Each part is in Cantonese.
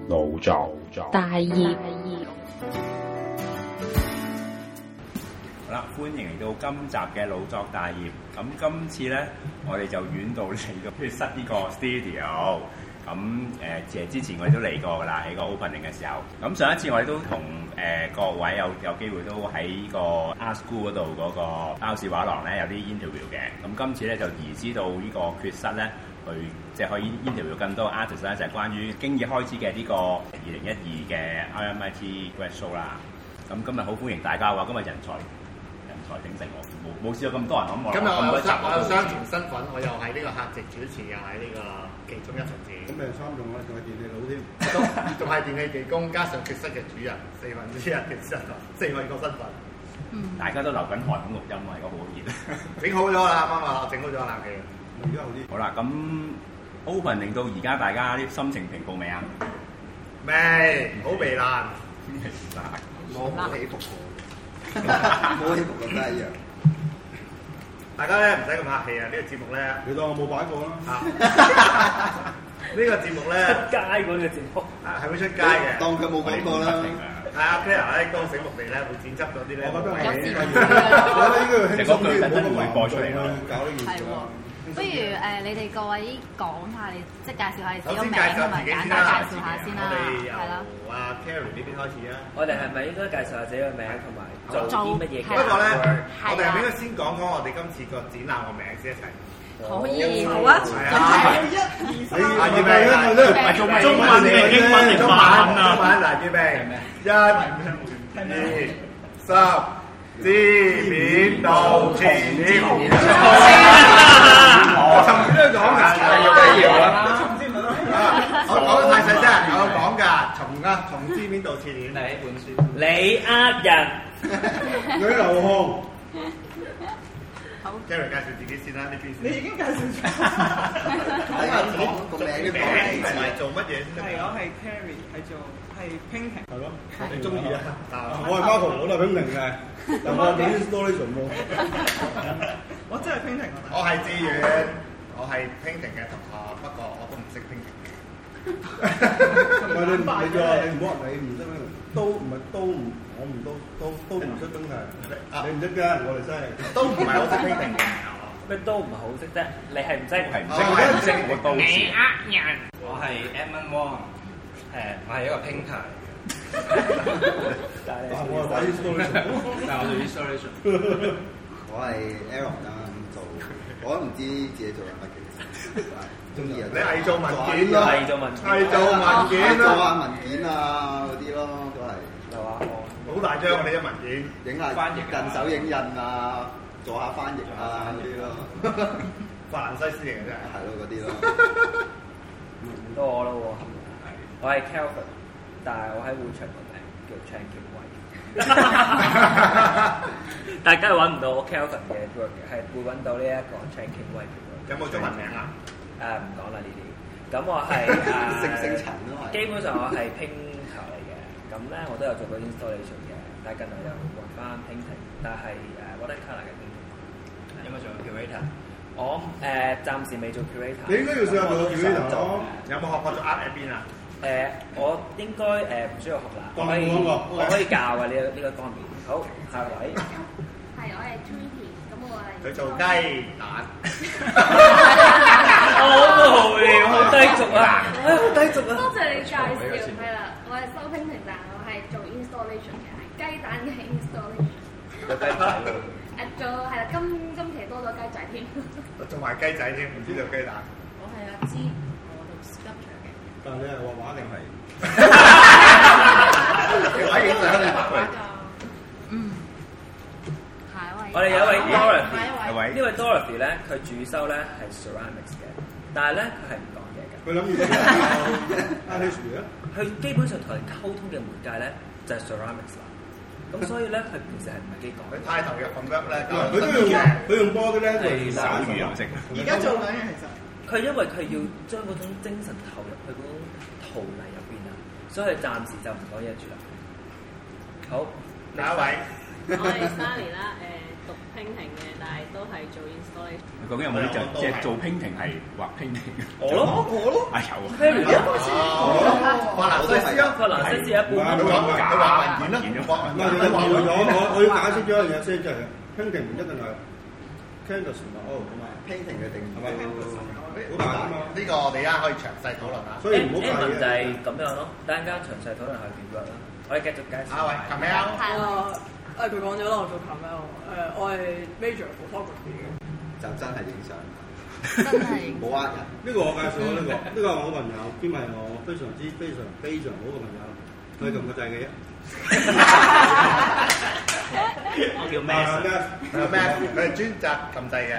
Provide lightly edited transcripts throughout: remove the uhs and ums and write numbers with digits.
腦作大業。 好啦，歡迎嚟到今集嘅腦作大業。咁今次咧，我哋就遠道嚟到血室呢個 studio。其實之前我哋都嚟過㗎啦，喺個 opening 嘅時候。咁上一次我哋都同各位有機會都喺個 Art School 嗰度嗰個包氏畫廊咧有啲 interview 嘅。咁今次咧就移師到呢個血室咧，去即係可以 interview 更多 artist 咧，就係關於經已開始嘅呢個2012嘅 RMIT Grad Show 啦。咁今日好歡迎大家喎，今日人才鼎盛喎，冇試過咁多人咁。 今日我有雙重身份，我又係呢個客席主持，又係呢個其中一份子。咁咪三種啦，仲係電器佬添，仲係電器技工，加上血室嘅主人，4分之一嘅身份，4個身份。 大家都流緊汗咁錄音啊，而家好熱。 整好咗啦，啱啱啊，整好咗冷氣。而家好啲。好啦，咁 open 令到而家大家啲心情平復未啊？ 未，好糜爛。 冇起伏過，冇起伏咁一樣。 大家咧唔使咁客氣啊！呢個節目咧，你當我冇擺過啦。呢個節目咧， 出街嗰個節目係會出街嘅。 當佢冇講過啦。 係阿 Claire 咧，都醒目地咧會剪輯咗啲咧。我覺得係。 你講句等陣會播出嚟咯。 搞呢件事。不如你哋各位講下你，即係介紹下你自己個名同埋簡單介紹下先啦，係啦。 阿 Carrie 呢邊開始啊。 我哋係咪應該介紹下自己個名同埋做啲乜嘢？ 不過咧，我哋係咪應該先講我哋今次個展覽個名先一齊？ 可以，好啊。 預備， 做中文定英文定法文啊？ 中文嚟預備，1、2、3。知面道前面紅塵，尋邊都講㗎，係要啊！我講得太細聲，我講㗎，從知面道前面。 第一本書，你呃人， 女流紅。好 ，Jerry 介紹自己先啦，呢邊先。你已經介紹咗。 睇下講個名同埋做乜嘢先？ 係我係 Carrie，係 painting。係咯， 你中意啊？ 我係 Marco，我都係 painting 嘅，但我係 installation 喎。 我真係 painting。 我係志遠，我係 painting 嘅同學，不過我都唔識 painting 嘅。 喂，你唔好話你唔識 painting，我唔識 painting。你唔識㗎，我哋真係都唔係好識 painting 嘅。 咩都唔係好識啫，你係唔識？ 係唔識，我都識。 你呃人。我係 Edmund Wong，我係一個 painter。 我係玩 installation， 但係我做 installation。 我係 Aaron 啦，我都唔知自己做緊乜嘅，中意啊！ 你係做文件咯， 係做文件做下文件啊嗰啲咯，都係。 係嘛？ 好大張啊！你啲文件， 影下翻譯、近手影印啊，做下翻譯啊嗰啲咯。 法蘭西斯嚟嘅真係。 係咯，嗰啲咯。 唔到我咯喎，我係 Kelvin， 但係我喺會場個名叫 Chan King Wei。大家係揾唔到我 Kelvin 嘅 work 嘅，係會揾到呢一個 Chan King Wei 嘅 work。 有冇中文名啊？ 唔講啦呢啲。咁我係姓陳都係。 基本上我係 painter 嚟嘅，咁咧我都有做過 installation 嘅，但係近來又換翻 painting， 但係watercolor 嘅 painting。有冇做 curator？我暫時未做 curator。 你應該要試下做 curator 咯。 有冇學過做 art 喺邊啊？ 我應該唔需要學啦，我可以教嘅呢個方面。好，下位。 係，我係 Tweety，咁我係。 佢做雞蛋。 好無聊，好低俗啊！好低俗啊！ 多謝你介紹，係啦，我係收 painting，但係我係做 installation 嘅，係雞蛋嘅 installation。 有雞蛋喎。 做係啦，今期多咗雞仔添。 做埋雞仔添，唔知做雞蛋。 我係阿芝，我做 sculpture 嘅。 但係你係畫畫定係？ 畫影相定畫㗎？ 下一位。 我哋有一位 Dorothy，呢位 Dorothy 咧，佢主修咧係 ceramics 嘅，但係咧佢係唔講嘢嘅。 佢諗住教 artistry 啊？ 佢基本上同人溝通嘅媒介咧就係 ceramics 啦。咁所以咧，佢平時係唔係幾講？ 佢太投入咁樣咧， 佢用波啲咧係手語又識。 而家做緊嘅其實。 佢因為佢要將嗰種精神投入去嗰種陶泥入邊啊，所以暫時就唔講嘢住啦。好， 下一位。 我係 Sally 啦，讀 painting 嘅，但係都係做 installation。 究竟有冇啲就即係做 painting 係畫 painting？ 我咯， 啊有。 發蘭西斯啊， 法蘭西斯一半。 佢話文件啦， 唔係你話我要解釋咗一樣嘢先，即係painting唔一定係 canvas 同埋 oil 㗎嘛 painting 嘅定義係咪？ 好大啊嘛！呢個我哋而家可以詳細討論下。 所以唔好介意就係咁樣咯，等陣間詳細討論下點樣啦。我哋繼續介紹。 喂 Camel 佢講咗啦，我做 Camel，我係 major photography 嘅。 就真係影相， 真係冇呃人。 呢個我介紹呢個係我朋友，兼係我非常好嘅朋友，佢撳個掣嘅啫。 我叫咩佢係專責撳掣嘅。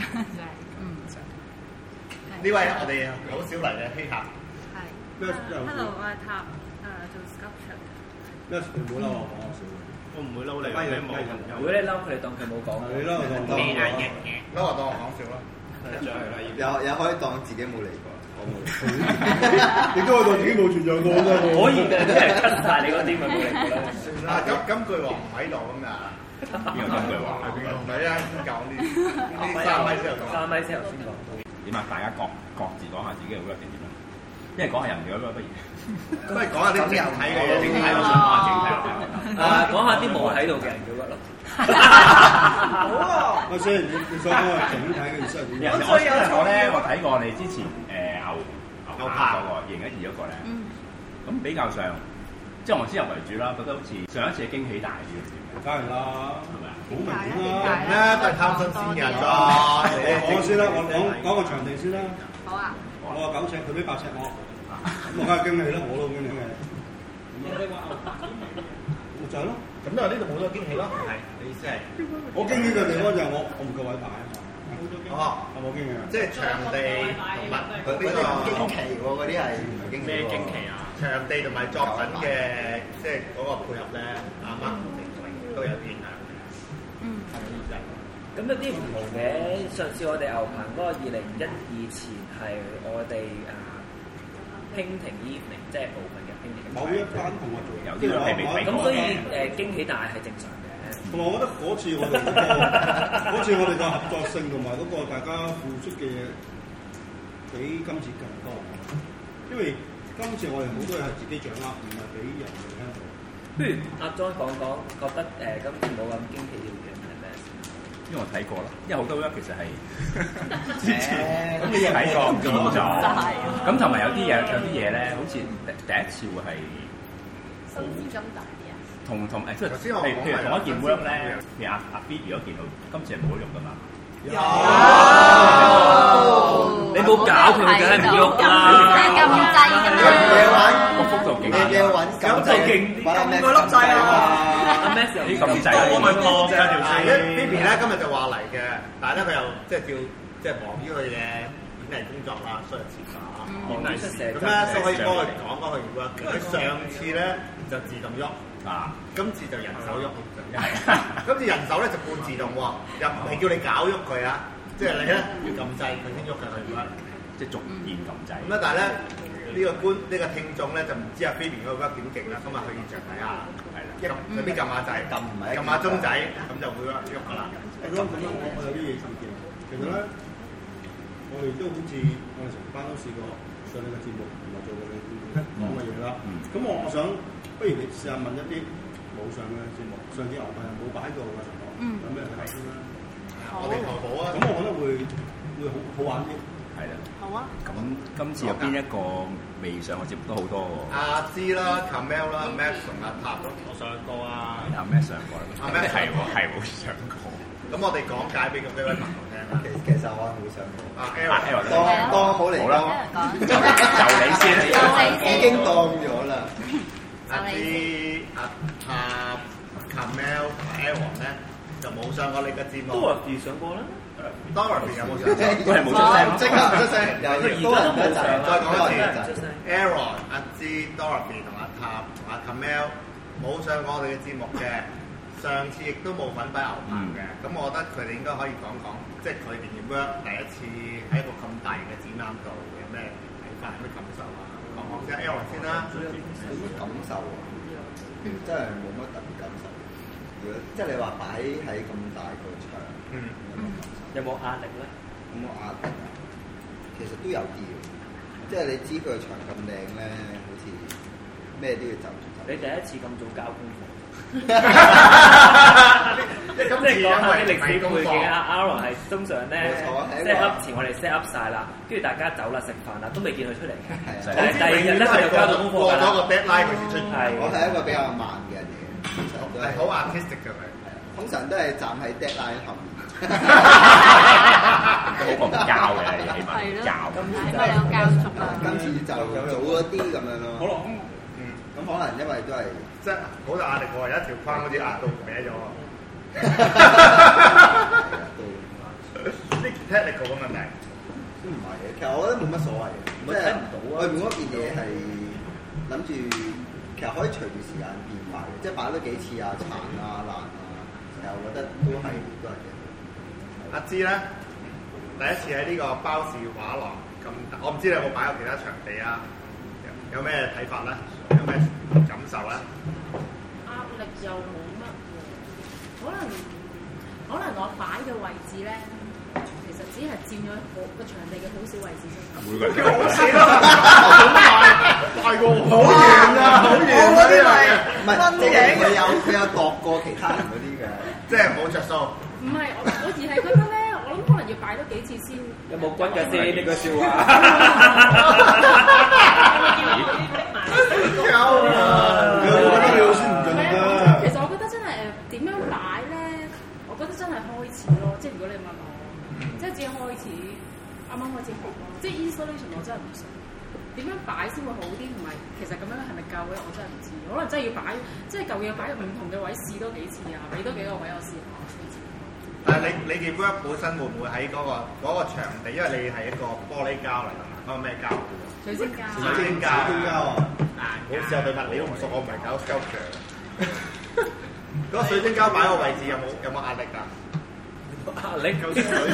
呢位我哋好少嚟嘅希客。 係。Hello， 我係塔做 sculpture。 咩？唔好嬲我講我笑。 我唔會嬲你，你冇。 如果你嬲佢哋當佢冇講， 你嬲我當嬲我當我講笑啦。 有可以當自己冇嚟過，我冇。 亦都可以當自己冇存在過㗎。 可以嘅，即係 cut 曬你嗰啲咪冇嚟過啦。 算啦，金句王唔喺度咁㗎。 邊個金句王？ 唔係啊，先講呢3米先頭講。 3米先頭先講。 點啊？大家各自講下自己嘅 work 點點啦。因為講下人哋嗰個不如。 不如講下啲整體嘅嘢。 整體我想講下整體。 講下啲冇喺度嘅人嘅 work 咯。 好啊！ 我先，你想講下整體嘅意思係點？ 我睇過你之前牛扒嗰個2012嗰個咧，咁比較上，即係我先入為主啦，覺得好似上一次嘅驚喜大啲。 梗係啦，係咪啊？好明顯啦， 都係貪新鮮人㗎。 我先啦，我講個場地先啦。 好啊。 我話9尺，佢俾8尺我，咁我梗係驚喜啦，我都驚喜嘅。就係咯。 咁就呢度冇咗驚喜咯。係，你意思係？ 我驚喜嘅地方就係我唔夠位擺啊嘛。 哦， 有冇驚喜啊？ 即係場地同埋佢啲唔驚奇喎，嗰啲係唔係驚喜？ 咩驚奇啊？ 場地同埋作品嘅即係嗰個配合咧，啱啱都有啲影響嘅。 咁有啲唔同嘅，上次我哋牛棚嗰個2012前係我哋painting evening， 即係部分嘅 painting。 某一班同學做， 有啲係未睇過。 咁所以驚喜大係正常嘅。 同埋我覺得嗰次我哋嘅合作性同埋嗰個大家付出嘅嘢比今次更多。因為今次我哋好多嘢係自己掌握，唔係俾人哋聽到。 不如阿 John 講講，覺得今次冇咁驚喜嘅嘢係咩？ 因為我睇過啦，因為好多 work 其實係之前咁你睇過見咗，咁同埋有啲嘢咧，好似第一次會係新鮮感大啲啊！ 同即係譬如同一件 work 咧，譬如阿 Phoebe 嗰件，今次係冇用噶嘛？ 有，你冇搞佢，梗係唔喐啦！ 咁滯㗎嘛？ 個幅度勁， 咁就勁啲， 咁個粒掣啊！ 阿 Max 又啲咁滯，我咪破嘅條線。 Phoebe 咧今日就話嚟嘅，但係咧佢又即係叫即係忙於佢嘅演藝工作啦，所以遲咗。咁咧都可以幫佢講講佢 work。佢上次咧就自動喐。今次就人手喐，今次人手咧就半自動喎，又唔係叫你搞喐佢啊，即係你咧要撳掣佢先喐嘅佢咁樣， 即係逐漸撳掣。咁但係咧呢個聽眾咧就唔知阿 Phoebe 嗰個 work 點勁啦，咁啊去現場睇下，係啦，有啲撳下掣，撳下鐘仔，咁就會喐㗎啦。 咁我有啲嘢意見，其實咧我哋都好似我哋成班都試過上你個節目同埋做過你講嘅嘢啦。咁我想。不如你試下問一啲冇上嘅節目，上次牛棚冇擺過嘅情況，有咩睇先啦？ 我哋投保啊！ 咁我覺得會好玩啲。 係啦。 好啊！ 咁今次有邊一個未上嘅節目都好多喎。阿芝啦、Camel 啦、Max 同阿塔咯，我上過啊。 阿 Max 上過啦。阿 Max 係冇上過。咁我哋講解俾咁多位朋友聽啦。 其實我係冇上過。當好嚟好啦，就你先， 已經當咗啦。 阿塔、Camel 同 Aaron 咧就冇上過你嘅節目。 Dorothy 上過啦。 Dorothy 有冇上？ 都係冇出聲， 即刻唔出聲。 而家都冇上。 再講一次 ，Aaron、阿芝、Dorothy 同阿塔同阿 Camel 冇上過我哋嘅節目嘅。上次亦都冇份擺牛棚嘅，咁我覺得佢哋應該可以講講，即係佢哋嘅 work 第一次喺一個咁大嘅展覽度有咩睇法、有咩感受啊？講講先 ，Aaron 先啦。 有乜感受啊？真係冇乜特別感受。如果即係你話擺喺咁大個場， 有冇壓力咧？ 有冇壓力啊？其實都有啲嘅，即係你知佢個場咁靚咧，好似咩都要就。 你第一次咁早交功課？ 即係講下啲歷史背景啊 ，Aaron 係通常咧 set up 前我哋 set up 晒啦，跟住大家走啦食飯啦，都未見佢出嚟嘅。但係第二日咧佢就交到功課㗎啦。 過咗個 deadline 佢先出。 我係一個比較慢嘅人嚟嘅， 係好 artistic 嘅佢。 通常都係站喺 deadline 後面。 好過唔交嘅，起碼交。 係咪有教熟啊？ 今次就早咗啲咁樣咯。 好咯， 咁可能因為都係即係好大壓力喎，有一條框好似壓到歪咗。呢 technical 嘅問題都唔係嘅，其實我覺得冇乜所謂嘅，即係外面嗰件嘢係諗住，其實可以隨住時間變化嘅，即係擺多幾次啊，殘啊、爛啊，其實我覺得都係嘅。 阿芝咧，第一次喺呢個包氏畫廊咁，我唔知你有冇擺過其他場地啊？有咩睇法咧？有咩感受咧？ 壓力又冇乜喎，可能我擺嘅位置咧，其實只係佔咗個場地嘅好少位置啫。 每個人好少啊！大過好遠啊！好遠嗰啲係唔係？即係佢有度過其他人嗰啲嘅， 即係冇着數。 唔係，我而係覺得咧，我諗可能要擺多幾次先。 有冇骨嘅先呢個笑話？ 有啊！ 其實我覺得真係點樣擺咧？我覺得真係開始咯，即係如果你問我，即係只係開始，啱啱開始學咯。即係 installation 我真係唔熟，點樣擺先會好啲？同埋其實咁樣係咪夠咧？我真係唔知。可能真係要擺，即係舊嘢擺入唔同嘅位試多幾次啊，俾多幾個位我試下先知。 但係你嘅 work 本身會唔會喺嗰個場地？因為你係一個玻璃膠嚟㗎嘛，嗰個咩膠？ 水晶膠。 水晶膠啊！好似我對物料唔熟，我唔係搞 sculpture。嗰個水晶膠擺個位置有冇壓力㗎？ 壓力夠水晶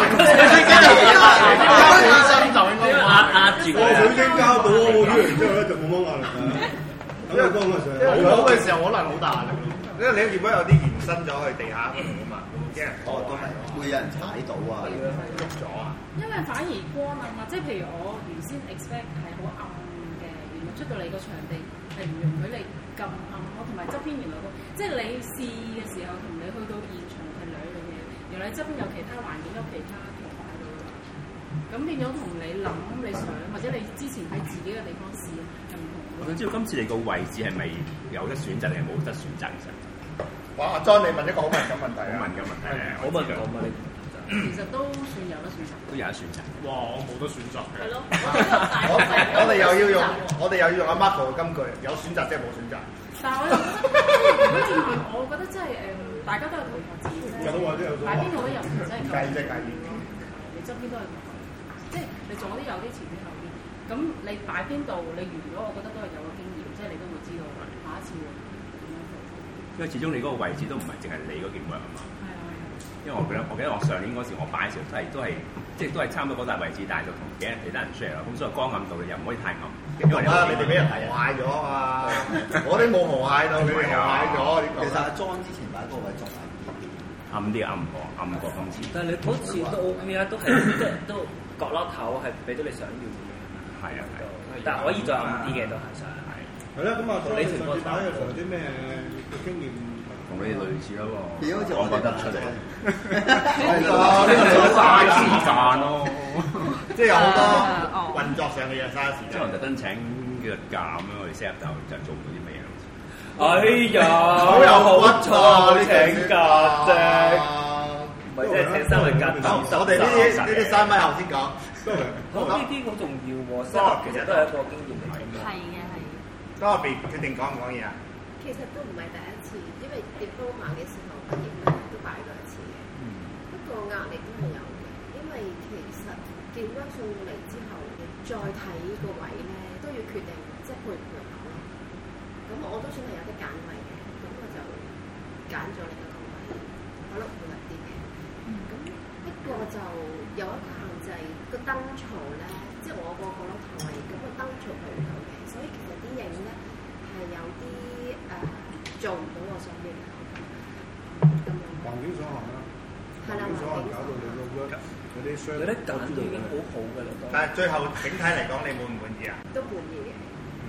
膠就應該壓住個水晶膠倒咗然之後咧就冇乜壓力㗎。因為好嘅時候可能好大壓力，因為你如果有啲延伸咗去地下嗰度啊嘛，驚人都係會有人踩到啊， 喐咗啊。 因為反而光啊嘛，即係譬如我原先 expect 係好暗嘅，原來出到嚟個場地係唔容許你咁暗咯，同埋側邊原來即係你試嘅時候同你去到現場係兩樣嘢，原來你側邊有其他環境有其他圖擺到㗎嘛，咁變咗同你諗你想或者你之前喺自己嘅地方試係唔同。 我想知道今次你個位置係咪有得選擇定係冇得選擇？其實， 哇！阿 John 你問一個好敏感問題啊！ 好敏感問題啊！ 好敏感啊！ 其實都算有得選擇。 都有得選擇。 哇！我冇得選擇嘅。 係咯。 我哋又要用阿 Marco 嘅金句，有選擇即係冇選擇。 但係我又覺得，我覺得真係大家都有同學自己咧，擺邊度都有，真係計你側邊都係同學，即係你左啲有啲，前邊後啲。咁你擺邊度，你完咗，我覺得都係有個經驗，即係你都會知道下一次會點樣做。因為始終你嗰個位置都唔係淨係你嗰件嘢啊嘛。係啊。因為我記得我上年嗰時我擺嘅時候都係即係都係差唔多嗰大位置，但係就同其他人 share 啦。咁所以光暗度你又唔可以太暗。因為你哋俾人害咗啊！我哋冇害到，你哋害咗。 其實阿 John 之前擺嗰個位仲暗啲暗過今次。 但係你嗰次都 OK 啊，都係即係都角落頭係俾到你想要嘅嘢。 係啊， 但係可以再暗啲嘅都係想係。 係啦，咁啊，你上次擺嘅時候有啲咩經驗？ 同你哋類似咯喎， 好似我覺得出嚟。 係咯，呢個就嘥時間咯，即係有好多運作上嘅嘢嘥時間。 即係我特登請幾日假咁樣，我哋 set up 就做唔到啲乜嘢。 哎呀，好有好彩你請假啫，唔係即係請三日假。 我哋呢啲3米後先講。 呢啲好重要喎，其實都係一個經驗嚟嘅。 係嘅，係嘅。 嗰個別決定講唔講嘢啊？ 其實都唔係第一次，因為 diploma 嘅時候畢業咧都擺過一次嘅。不過壓力都係有嘅，因為其實見咗送嚟之後，再睇個位咧都要決定即係配唔配合咯。咁我都算係有得揀位嘅，咁我就揀咗另一個位，可能配合啲嘅。咁不過就有一個限制，個燈槽咧，即係我個角落頭位，咁個燈槽係唔夠嘅，所以其實啲影咧係有啲做唔到我想要嘅咁樣。 環境所限啦， 係啦， 環境所限搞到你個 work 嗰啲商， 你啲揀到已經好好㗎啦。 但係最後整體嚟講，你滿唔滿意啊？ 都滿意嘅，因為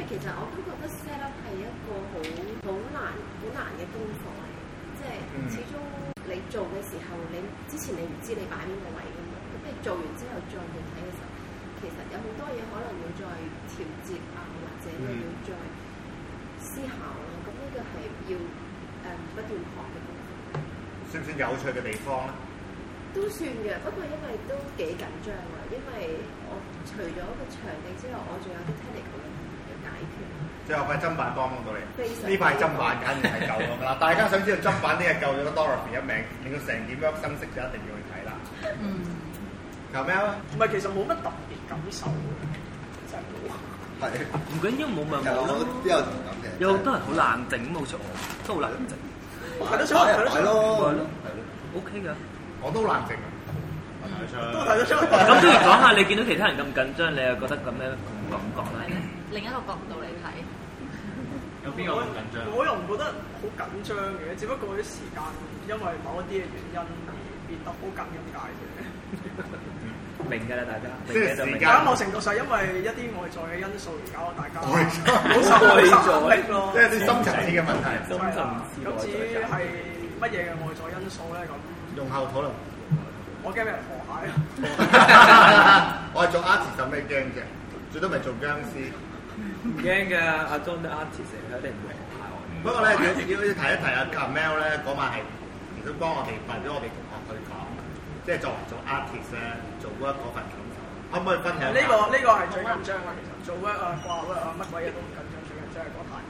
其實我都覺得 set up 係一個好難嘅功課嚟，即係始終你做嘅時候，你之前你唔知你擺邊個位㗎嘛，咁你做完之後再去睇嘅時候，其實有好多嘢可能要再調節啊，或者你要再思考咯。咁呢個係要不斷學嘅功課。 算唔算有趣嘅地方咧？ 都算嘅，不過因為都幾緊張啊，因為我除咗個場地之外，我仲有啲 technical 嘅解決。 最後塊砧板幫到你，呢塊砧板簡直係救咗㗎啦！大家想知道砧板呢係救咗個 Dorothy 一命，令到成件 work 生色就一定要去睇啦。求咩啊？ 唔係，其實冇乜特別感受嘅，真係冇。 係唔緊要，冇咪冇咯。 都有同感嘅。 有好多人好冷靜，冇錯，都好冷靜。 睇得出，睇得出。 係咯 ，OK 㗎。 我都冷靜啊， 都睇得出。 咁不如講下，你見到其他人咁緊張，你又覺得咁樣感覺咧？ 另一個角度嚟睇， 有邊個咁緊張？ 我又唔覺得好緊張嘅，只不過啲時間因為某一啲嘅原因而變得好緊咁解啫。 明㗎啦，大家。 即係時間。 某程度上，因為一啲外在嘅因素而搞到大家好受力咯。 即係啲深層次嘅問題。 咁至於係乜嘢嘅外在因素咧？咁用後討論。 我驚俾人河蟹啊！ 我係做 artist 有咩驚啫？最多咪做僵屍。 唔驚㗎，阿 John 啲 artist 佢一定唔會河蟹我。 不過咧，要提一提阿 Camel 咧，嗰晚係其實幫我哋為咗我哋同學去講，即係作為做 artist 咧，做嗰份感受，可唔可以分享？ 呢個係最緊張嘅，其實做 work 啊、掛 work 啊，乜鬼嘢都唔緊張，最緊張係嗰壇。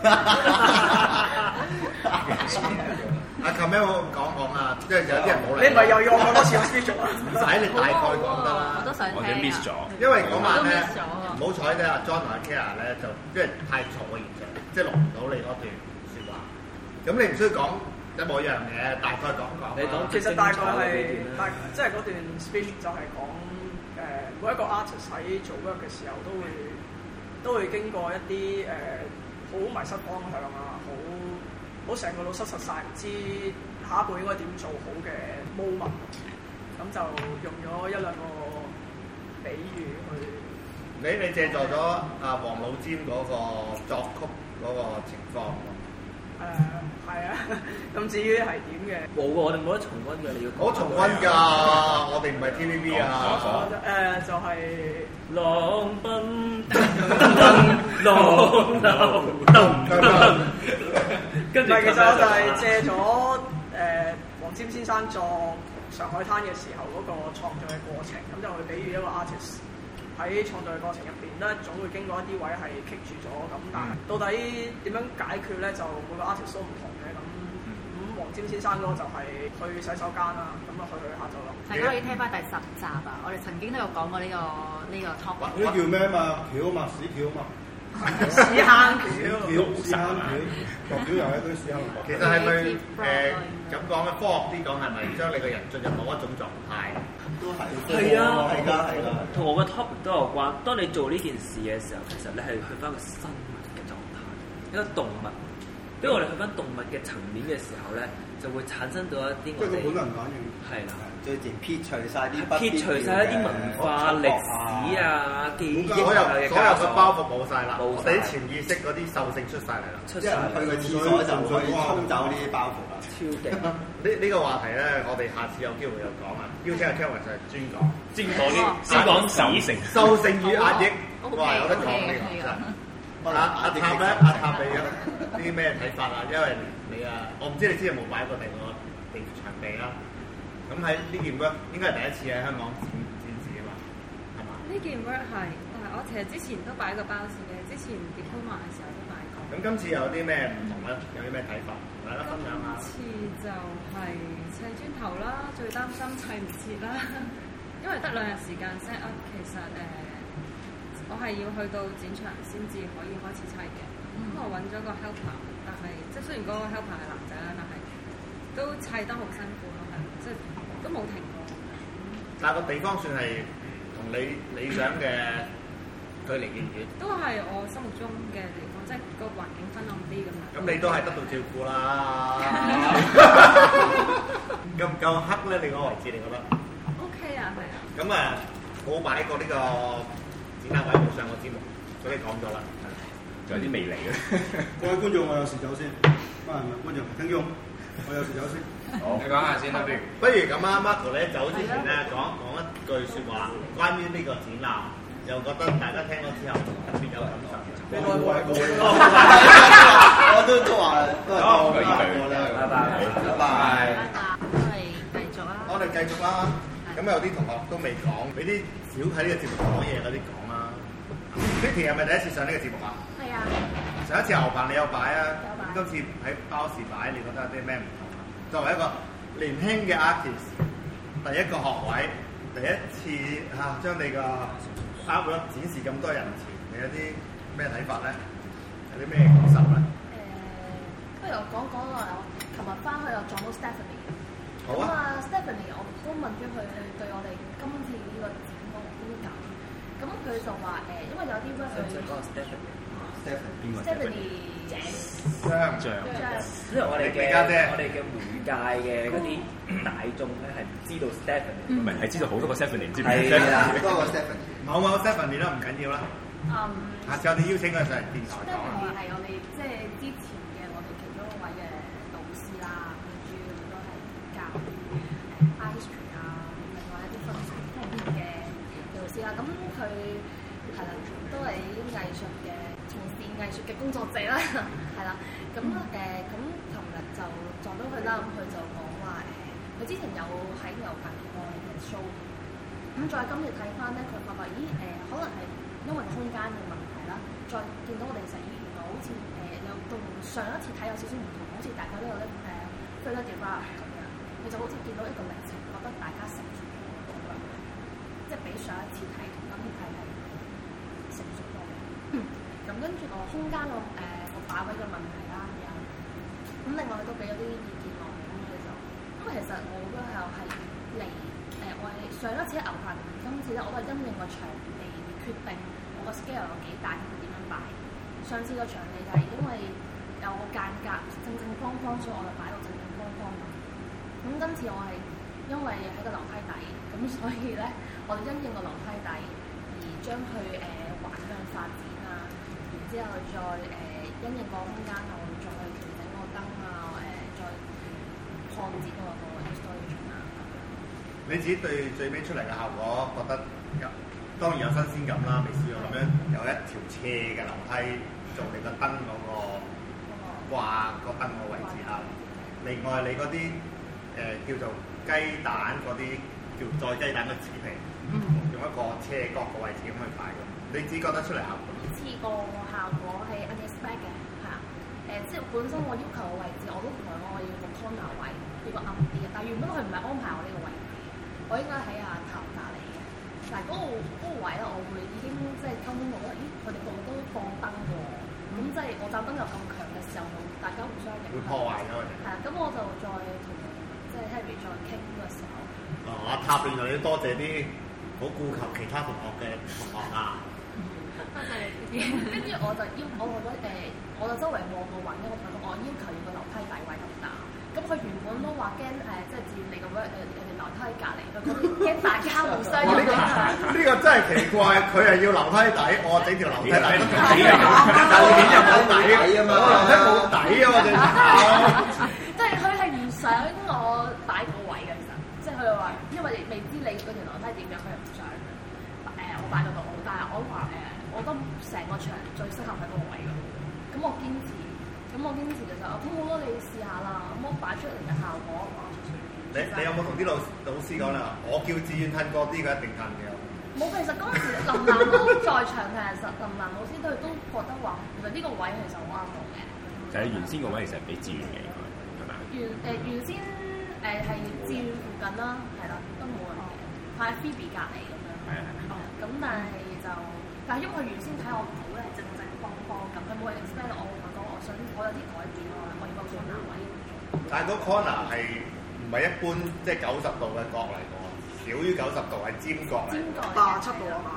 阿 Camel 講啊，即係有啲人冇嚟。 你唔係又要我講多次我 speech 啊？ 唔使，你大概講得啦。 我都想聽。 我哋 miss 咗。 因為嗰晚咧，唔好彩咧，阿 John 同阿 Kara 咧就即係太嘈嘅現場，即係錄唔到你嗰段説話。咁你唔需要講一模一樣嘅，大概講講。 你講其實大概係即係嗰段 speech 就係講每一個 artist 喺做 work 嘅時候都會經過一啲好迷失方向啊，好成個腦失實晒，唔知下一步應該點做好嘅 moment， 咁就用咗一兩個比喻去。 你借助咗阿黃老尖嗰個作曲嗰個情況。 係啊，咁至於係點嘅？ 冇喎，我哋冇得重溫嘅，你要。 我重溫㗎，我哋唔係 TVB 啊。 就係浪奔浪跟住其實我就係借咗黃霑先生作《上海灘》嘅時候嗰個創作嘅過程，咁就去比喻一個 artist 喺創作嘅過程入邊咧，總會經過一啲位係棘住咗，咁但係到底點樣解決咧？就每個 artist 都唔同嘅。咁黃霑先生嗰個就係去洗手間啦，咁啊去下就咯。 大家可以聽翻第10集啊！我哋曾經都有講過呢個 topic。 嗰啲叫咩啊嘛？橋啊嘛，屎橋啊嘛。 屎坑橋。 屎坑橋，落橋又係嗰啲屎坑。 其實係咪咁講咧？科學啲講係咪將你個人進入某一種狀態？ 都係。 係啊， 係㗎，係㗎。 同我個 topic 都有關。當你做呢件事嘅時候，其實你係去翻個生物嘅狀態，一個動物。因為我哋去翻動物嘅層面嘅時候咧，就會產生到一啲我哋本能反應。 係啦， 最前撇除晒啲文化、歷史啊、記憶啊嘅所有嘅包袱冇晒啦，我哋啲潛意識嗰啲獸性出晒嚟啦。 一人去個廁所就可以沖走呢啲包袱啦。 超勁！ 呢個話題咧，我哋下次有機會又講啊。邀請阿 Kevin 就係專講先講獸性與壓抑。哇，有得講呢個。阿塔咧，阿塔你有啲咩睇法啊？因為你啊，我唔知你之前有冇擺過第個場地啦。咁喺呢件 work 應該係第一次喺香港展示啊嘛，係嘛？ 呢件 work 係，我其實之前都擺過包時嘅，之前 diploma 嘅時候都擺過。 咁今次有啲咩唔同咧？有啲咩睇法？同大家分享下。 今次就係砌磚頭啦，最擔心砌唔切啦，因為得2日時間 set up，其實我係要去到展場先至可以開始砌嘅。咁我揾咗個 helper， 但係即係雖然嗰個 helper 係男仔啦，但係都砌得好辛苦咯，係即係都冇停過。 但係個地方算係同你理想嘅距離遠遠。 都係我心目中嘅地方，即係個環境昏暗啲咁樣。 咁你都係得到照顧啦。夠唔夠黑咧？你個位置你覺得 ？OK 啊，係啊。 咁我擺過呢個展覽位冇上過節目，所以講咗啦。 仲有啲未嚟嘅。 各位觀眾，我有事走先。唔係觀眾，聽眾，我有事走先。 好，你講下先啦， 不如咁啊 ，Marco 咧走之前咧講一句説話，關於呢個展覽，又覺得大家聽咗之後特別有感受。 我都話好， 拜拜。 我哋繼續啦。咁有啲同學都未講，俾啲少喺呢個節目講嘢嗰啲講啦。Vicky 係咪第一次上呢個節目啊？ 係啊。 上一次牛棚你有擺啊？今次喺包時擺，你覺得有啲咩唔同啊？作為一個年輕嘅 artist，第一個學位，第一次將你個 artwork 展示咁多人前，你有啲咩睇法咧？有啲咩感受咧？ 不如我講啦。我琴日翻去又撞到 Stephanie。 好啊。 Stephanie， 我都問咗佢對我哋今次呢個展個觀感。咁佢就話因為有啲 work Stephanie 姐， 因為我哋嘅媒介嘅嗰啲大眾咧係唔知道 Stephanie， 唔係係知道好多個 Stephanie， 唔知係啦，多個 Stephanie， 某 Stephanie 啦，唔緊要啦。下次我哋邀請佢上嚟電台講。 Stephanie 係我哋即係之前嘅我哋其中一位嘅導師啦，主要都係教art history 啊，另外一啲分析方面嘅導師啦。咁佢係啦，都係藝術嘅。從事藝術嘅工作者啦，係啦，咁琴日就撞到佢啦，咁佢就講話佢之前有喺牛棚見過嘅 show， 咁再今日睇翻咧，佢發覺可能係因為空間嘅問題啦，再見到我哋成員原來好似有同上一次睇有少少唔同，好似大家都有啲further develop 咁樣，佢就好似見到一個歷程，覺得大家成熟咗咁樣，即係比上一次睇同今次睇係成熟咗嘅。咁跟住個空間個擺位嘅問題啦，咁另外佢都俾咗啲意見落嚟，咁佢就因為其實我都係嚟我係上一次喺牛棚，今次咧我都係因應個場地決定我個 scale 有幾大，點樣擺。上次個場地就係因為有個間隔正正方方，所以我就擺到正正方方嘛。咁今次我係因為喺個樓梯底，咁所以咧我哋因應個樓梯底而將佢橫向發展。之後再因應個空間，我會再調整個燈啊，再擴展個 installation 啊。 你自己對最尾出嚟嘅效果覺得當然有新鮮感啦，未試過咁樣有一條斜嘅樓梯做你個燈嗰個掛個燈個位置啦。另外你嗰啲叫做雞蛋嗰啲叫再雞蛋嘅紙皮，用一個斜角個位置咁去擺嘅，你自己覺得出嚟效果？ 次個效果係 unexpected 嘅，係啊，即係本身我要求嘅位置，我都同佢講我要個 corner 位，要個暗啲嘅，但係原本佢唔係安排我呢個位置，我應該喺頭隔離嘅，但係嗰個位咧，我會已經即係溝通到啦，佢哋個個都放燈喎，咁即係我盞燈又咁強嘅時候，大家互相影響， 會破壞咗佢哋。係啊， 咁我就再同即係 Harry 再傾嘅時候。 阿塔原來要多謝啲好顧及其他同學嘅同學啊。 跟住我就我就周圍望個位，我同佢講我要求要個樓梯底位咁大。咁佢原本都話驚即係佔你咁樣樓梯隔離，佢驚大家互相影響。 呢個真係奇怪，佢係要樓梯底，我整條樓梯底都底啊！但係面又冇底啊嘛，樓梯冇底啊！我哋即係佢係唔想我擺個位嘅，其實即係佢話，因為未知你嗰條樓梯點樣，佢又唔想我擺到度。但係我話我覺得成個場最適合喺嗰個位咯。咁我堅持就就好好咯，你試下啦。咁我擺出嚟嘅效果， 你有冇同啲老師講咧？我叫志遠褪過啲，佢一定褪嘅。 冇，其實嗰陣時林蘭都在場嘅，其實林蘭老師都覺得話，其實呢個位其實好啱我嘅。 就係原先個位其實係俾志遠嘅，係咪啊？ 原先係志遠附近啦，係啦，都冇人嘅，喺 Phoebe 隔離咁樣。係啊係。咁但係因為佢原先睇我圖咧正正方方咁，佢冇 expect 我講我想我有啲改變咯，我要個 corner 位。 但係嗰 corner 係唔係一般即係90度嘅角嚟㗎？少於90度係尖角嚟。尖角 87度啊嘛。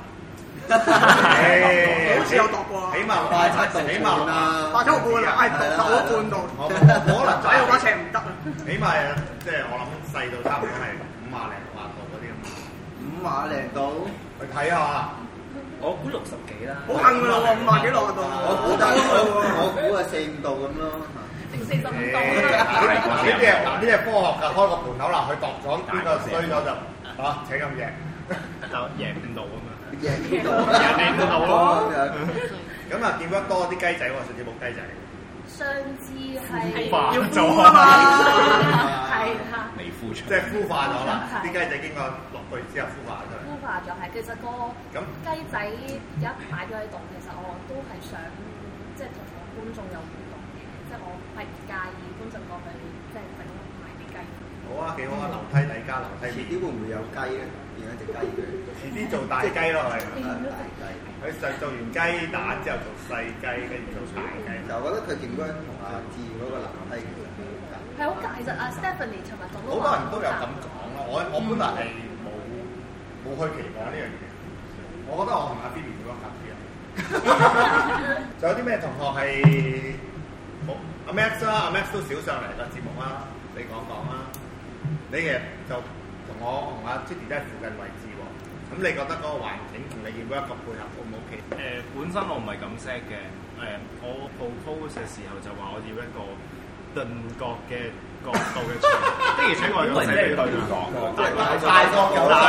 好似有度過。 起碼87度，起碼 87度半啊，度咗半度。 可能擺到把尺唔得啊。 起碼即係我諗細到差唔多係50零60度嗰啲咁。 50零度。 去睇下。 我估60幾啦。 好硬㗎啦喎，50幾落度。 我估係4-5度咁咯。 定45度啦。 呢啲係科學㗎，開個盤口啦，佢度咗邊個衰咗就請咁贏， 就贏5度啊嘛。 贏5度咯。 咁啊，見得多啲雞仔喎，甚至冇雞仔。 上次係要做啊嘛， 係啦， 未孵出， 即係孵化咗啦。啲雞仔經過落去之後孵化咗。 孵化咗係，其實個雞仔一擺咗喺度，其實我都係想即係同我觀眾有互動嘅，即係我係唔介意觀眾過去即係整埋啲雞。 好啊，幾好啊！樓梯底加樓梯。 遲啲會唔會有雞咧？變咗隻雞嘅？ 遲啲做大雞咯，係。大雞。佢做完雞蛋之後做細雞，跟住做大雞。 就我覺得佢點樣同阿志嗰個樓梯其實係好介，其實阿 Stephanie 尋日講好多人都有咁講咯。我本來係冇去期望呢樣嘢。我覺得我同阿 Phoebe 點樣合啲啊？仲有啲咩同學係冇？阿 Max 啦，阿 Max 都少上嚟個節目啦，你講講啦。你其實就同阿 Judy 都係附近位置喎。咁你覺得嗰個環境同你要一個配合 O 唔 OK？ 本身我唔係咁 set 嘅。我 propose 嘅時候就話我要一個頓角嘅角度嘅牆，的而且確係咁寫俾佢講， 大過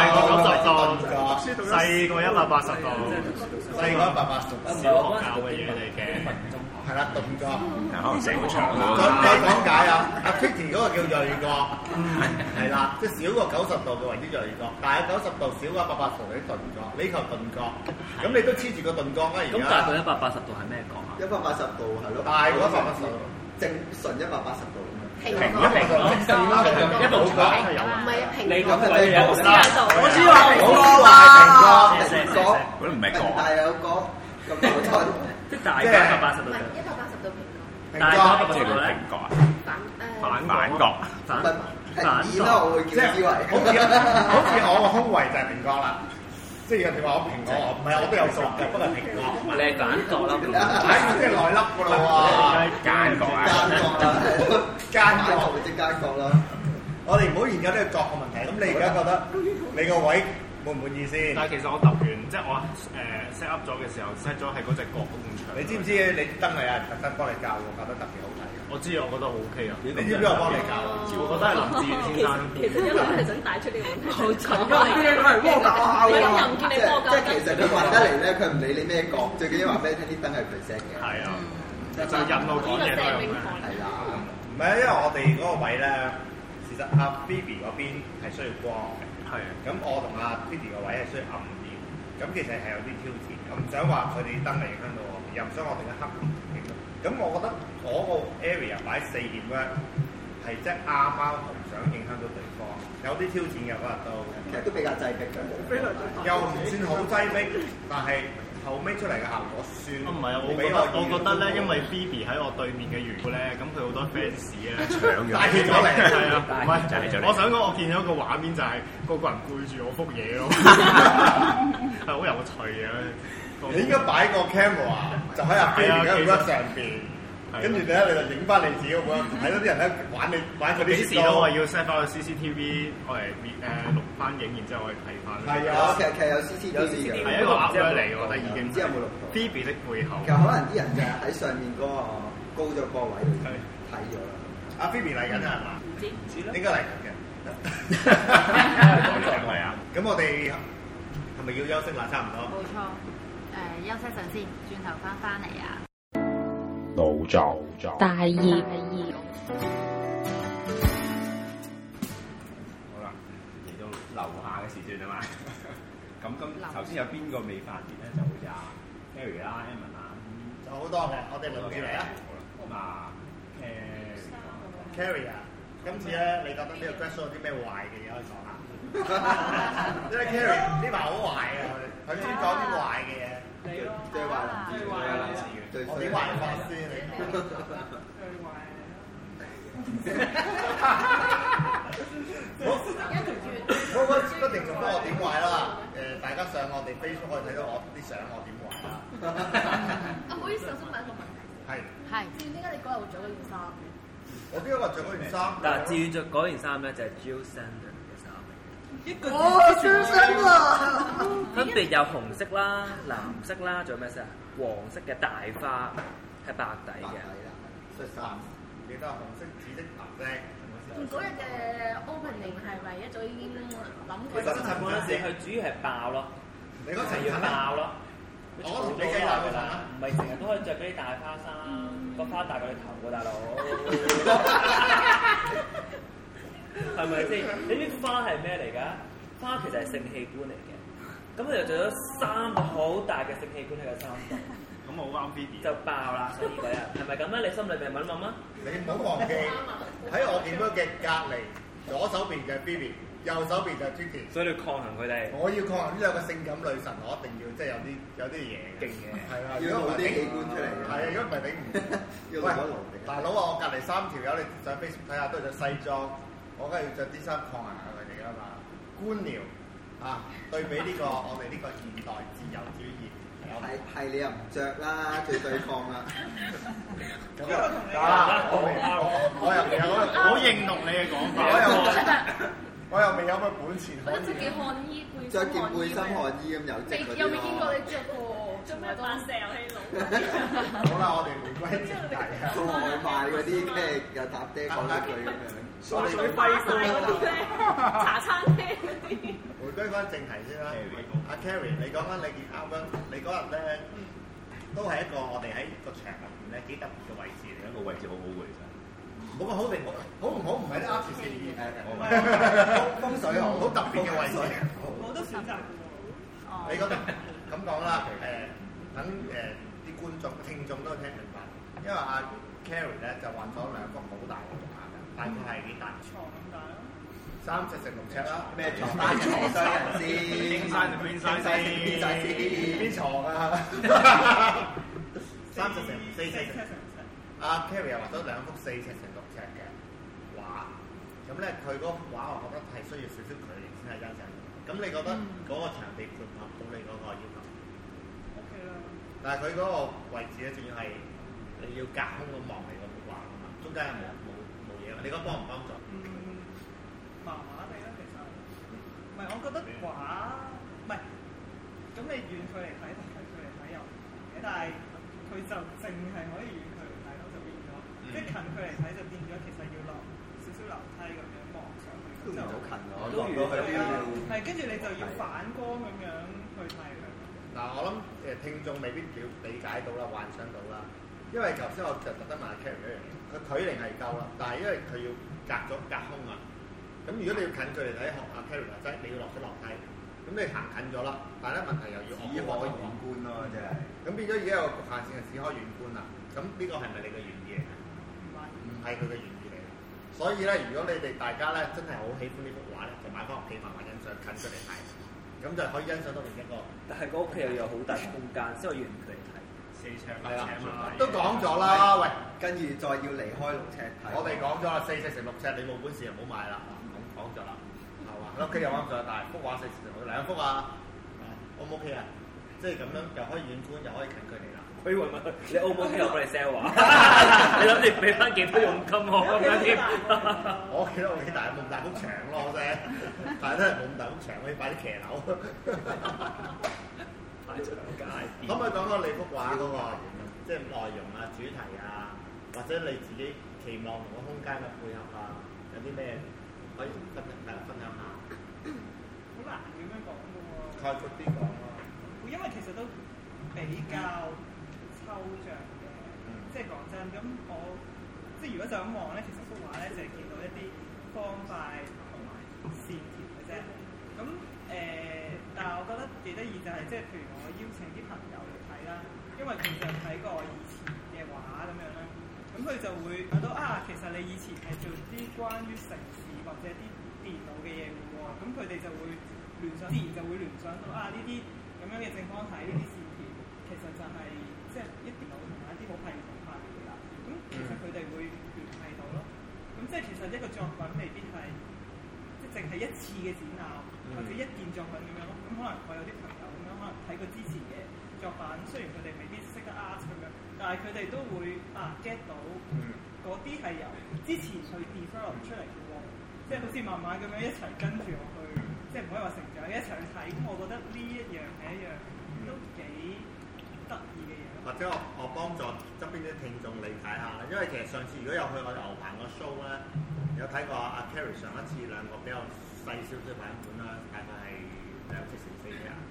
90度，細過180度， 細過180度， 小學教嘅嘢嚟嘅。 係啦，頓角， 可能成個牆咯。 再講解啊，阿 Kitty 嗰個叫鋭角，係啦，即係少過90度嘅為之鋭角，大過90度少過180度嗰啲頓角，呢球頓角，咁你都黐住個頓角啦而家。 咁大過180度係咩角啊 ？180度係咯。 大過180度， 正純180度。 平一步牆， 唔係平你咁嘅嘢冇喺度。 我知話平角， 嗰啲唔係角， 但係有角咁矛盾， 即係大過180度。 唔係180度平角。 大過180度咧？ 平角啊？ 反角。 平面啦，我會叫之為。 好似我個胸圍就係平角啦。即係人哋話我平角，唔係我都有角嘅，不過係平角。 你係反角啦， 即係內粒㗎啦喎。 奸角啊！ 奸角或者奸角啦。我哋唔好研究呢個角嘅問題。咁你而家覺得你個位滿唔滿意先？ 但係其實我揼完，即係我set up 咗嘅時候 set 咗係嗰隻角嗰埲牆。 你知唔知你燈係有人特登幫你教喎，教得特別好睇。 我知啊，我覺得好 OK 啊。 你知唔知我幫你教？ 我覺得係林志遠先生。 其實一路係想帶出呢個問題。好蠢㗎！ 你又唔見你波教。 即係其實佢話得嚟咧，佢唔理你咩角，最緊要話俾你聽啲燈係佢 set 嘅。 係啊，就引路講嘢都係咁樣。 係啦， 唔係啊，因為我哋嗰個位咧，事實阿 Phoebe 嗰邊係需要光嘅。 係啊。 咁我同阿 Phoebe 個位係需要暗啲。咁其實係有啲挑戰。我唔想話佢哋燈嚟影響到我，又唔想我哋嘅黑面影響。咁我覺得嗰個 area 擺4點咧，係即係啱啱唔想影響到對方，有啲挑戰嘅嗰日都， 其實都比較擠迫嘅， 又唔算好擠迫，但係後尾出嚟嘅效果算。 唔係啊，我覺得咧，因為 Phoebe 喺我對面嘅緣故咧，咁佢好多 fans 咧搶咗， 帶咗嚟， 係啊，唔係，我想講，我見咗一個畫面就係個人背住我幅嘢咯，係好有趣嘅。 你應該擺個 camera 就喺阿 Phoebe 嘅 work 上邊。跟住咧，你就影翻你自己個樣，睇到啲人咧玩佢啲。 幾時都話要 set 翻個 CCTV，我嚟錄翻影，然之後我哋睇翻。 係啊，其實有 CCTV 嘅， 係一個 app 嚟，我覺得已經。 唔知有冇錄到 Phoebe 的背後。 其實可能啲人就係喺上面嗰個高咗個位度睇咗啦。 阿 Phoebe 嚟緊係嘛？ 唔知啦。 應該嚟緊嘅。 係啊。 咁我哋係咪要休息啦？差唔多。 冇錯。休息陣先，轉頭翻嚟啊！ 腦作大業。 好啦，嚟到樓下嘅時段啊嘛。咁頭先有邊個未發言咧？就好似阿 Harry 啦、Evan 啦， 就好多嘅，我哋輪住嚟啊。 咁啊 ，Carrie 啊，今次咧，你覺得呢個 Grad Show 有啲咩壞嘅嘢可以講下？因為 Carrie 呢排好壞啊，佢先講啲壞嘅嘢。 你咯， 最壞啦， 我點壞法先？ 最壞。 我不停咁幫我點壞啦。大家上我哋 Facebook 可以睇到我啲相，我點壞啦。 唔好意思，我想問一個問題。係。至於點解你嗰日會着嗰件衫嘅？ 我邊個話着嗰件衫？ 但係至於着嗰件衫咧，就係 Jill Sander 嘅衫。 一個專心啊！ 分別有紅色啦、藍色啦，仲有咩色啊？黃色嘅大花係白底嘅。 恤衫，記得紅色、紫色、藍色。 嗰日嘅 opening 係咪一早已經諗過？ 其實嗰陣時佢主要係爆咯， 你嗰陣要爆咯。 我同你計大嗰陣啦， 唔係成日都可以着嗰啲大花衫，個花大過你頭喎，大佬。係咪先？你知花係咩嚟㗎？花其實係性器官嚟嘅，咁佢就做咗3個好大嘅性器官喺個衫度。 咁我好啱 Phoebe 就爆啦！所以嗰日係咪咁咧？你心裏面問一問啊？ 你唔好忘記喺我見到嘅隔離，左手邊嘅 Phoebe，右手邊就係 Twiky。 所以你抗衡佢哋。 我要抗衡呢兩個性感女神，我一定要即係有啲嘢勁嘅。係啦， 要攞啲器官出嚟。 係啊，如果唔係頂唔住。喂，大佬啊，我隔離3條友，你上 Facebook 睇下都係着西裝，我梗係要着啲衫抗衡下佢哋㗎嘛。官僚啊，對比呢個我哋呢個現代自由主義。 係你又唔着啦，最對抗啦。 咁我又未有好認同你嘅講法。 我又未有乜本錢可以。 着件汗衣背心， 着件背心汗衣咁有積嗰啲咯。 有未見過你着過？做咩扮石油氣佬？ 好啦，我哋回歸正題啊。 做外賣嗰啲咩又搭爹講一句咁樣。 水輝嗰啲咧，茶餐廳嗰啲。 回歸翻正題先啦，阿 Carrie，你講翻你件 album，你嗰日咧都係一個我哋喺個場入邊咧幾特別嘅位置嚟，一個位置好好嘅其實。冇個好定好唔好唔係啲 artist 嘅意義，風水好特別嘅位置。 我都選擇過。 你覺得咁講啦？等啲觀眾聽眾都聽明白，因為阿 Carrie 咧就畫咗2幅好大嘅畫嘅，大概係幾大？ 床咁大咯。 3尺乘6尺啦， 咩床單床雙人先？ 邊曬就邊曬先， 邊床啊？3尺乘4尺乘。阿 Carrie 又畫咗2幅4尺乘6尺嘅畫，咁咧佢嗰幅畫我覺得係需要少少距離先係欣賞。咁你覺得嗰個場地配合到你嗰個要求 ？OK 啦。 但係佢嗰個位置咧，仲要係你要隔空咁望你嗰幅畫啊嘛，中間有冇嘢？你覺得幫唔幫助？ 麻麻地啦，其實唔係，我覺得畫唔係咁你遠距離睇同近距離睇又唔同嘅，但係佢就淨係可以遠距離睇咯，就變咗即係近距離睇就變咗其實要落少少樓梯咁樣望上去，咁就好近咯，落到去邊度？係跟住你就要反光咁樣去睇佢。 嗱，我諗聽眾未必理解到啦，幻想到啦，因為頭先我就特登問阿 Carrie 一樣嘢，佢距離係夠啦，但係因為佢要隔空啊。咁如果你要近距離睇學阿 Carrie 話齋，你要落咗樓梯，咁你行近咗啦，但係咧問題又要只可遠觀咯，真係。咁變咗而家有個局限性係只可遠觀啦。咁呢個係咪你嘅原意嚟嘅？唔係佢嘅原意嚟嘅。所以咧，如果你哋大家咧真係好喜歡呢幅畫咧，就買翻屋企慢慢欣賞，近距離睇，咁就可以欣賞到另一個。但係個屋企又有好大空間，所以我遠距離睇。4尺係啦，都講咗啦，喂， 跟住再要離開6尺睇。 我哋講咗啦，4尺乘6尺，你冇本事就唔好買啦。講咗啦，係嘛？屋企又啱咗，但係幅畫4尺乘2幅啊，O 唔 OK 啊？即係咁樣又可以遠觀，又可以近距離啦。 佢問你 O 唔 OK 我幫你 sell 畫，你諗住俾翻幾多佣金我咁樣添？ 我屋企都 OK，但係冇咁大幅牆咯，啫。但係都係冇咁大幅牆，可以擺啲騎樓。可唔可以講講你幅畫嗰個即係內容啊、主題啊，或者你自己期望同個空間嘅配合啊，有啲咩可以分享下？ 好難咁樣講嘅喎。 概括啲講咯。 因為其實都比較抽象嘅，即係講真，咁我即係如果就咁望咧，其實幅畫咧就係見到一啲方塊同埋線條嘅啫。咁但係我覺得幾得意就係即係譬如我邀請啲朋友嚟睇啦，因為佢就睇過我以前嘅畫咁樣啦，咁佢就會睇到其實你以前係做啲關於城市或者啲電腦嘅嘢嘅喎，咁佢哋就會自然就會聯想到呢啲咁樣嘅正方體呢啲線條，其實就係即係一電腦同埋一啲好系統化嘅嘢啦。咁其實佢哋會聯繫到咯。咁即係其實一個作品未必係即係淨係一次嘅展覽，或者一件作品咁樣咯。咁可能我有啲朋友咁樣，可能睇過之前嘅作品，雖然佢哋未必識得 art 咁樣，但係佢哋都會get 到嗰啲係由之前去 develop 出嚟嘅喎，即係好似慢慢咁樣一齊跟住我去即係唔可以話成長一齊去睇。咁我覺得呢一樣係一樣都幾得意嘅嘢。 或者我幫助側邊啲聽眾理解下，因為其實上次如果有去我哋牛棚個 show 咧，有睇過阿 Carrie 上一次兩個比較細少少版本啦，大概係2尺乘4尺啊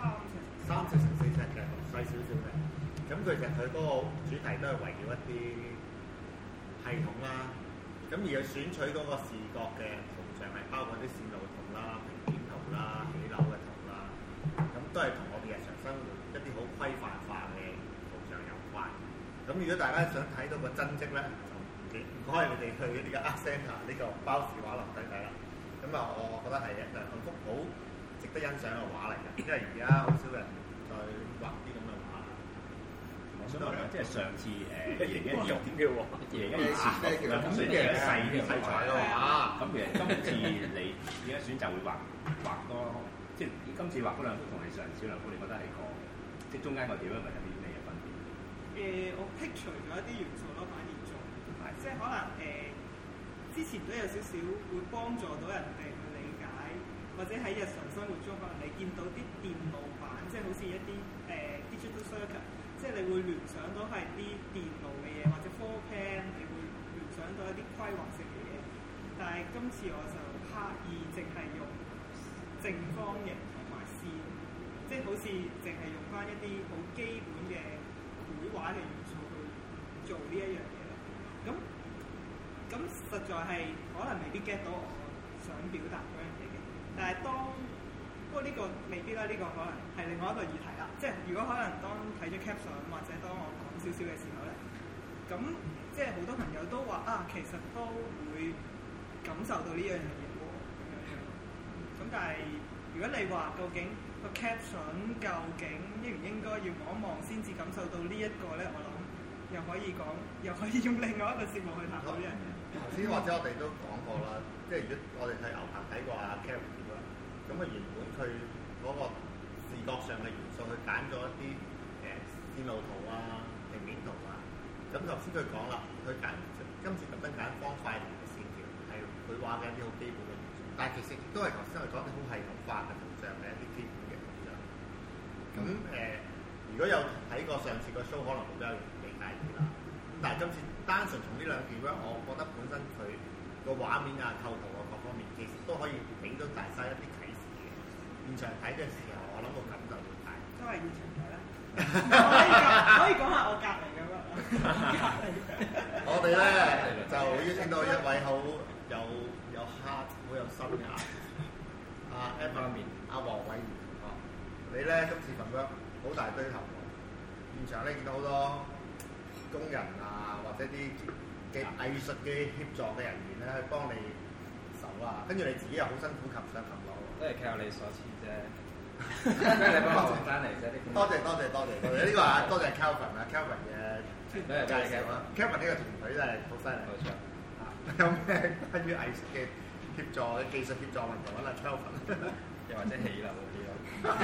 ，3尺乘4尺嘅細少少嘅。咁其實佢嗰個主題都係圍繞一啲系統啦。咁而佢選取嗰個視覺嘅圖像係包括啲線路圖啦、平面圖啦、起樓嘅圖啦，咁都係同我哋日常生活一啲好規範化嘅圖像有關。咁如果大家想睇到個真跡咧，就唔該你哋去呢個 Art Centre 呢個包氏畫廊睇睇啦。咁啊，我覺得係一幅好值得欣賞嘅畫嚟嘅，因為而家好少人再畫啲咁嘅畫。 我想問咧，即係上次2012點嘅喎，2012前咁雖然係細啲題材咯嚇，咁其實今次你而家選擇會畫多，即係今次畫嗰兩幅同你上次兩幅，你覺得係個即係中間個點樣係有啲咩分別？ 我剔除咗一啲元素咯，反而做，即係可能之前都有少少會幫助到人哋去理解，或者喺日常生活中可能你見到啲電路板，即係好似一啲digital circuit。即係你會聯想到係啲電路嘅嘢，或者 floor plan，你會聯想到一啲規劃性嘅嘢。但係今次我就刻意淨係用正方形同埋線，即係好似淨係用翻一啲好基本嘅繪畫嘅元素去做呢一樣嘢咯。咁實在係可能未必 get 到我想表達嗰樣嘢嘅。但係不過呢個未必啦，呢個可能係另外一個議題啦。即係如果可能當睇咗 caption 或者當我講少少嘅時候咧，咁即係好多朋友都話其實都會感受到呢樣嘢喎，咁樣。咁但係如果你話究竟個 caption 究竟應唔應該要望一望先至感受到呢一個咧，我諗又可以用另外一個節目去談到呢樣嘢。 頭先或者我哋都講過啦，即係如果我哋睇牛棚睇過阿 Carrie 啦，咁啊原本佢嗰個視覺上嘅元素，佢揀咗一啲線路圖啊、平面圖啊。咁頭先佢講啦，佢今次特登揀方塊連嘅線條，係佢畫嘅一啲好基本嘅元素。但係其實亦都係頭先我哋講啲好系統化嘅圖像嘅一啲基本嘅圖像。咁如果有睇過上次個 show，可能會比較容易理解啲啦。咁但係今次單純從呢兩件咧，我覺得本身佢個畫面啊、構圖啊各方面，其實都可以俾到大家一啲啟示嘅。現場睇嘅時候，我諗個感就會大。 都係現場睇啦。可以講下我隔離咁樣。 我哋咧就邀請到一位好有 heart 好有心嘅阿 Evan 阿黃偉賢同學。你咧今次份 work 好大堆頭喎，現場咧見到好多工人啊，或者啲嘅藝術嘅協助嘅人員咧，去幫你手啊，跟住你自己又好辛苦擒上擒落喎。 都係靠你所賜啫，因為你幫我翻嚟啫。 多謝，呢個啊多謝 Kelvin 啊 Kelvin 嘅介紹啊 Kelvin 呢個團隊真係好犀利。冇錯。有咩關於藝術嘅協助嘅技術協助問題揾阿 Kelvin， 又或者起樓嗰啲咯。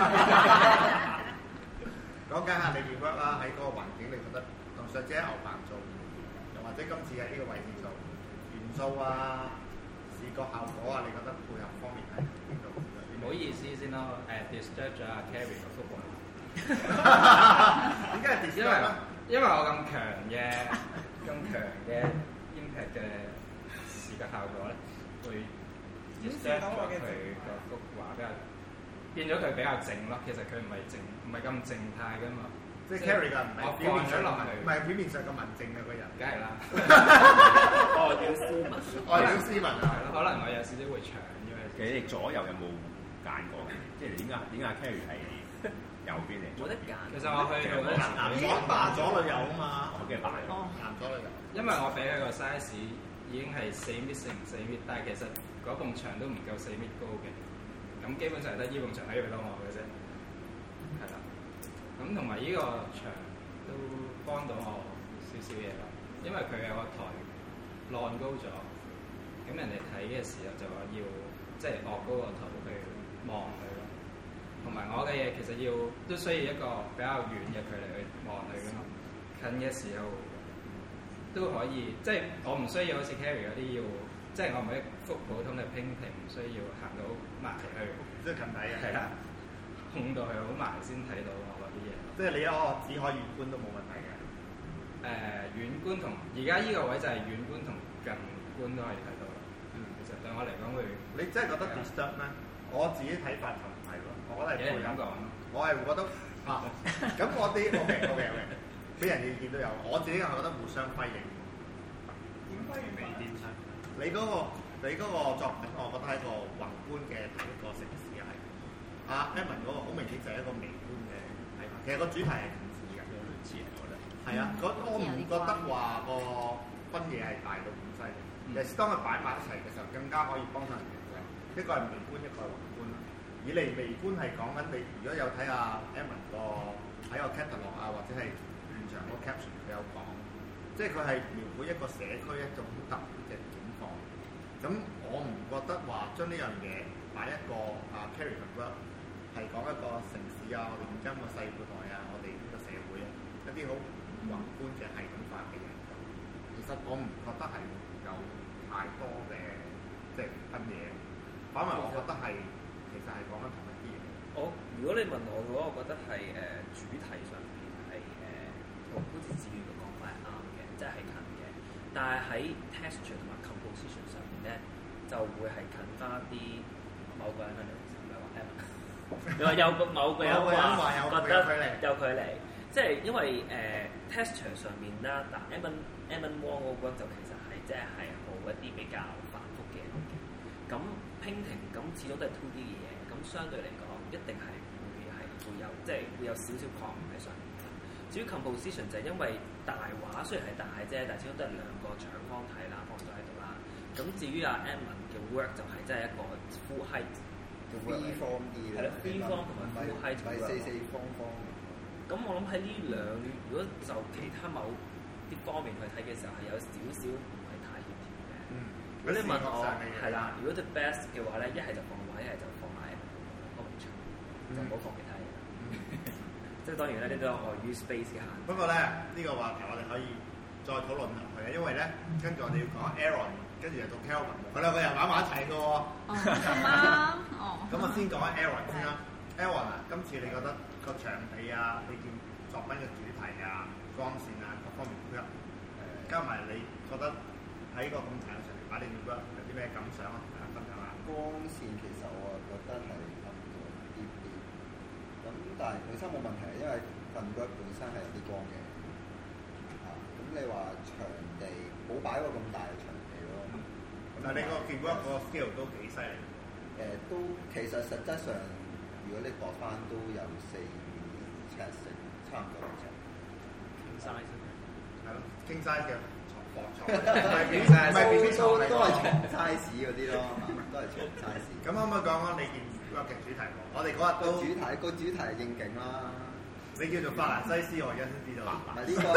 講緊下你件 work 啦，喺嗰個環境，你覺得同上次喺牛棚做，又或者今次喺呢個位置做元素啊、視覺效果啊，你覺得配合方面係邊度？ 唔好意思先咯，disturb 咗阿 Carrie 個幅畫。 點解係 disturb 咧？ 因為我咁強嘅 impact 嘅視覺效果咧，會 disturb 咗佢個幅畫比較。變咗佢比較靜咯，其實佢唔係咁靜態噶嘛。 即係 Carrie 㗎，唔係表面上唔係表面上咁文靜嘅個人。 梗係啦。 外表斯文啊。 可能我有少少會長，因為其實你左右有冇揀過？即係點解 Carrie 係右邊嚟？ 冇得揀。其實我去男左女右啊嘛。 我嘅扮。 男左女右。 因為我俾佢個 size 已經係4米乘4米，但係其實嗰埲牆都唔夠4米高嘅。咁基本上得依埲牆喺度當我嘅啫，係啦。咁同埋依個牆都幫到我少少嘢咯，因為佢有個台晾高咗，咁人哋睇嘅時候就話要即係昂高個頭去望佢咯。同埋我嘅嘢其實都需要一個比較遠嘅距離去望佢噶嘛，近嘅時候都可以，即係我唔需要好似 Carrie 嗰啲要即係我唔係一幅普通嘅 painting，唔需要行到埋去， 即係近睇嘅。 係啦，控到佢好埋先睇到我嗰啲嘢。 即係你一個只可遠觀都冇問題嘅。 遠觀同而家依個位就係遠觀同近觀都可以睇到啦。其實對我嚟講會， 你真係覺得 disturb 咩？我自己睇法就唔係咯，我覺得係咁講。 我係會覺得咁我啲 OK，俾人意見都有，我自己係覺得互相輝映。 點輝映法？ 你嗰個作品，我覺得係一個宏觀嘅睇一個城市係。阿 Edmond 嗰個好明顯就係一個微觀嘅睇法。其實個主題係近似嘅，有類似我覺得。係啊，我唔覺得話個分野係大到咁犀利。尤其是當佢擺埋一齊嘅時候，更加可以幫到人嘅。一個係微觀，一個係宏觀。以嚟微觀係講緊你，如果有睇阿 Edmond 喺個 catalog 啊，或者係現場嗰個 caption 佢有講，即係佢係描繪一個社區一種特別嘅境況。咁我唔覺得話將呢樣嘢擺一個carry the work 係講一個城市啊，我哋現今個世代啊，我哋呢個社會啊，一啲好宏觀嘅系統化嘅嘢。其實我唔覺得係有太多嘅即係分野，反為我覺得係。其實係講緊同一啲嘢。 如果你問我嘅話，我覺得係主題上邊係好似至於嘅講法係啱嘅，即係近嘅。但係喺 texture 同埋 composition 上面咧，就會係近翻啲某個人嘅唔係話 Edmond 你話有某個人話覺得有距離，即係因為texture 上面啦，嗱 Edmond Wong 嗰個就其實係即係好一啲比較繁複嘅嘢嘅。咁 painting 咁始終都係 2D 嘅嘢，咁相對嚟講一定係會有即係會有少少抗衡喺上面。至於 composition 就係因為大畫雖然係大啫，但係始終都係兩個長方體啦，放咗喺度啦。咁至於阿 Edmond 嘅 work 就係真係一個 full height 嘅 work， freeform 啲係啦 freeform 同埋 full height 嘅 work。四方方。咁我諗喺呢兩，如果就其他某啲方面去睇嘅時候，係有少少唔係太協調嘅。如果你問我係啦，如果 the best 嘅話咧，一係就放畫，一係就放埋個牆，就唔好放其他嘢。即係當然咧，呢啲都係礙於 space 嘅限制。 不過咧，呢個話題我哋可以再討論落去啊，因為咧，跟住我哋要講 Aaron，跟住又到 Kelvin，佢兩個又玩埋一齊嘅喎。咁我先講下 Aaron 先啦。Aaron 啊，今次你覺得個場地啊，你見作品嘅主題啊、光線啊各方面配合，加埋你覺得喺個咁大嘅場地擺你嘅 work 有啲咩感想啊？同大家分享下。 光線其實我覺得係暗咗啲啲，咁但係本身冇問題，因為份 work 本身係有啲光嘅。咁你話場地冇擺個咁大嘅場地咯。 但係你個見 work 個 scale 都幾犀利。 都其實實質上，如果你度翻都有4尺成，差唔多尺。 King size 係咯，King size 嘅床，唔係 BB size，唔係 BB 床嚟。 都係床 size 嗰啲咯，都係床 size。 咁可唔可以講講你件 work 嘅主題？我哋嗰日都個主題係應景啦。 你叫做法蘭西斯，我而家先知道。 唔係呢個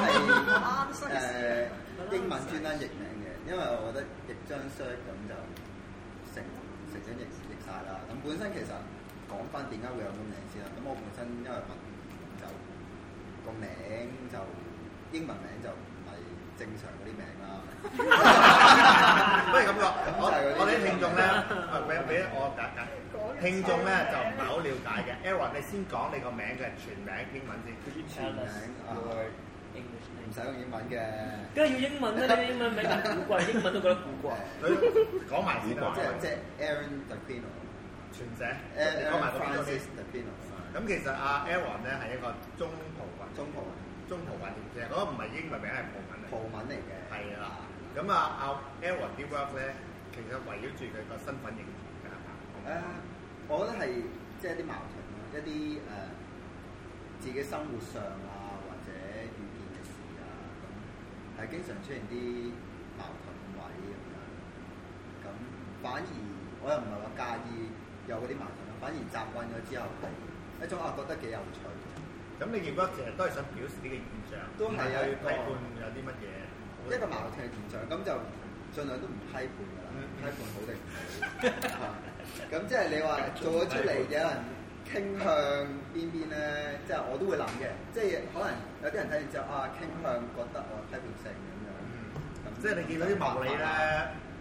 係英文專登譯名嘅，因為我覺得譯張 shirt 咁就成咗譯晒啦。咁本身其實講翻點解會有個名先啦。咁我本身因為文就個名就英文名就唔係正常嗰啲名啦。 不如咁講，我哋啲聽眾咧，俾我解。聽眾咧就唔係好了解嘅。Aaron，你先講你個名嘅全名英文先。 全名唔使用英文嘅。 梗係要英文啦！你英文名咁古怪，英文都覺得古怪。 佢講埋先啦。 即係 Aaron Dapino， 全寫。你講埋個 Francis Dapino。 咁其實阿 Aaron 咧係一個中葡文，其實嗰個唔係英文名，係葡文嚟嘅。係啦。咁阿 Aaron 啲 work 咧，其實圍繞住佢個身份認同㗎。 我覺得係即係一啲矛盾咯，一啲自己生活上啊，或者遇見嘅事啊，咁係經常出現啲矛盾位咁樣。咁反而我又唔係話介意有嗰啲矛盾咯，反而習慣咗之後係一種覺得幾有趣。咁你見到其實都係想表示呢個現象，都係有批判有啲乜嘢一個矛盾嘅現象，咁就盡量都唔批判㗎啦，批判好定唔好。咁即係你話做咗出嚟，有人傾向邊邊咧？即係我都會諗嘅，即係可能有啲人睇完之後傾向覺得我批判性咁樣。 即係你見到啲物理咧，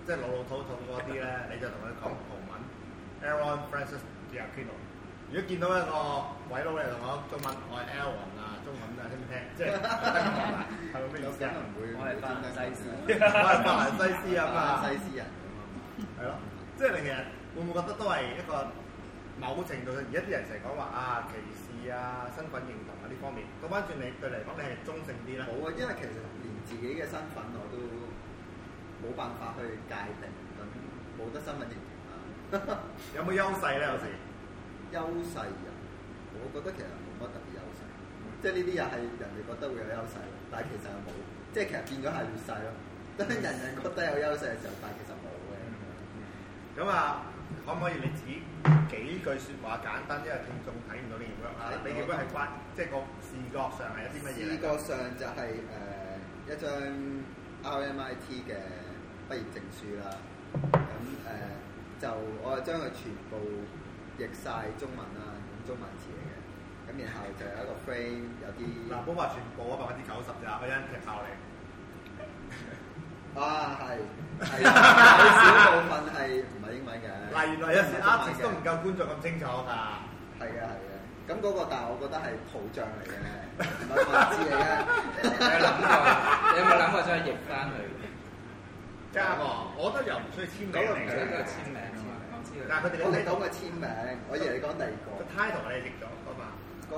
即係老土嗰啲咧，你就同佢講葡文 Aaron Francis Giacchino。如果見到一個鬼佬嚟同我中文，我係 Aaron 啊，中文啊，聽唔聽？即係係咪咩意思啊？ 我係法蘭西斯， 我係法蘭西斯啊嘛， 西斯人係咯，即係你其實會唔會覺得都係一個某程度上，而家啲人成日講話啊歧視啊、身份認同啊呢方面，倒翻轉你對你嚟講，你係中性啲咧？ 冇啊，因為其實連自己嘅身份我都冇辦法去界定，咁冇得身份認同啊。 有冇優勢咧？有時優勢啊，我覺得其實冇乜特別優勢，即係呢啲又係人哋覺得會有優勢，但係其實又冇，即係其實變咗係劣勢咯。當人人覺得有優勢嘅時候，但係其實冇嘅。 咁啊，可唔可以你指幾句説話簡單，因為聽眾睇唔到呢件 work 啊？呢件 work 係關，即係個視覺上係有啲乜嘢？ 視覺上就係一張 RMIT 嘅畢業證書啦。咁就我就將佢全部譯晒中文啦，用中文字嚟嘅。咁然後就有一個 frame， 有啲嗱，唔好話全部啊，90%咋，我一踢爆你。 啊，係有少部分係唔係英文嘅。 嗱，原來有時 artist 都唔夠觀眾咁清楚㗎。 係嘅。咁嗰個，但係我覺得係圖像嚟嘅，唔係文字嚟嘅。 你有冇諗過將佢譯翻去？ 加個，我覺得又唔需要簽名嚟嘅。 嗰個簽名啊嘛。 但係佢哋我哋講嘅簽名，我以為你講第二個。 個 title 你譯咗㗎嘛？ 個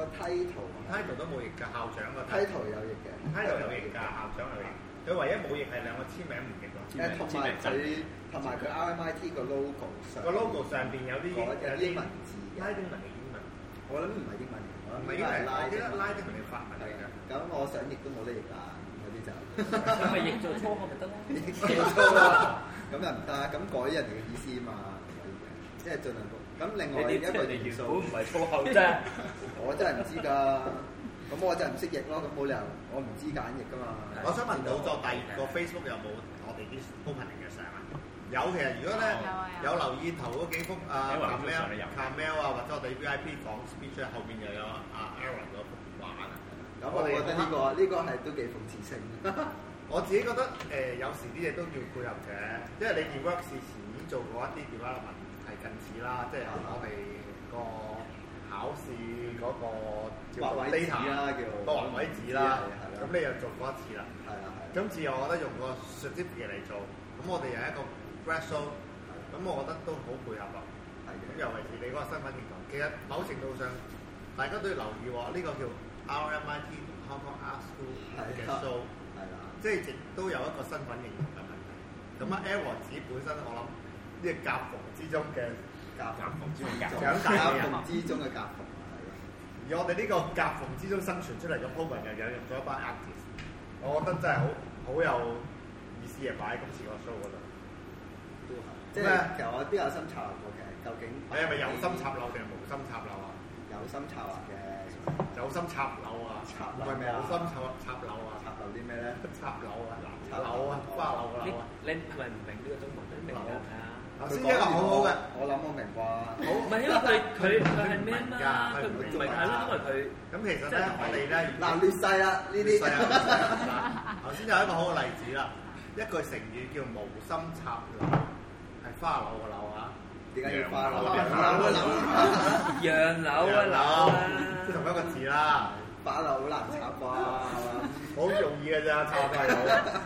title 都冇譯㗎，校長個 title 有譯嘅 ，title 有譯㗎，校長有譯。佢唯一冇譯係兩個簽名唔譯咯。同埋佢 RMIT 個 logo 上。個 logo 上邊有啲英文字嘅。 拉丁文嘅英文。 我諗唔係英文嚟， 唔係英文，我記得拉丁文嘅法文嚟嘅。 咁我想譯都冇得譯㗎，嗰啲就。 咁咪譯做粗口咪得咯？ 譯做粗啦，咁又唔得，咁改人哋嘅意思嘛，即係盡量講。咁另外一個元素唔係粗口啫， 我真係唔知㗎。咁我真係唔識譯咯，咁冇理由我唔知揀譯㗎嘛。 我想問老作大業個 Facebook 有冇我哋啲 opening 嘅相啊？有，其實如果咧有留意頭嗰幾幅啊 Camel 啊，或者我哋 VIP 講 speech 後邊又有阿 Aaron 嗰幅畫啊。 咁我覺得呢個係都幾諷刺性。 我自己覺得有時啲嘢都要配合嘅，因為你 work 事前已經做過一啲 development 係近似啦，即係我哋個考試嗰個畫位紙啦，叫個畫位紙啦，咁你又做過一次啦。 係啦。 今次我覺得用個 certificate 嚟做，咁我哋又一個 grad show，咁我覺得都好配合咯。係嘅。咁尤其是你嗰個身份認同，其實某程度上大家都要留意喎，呢個叫 RMIT Hong Kong Art School 嘅 show， 係啦，即係亦都有一個身份認同嘅問題。咁啊 Aaron 自己本身我諗呢個夾縫之中嘅長大嘅人之中嘅夾縫，而我哋呢個夾縫之中生存出嚟嘅 program 又引入咗一班 artist， 我覺得真係好有意思嘅，擺喺今次個 show 嗰度。 都係，即係其實我都有心策劃過嘅，究竟你係咪有心插柳定係無心插柳啊？ 有心策劃嘅， 有心插柳啊！唔係無心插柳啊！ 插柳啲咩咧？ 插柳啊！柳啊！花柳嘅柳啊！ 你係咪唔明呢個中文？你明㗎？ 頭先一個好好嘅， 我諗我明啩。好， 唔係因為佢係咩嘛？佢唔係係咯，因為佢咁其實咧，我哋咧嗱劣勢啦呢啲。 頭先有一個好嘅例子啦，一句成語叫無心插柳，係花柳嘅柳啊。點解要花柳啊？ 楊柳啊柳啊， 即係同一個字啦。 花柳好難插啩， 好容易嘅咋，插花柳。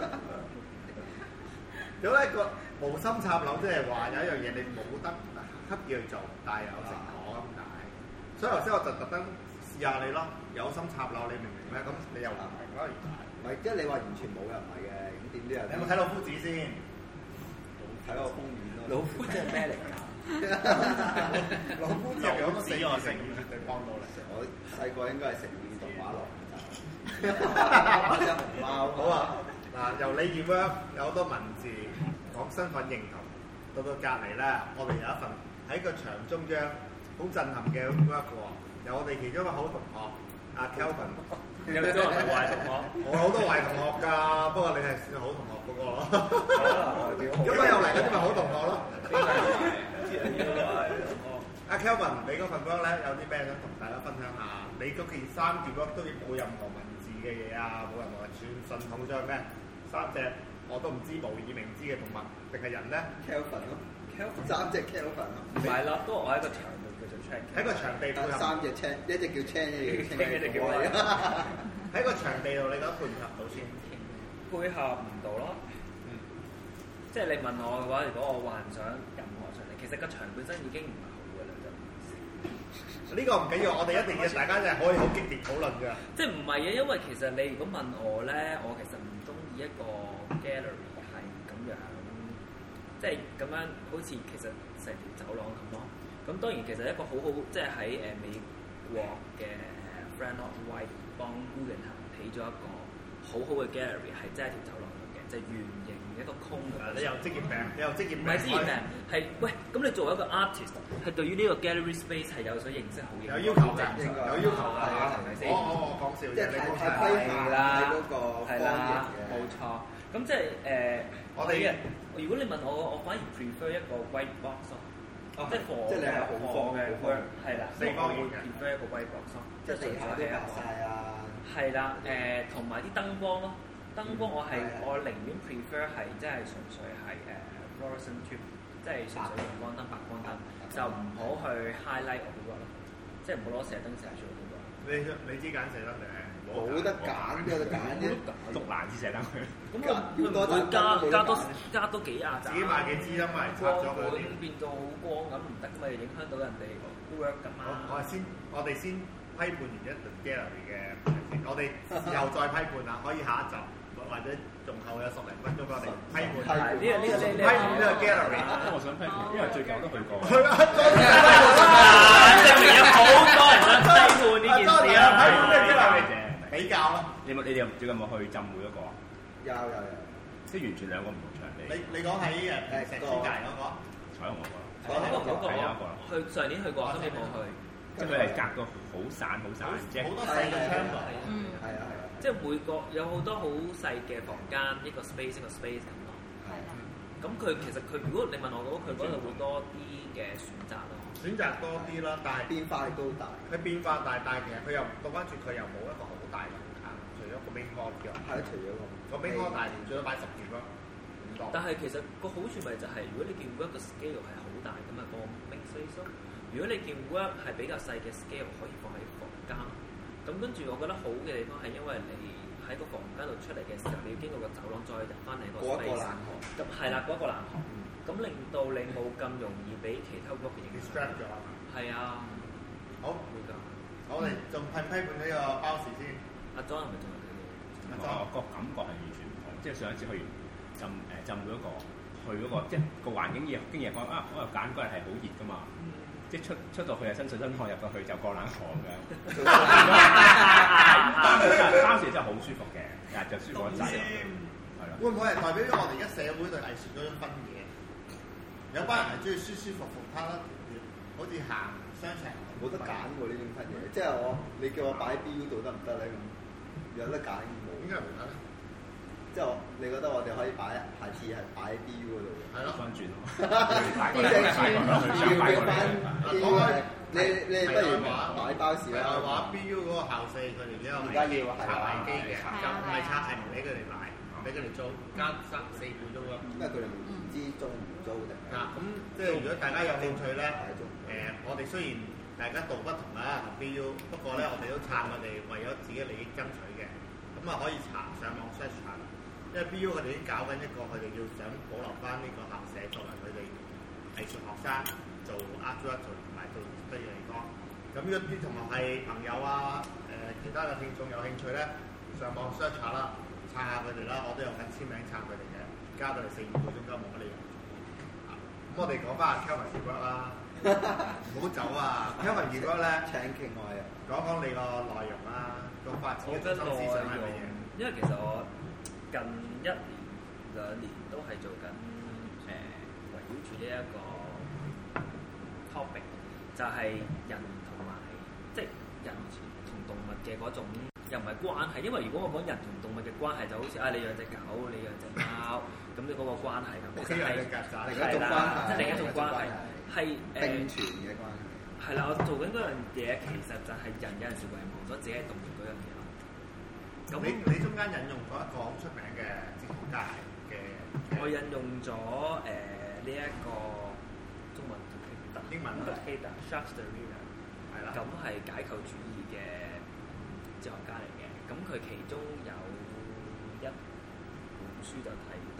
有一個無心插柳，即係話有一樣嘢你冇得刻意去做，但係有成果咁解。所以頭先我就特登試下你咯，有心插柳，你明唔明咧？咁你又唔明咯，原來。 唔係，即係你話完全冇又唔係嘅，咁點都有。 你有冇睇老夫子先？ 睇個封面咯。 老夫子係咩嚟㗎？ 老夫子有個死我成語絕對幫到你。 我細個應該係成語動畫廊就。隻熊貓。 好啊。嗱，由你件 work 有好多文字講身份認同，到隔離咧，我哋有一份喺個牆中央好震撼嘅 work 喎。有我哋其中一個好同學阿 Kelvin， 有幾多人係壞同學？ 我好多壞同學㗎，不過你係算好同學嗰個咯。咁啊又嚟嗰啲咪好同學咯。阿 Kelvin，你嗰份 work 咧有啲咩想同大家分享下？你嗰件衫件 work 都冇任何文字嘅嘢啊，冇任何純銅像咩？3隻我都唔知無以名之嘅動物定係人咧 ？Kelvin 咯，Kelvin 3隻 Kelvin 咯。 唔係咯，都我喺個場度叫做 check。 喺個場地配合 3隻 check，一隻叫 check， 一隻叫 check。 喺個場地度，你覺得配唔配合到先？ 配合唔到咯。即係你問我嘅話，如果我幻想任何場地，其實個場本身已經唔係好嘅啦，就呢個唔緊要，我哋一定要大家就係可以好激烈討論㗎。即係唔係嘅，因為其實你如果問我咧，我其實唔中意一個 gallery 係咁樣，即係咁樣好似其實成條走廊咁咯。咁當然其實一個好好，即係喺美國嘅 Frank Lloyd Wright 幫 Guggenheim 起咗一個好好嘅 gallery，係真係條走廊嚟嘅，就係圓形一個空嘅。 你有職業病，你有職業病。 唔係職業病，係喂，咁你作為一個 artist，係對於呢個 gallery space 係有所認識好嘅。 有要求嘅，有要求㗎，係咪先？我講笑啫，你冇錯。 係啦，嗰個係啦，冇錯。咁即係我哋嘅。如果你問我反而 prefer 一個 white box 咯。即係即係你係好放嘅 work 係啦，四方形嘅 prefer 一個 white box 即係地下都白曬啊。係啦，同埋啲燈光咯。燈光我寧願 prefer 係即係純粹係fluorescent tube，即係純粹陽光燈、白光燈，就唔好去 highlight 我嗰個咯，即係唔好攞射燈射出嗰個。 你知揀射燈定係冇得揀，邊有得揀啫？ 竹籃子射燈佢。 咁佢唔會加多幾廿盞。 自己買幾支燈咪拆咗佢。 會變到好光咁唔得，咪影響到人哋 work 㗎嘛。 我哋先批判完一輪 gallery 嘅，我哋事後再批判啦，可以下一集。或者仲後有10零分鐘，我哋批判呢個 gallery。 我想批判，因為最近我都去過。 證明有好多人想批判呢件事啦。 批判呢個 gallery 比較啦。 你哋最近有冇去浸會嗰個啊？ 有。 即係完全兩個唔同場地。 你講喺石川界嗰個？ 彩虹嗰個。 嗰個去上年去過，今年冇去。 即係佢係隔到好散，即係好多細嘅窗度。 係啊。 即係每個有好多好細嘅房間，一個 space 咁咯。係啦。咁佢其實如果你問我佢嗰度會多啲嘅選擇咯。 選擇多啲啦，但係變化亦都大。 佢變化大，但係其實佢又倒翻轉，佢又冇一個好大嘅空間，除咗個 main hall 之外。係，除咗個 main hall 大，最多擺10件咯。 但係其實個好處咪就係，如果你見 work 個 scale 係好大咁啊，個 main space 咯。如果你見 work 係比較細嘅 scale，可以放喺房間。咁跟住，我覺得好嘅地方係因為你喺個房間度出嚟嘅時候，你要經過個走廊再入翻嚟個 space。咁係啦，嗰個冷巷。咁令到你冇咁容易俾其他 work 嘅影響。 distract 咗。係啊。好。會㗎。 我哋仲批判呢個包時先。 阿 John 係咪仲有啲？ 我個感覺係完全唔同，即係上一次去浸會嗰個，去嗰個即係個環境經驗講啊，我又揀嗰日係好熱㗎嘛。即係出到去係身水身汗，入到去就過冷河嘅。當時真係好舒服嘅，就舒服一陣。係啦。 會唔會係代表咗我哋而家社會對藝術嗰種分野？有班人係中意舒舒服服攤一條血，好似行商場冇得揀喎呢種分野。即係你叫我擺喺 BU 度得唔得咧？咁有得揀冇？ 點解唔得咧？ 即係你覺得我哋可以擺下次係擺喺 BU 嗰度嘅？ 係咯， 翻轉咯。 即係你不如擺包時啦。 話 BU 嗰個校舍佢哋呢個而家要拆賣機嘅，就唔係拆係唔俾佢哋買，俾佢哋租，加4倍租咯。 因為佢哋唔知租唔租定。 咁即係如果大家有興趣咧，我哋雖然大家道不同啦，同 BU，不過咧我哋都撐佢哋為咗自己利益爭取嘅，咁啊可以上網 search 下。因為 BU 佢哋已經搞緊一個，佢哋要想保留翻呢個校舍作為佢哋藝術學生做 art director 同埋做嘅地方。咁如果啲同學係朋友啊，其他嘅聽眾有興趣咧，上網 search 下啦，撐下佢哋啦，我都有份簽名撐佢哋嘅，加到嚟4-5個鐘頭冇乜理由。咁我哋講翻阿 Kelvin Work 啦，唔好走啊 ！Kelvin Work 咧， 請傾我啊， 講講你個內容啦，個發展嘅中心思想係乜嘢？ 因為其實我近1年2年都係做緊圍繞住呢一個 topic， 就係人同埋即係人同動物嘅嗰種又唔係關係，因為如果我講人同動物嘅關係，就好似你養隻狗，你養隻貓，咁你嗰個關係咁，其實係另一種關係，即係另一種關係，係並存嘅關係。係啦，我做緊嗰樣嘢其實就係人有陣時遺忘咗自己係動物嗰樣嘢咯。 咁你中間引用過一個好出名嘅哲學家嘅我引用咗呢一個中文英文 Jacques Derrida 係啦，咁係解構主義嘅哲學家嚟嘅。咁佢其中有一本書就提到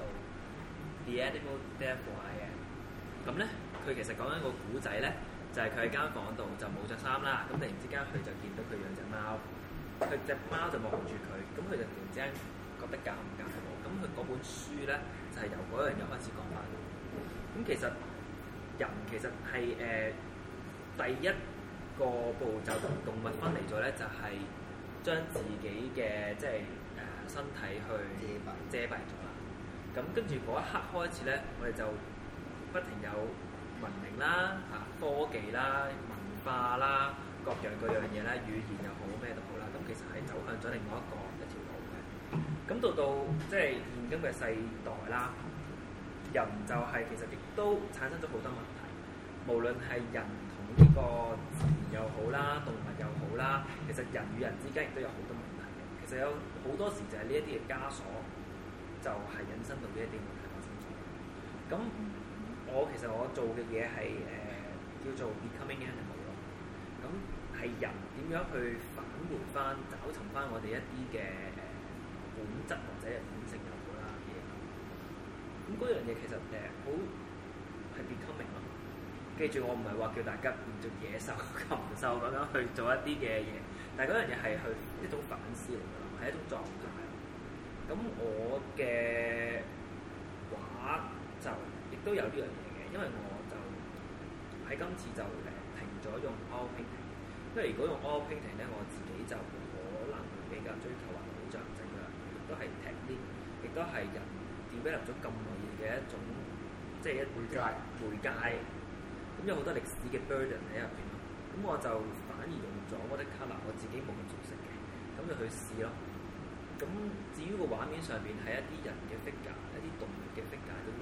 The Animal Therefore I Am。咁咧，佢其實講緊個古仔咧，就係佢喺間房度就冇着衫啦。咁突然之間佢就見到佢養隻貓，佢隻貓就望住佢，咁佢就突然之間覺得尷尬喎。咁佢嗰本書咧就係由嗰樣嘢開始講翻。咁其實人其實係第一個步驟同動物分離咗咧，就係將自己嘅即係身體去遮蔽咗啦。咁跟住嗰一刻開始咧，我哋就不停有文明啦、科技啦、文化啦、各樣嘢啦、語言又好咩都好啦。咁其實係走向咗另外一條路嘅。咁到即係現今嘅世代啦，人就係其實亦都產生咗好多問題。無論係人同呢個自然又好啦，動物又好啦，其實人與人之間亦都有好多問題嘅。其實有好多時就係呢一啲嘅枷鎖，就係引申到呢一啲問題發生咗。咁其實我做嘅嘢係叫做 becoming animal 咯。咁係人點樣去返回翻、找尋翻我哋一啲嘅本質或者係本性又好啦嘢。咁嗰樣嘢其實好係 becoming 咯。記住，我唔係話叫大家變做野獸、禽獸咁樣去做一啲嘅嘢，但係嗰樣嘢係去一種反思嚟㗎，係一種狀態。咁我嘅畫就亦都有呢樣嘢嘅，因為我就喺今次就停咗用 oil painting，因為如果用 oil painting 咧，我自己就可能會比較追求畫好象徵㗎，亦都係 technique，亦都係人 develop 咗咁耐嘅一種，即係一媒介。咁有好多歷史嘅 burden 喺入邊咯，咁我就反而用咗 watercolor，我自己冇咁熟悉嘅，咁就去試咯。咁至於個畫面上邊係一啲人嘅 figure， 一啲動物嘅 figure 都用。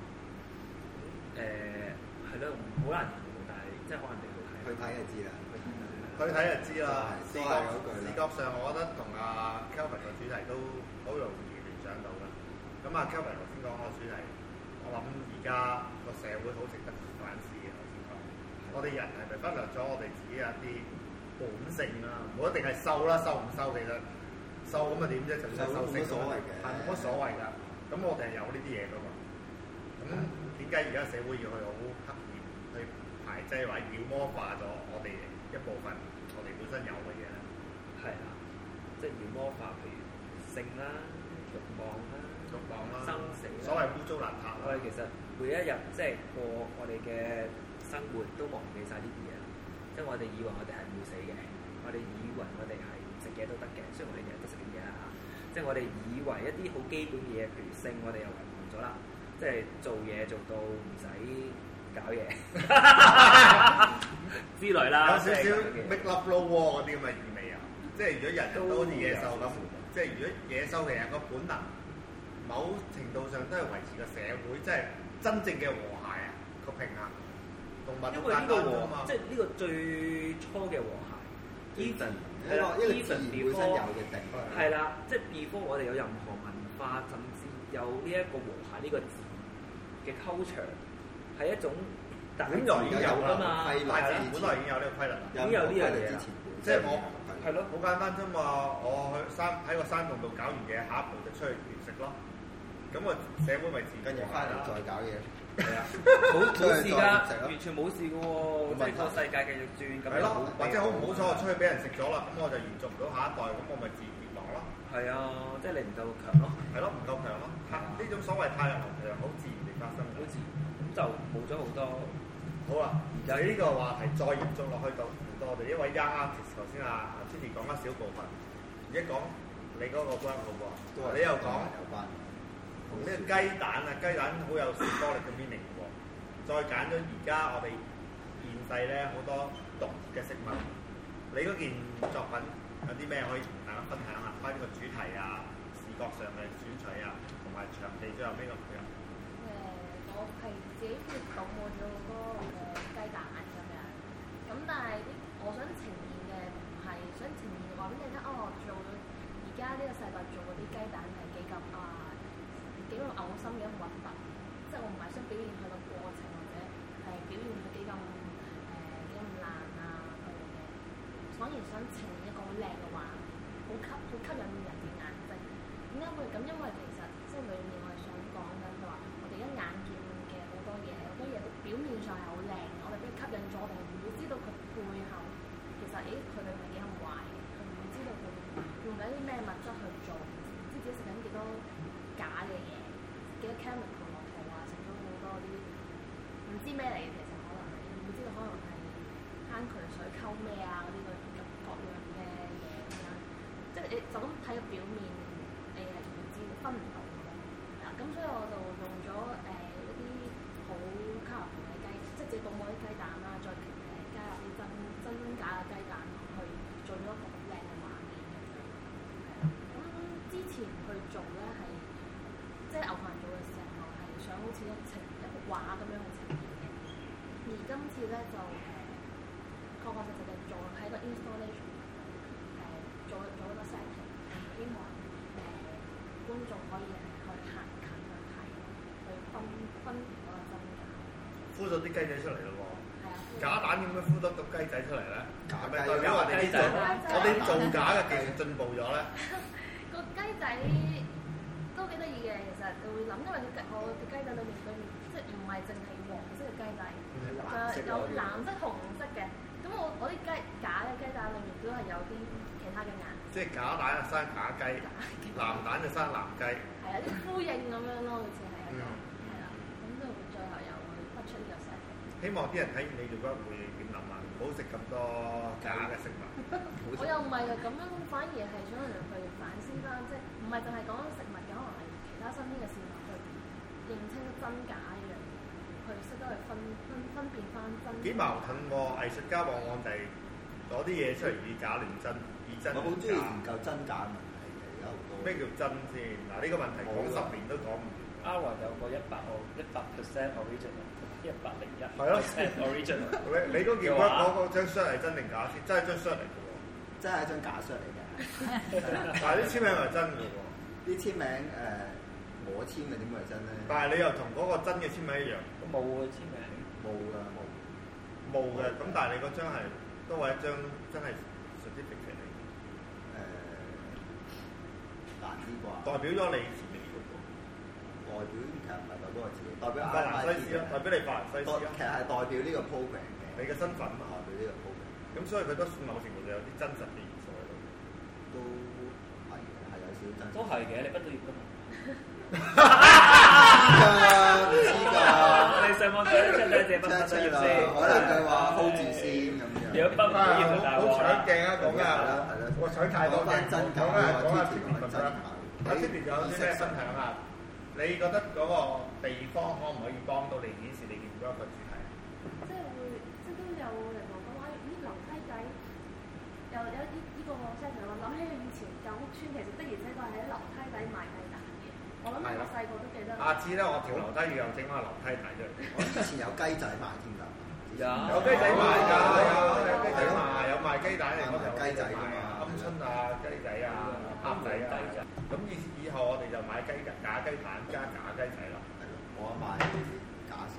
係咯，好難形容，但係即係可能你去睇就知啦。 去睇就知啦。視覺上，我覺得同阿 Kelvin 個主題都好容易聯想到啦。咁阿 Kelvin 頭先講個主題，我諗而家個社會好值得反思嘅。我哋人係咪忽略咗我哋自己有一啲本性啊？唔好一定係瘦啦，瘦唔瘦其實瘦咁啊點啫？就算瘦冇乜所謂嘅，係冇乜所謂㗎。咁我哋係有呢啲嘢㗎嘛。咁點解而家社會要去好刻意去排擠或者妖魔化咗我哋一部分我哋本身有嘅嘢咧？係啊，即係妖魔化，譬如性啦、慾望啦、生死啦，所謂污糟邋遢。我哋其實每一日即係過我哋嘅生活都忘記晒呢啲嘢，即係我哋以為我哋係唔會死嘅，我哋以為我哋係唔食嘢都得嘅，雖然我哋日日都食緊嘢啦嚇，即係我哋以為一啲好基本嘅嘢，譬如性，我哋又遺忘咗啦，即係做嘢做到唔使搞嘢之類啦，有少少 make love low war 嗰啲咁嘅意味啊！即係如果人人都好似野獸咁，即係如果野獸其實個本能，某程度上都係維持個社會，即係真正嘅和諧啊個平衡。因為呢個即係呢個最初嘅和諧 ，even 係啦 ，even before 係啦，即係 before 我哋有任何文化，甚至有呢一個和諧呢個字嘅 culture， 係一種本來已經有㗎嘛，大自然本來已經有呢個規律，已經有呢樣嘢啦。即係我係咯，好簡單啫嘛。我喺個山洞度搞完嘢，下一步就出去獵食咯。咁個社會咪自然跟住翻嚟再搞嘢。係啊，冇事㗎，完全冇事嘅喎，即係個世界繼續轉咁樣。係咯，或者好唔好彩我出去俾人食咗啦，咁我就延續唔到下一代，咁我咪自然滅亡咯。係啊，即係你唔夠強咯。係咯，唔夠強咯。呢種所謂太陽能其實好自然地發生，好自然，咁就冇咗好多。好啦，由呢個話題再延續落去到我哋呢位 young artist， 頭先阿 Titi 講一小部分，而家講你嗰個 work 好喎，你又講有關。同呢個雞蛋啊，雞蛋好有symbolic嘅 meaning 喎。再揀咗而家我哋現世咧好多毒嘅食物，你嗰件作品有啲咩可以同大家分享下？關於個主題啊、視覺上嘅選取啊，同埋場地最後邊個配合？ 我係自己決定我做好多雞蛋咁樣，咁但係我想呈現嘅唔係想呈現話俾你聽，我做而家呢個世代做嗰啲雞蛋係幾咁幾耐嘔心嘅咁核突，即係我唔係想表現佢個過程或者係表現佢幾咁爛啊嗰樣嘢，反而想呈現一個好靚嘅畫，好吸引人嘅眼睛。點解會咁？因為其實即係裡面我係想講緊就話，我哋一眼見嘅好多嘢表面上係好靚，我哋俾吸引咗，我哋唔會知道佢背後其實佢哋係幾咁壞，佢唔會知道佢用緊啲咩物質去做，唔知自己食緊幾多假嘅嘢，幾多 chemical 落肚啊，食咗好多啲唔知咩嚟嘅，其實可能係唔會知道，可能係坑渠水溝咩啊嗰啲各樣嘅嘢咁樣，即係你就咁睇個表面，你係唔知分唔到嘅。咁所以我就用咗一啲好卡通嘅雞，即係自己倒冇啲雞蛋啦，再加入啲真假嘅雞蛋去做咗一個好靚嘅畫面咁樣。咁之前去做咧係即係牛棚做嘅時候係想好似一幅畫咁樣去呈現嘅，而今次咧就確確實實嘅做喺個 installation 做一個 setting， 希望觀眾可以去行近去睇，去分辨嗰個真假。 孵咗啲雞仔出嚟咯喎！ 係啊， 假蛋點樣孵得到雞仔出嚟咧？係咪代表我哋造假嘅技術進步咗咧？ 個雞仔都幾得意嘅，其實你會諗，因為我嘅雞仔裏面即係唔係淨係黃色嘅雞仔，有藍色、紅色嘅。咁我啲假嘅雞蛋裏面都係有啲其他嘅顏色。即係假蛋就生假雞，藍蛋就生藍雞。係啊，啲呼應咁樣咯，好似係一個係啦。咁就最後又會突出呢個細。希望啲人睇完你做嗰會點諗啊？唔好食咁多假嘅食物。我又唔係咁樣，反而係想讓佢反思翻，即係唔係淨係講食物嘅，可能係其他身邊嘅事物去認清真假一樣嘢，去識得去分辨翻真。幾矛盾喎！藝術家往往就係攞啲嘢出嚟以假亂真，以真假。我好中意研究真假問題嘅，而家好多。咩叫真先？嗱，呢個問題講10年都講唔完。Alan 有個100% original，101%係咯 original。你嗰件嗰張 shirt 係真定假先？真係張 shirt 嚟嘅喎，真係一張假 shirt 嚟嘅。但係啲簽名係真嘅喎。啲簽名我簽嘅點會係真咧？但係你又同嗰個真嘅簽名一樣。冇嘅簽名。冇㗎，冇嘅。咁但係你嗰張係都係一張真係實質嘅嚟。難啲啩？代表咗你前面嗰個。代表其實唔係代表我自己，代表法蘭西斯咯，代表你法蘭西斯咯。其實係代表呢個 program 嘅。你嘅身份啊，代表呢個 program。咁所以佢都某程度就有啲真實嘅元素喺度。都係嘅，係有少少真實。都係嘅，你畢咗業㗎嘛？唔知㗎。你上網睇出兩隻畢咗業先，可能佢話 hold 住先咁樣。如果畢唔到業就大鑊啦。好搶鏡啊！講㗎，係咯。我想太多嘅，講下 Tiffany 覺得。阿 Tiffany 有啲咩分享啊？你覺得嗰個地方可唔可以幫到你顯示你見到一個主題？即係會，即係都有人同我講話，咦樓梯仔又有呢個我真係我諗起以前舊屋村，其實的而且確係喺樓梯底賣雞蛋嘅。我諗我細個都記得。下次咧，我條樓梯又整翻個樓梯底出嚟。我以前有雞仔賣添㗎。有雞仔賣㗎，有雞仔賣，有賣雞蛋嚟嗰度。雞仔㗎嘛，鵪鶉啊，雞仔啊，鴨仔啊。咁以後我哋就買假雞蛋加假雞仔咯。係咯，我買假箱。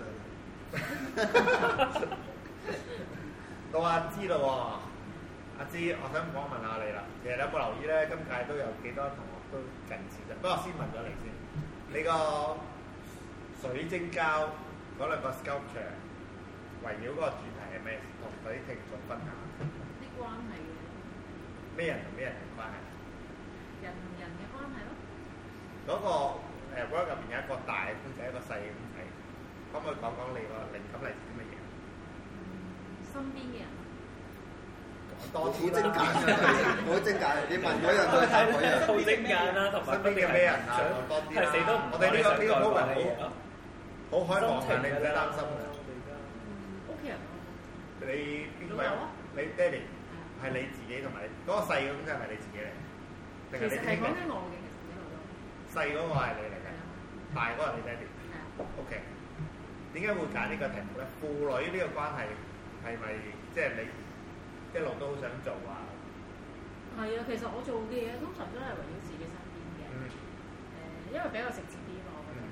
到阿芝啦喎，阿芝，我想訪問下你啦。其實你有冇留意咧？今屆都有幾多同學都近視嘅。不過先問咗你先，你個水晶膠嗰兩個 sculpture 圍繞嗰個主題係咩？同嗰啲聽眾分享。啲關係嘅。咩人同咩人嘅關係？人同人嘅關係咯。嗰個work 入邊有一個大公仔，一個細公仔，可唔可以講講你個靈感嚟自啲乜嘢？身邊嘅人。多啲精簡，好精簡。你問嗰樣都係睇嗰樣。好精簡啦，同埋身邊嘅咩人啊？多啲啦。我哋呢個 program 好開放嘅，你唔使擔心嘅。屋企人。你邊個？你爹哋係你自己同埋嗰個細嘅公仔係咪你自己嚟？其實係講緊我嘅，其實一路都。細嗰個係你嚟嘅，大嗰個係你爹哋。係啊。OK。點解會揀呢個題目咧？父女呢個關係係咪即係你一路都好想做啊？係啊，其實我做嘅嘢通常都係圍繞自己身邊嘅。因為比較直接啲咯，我覺得。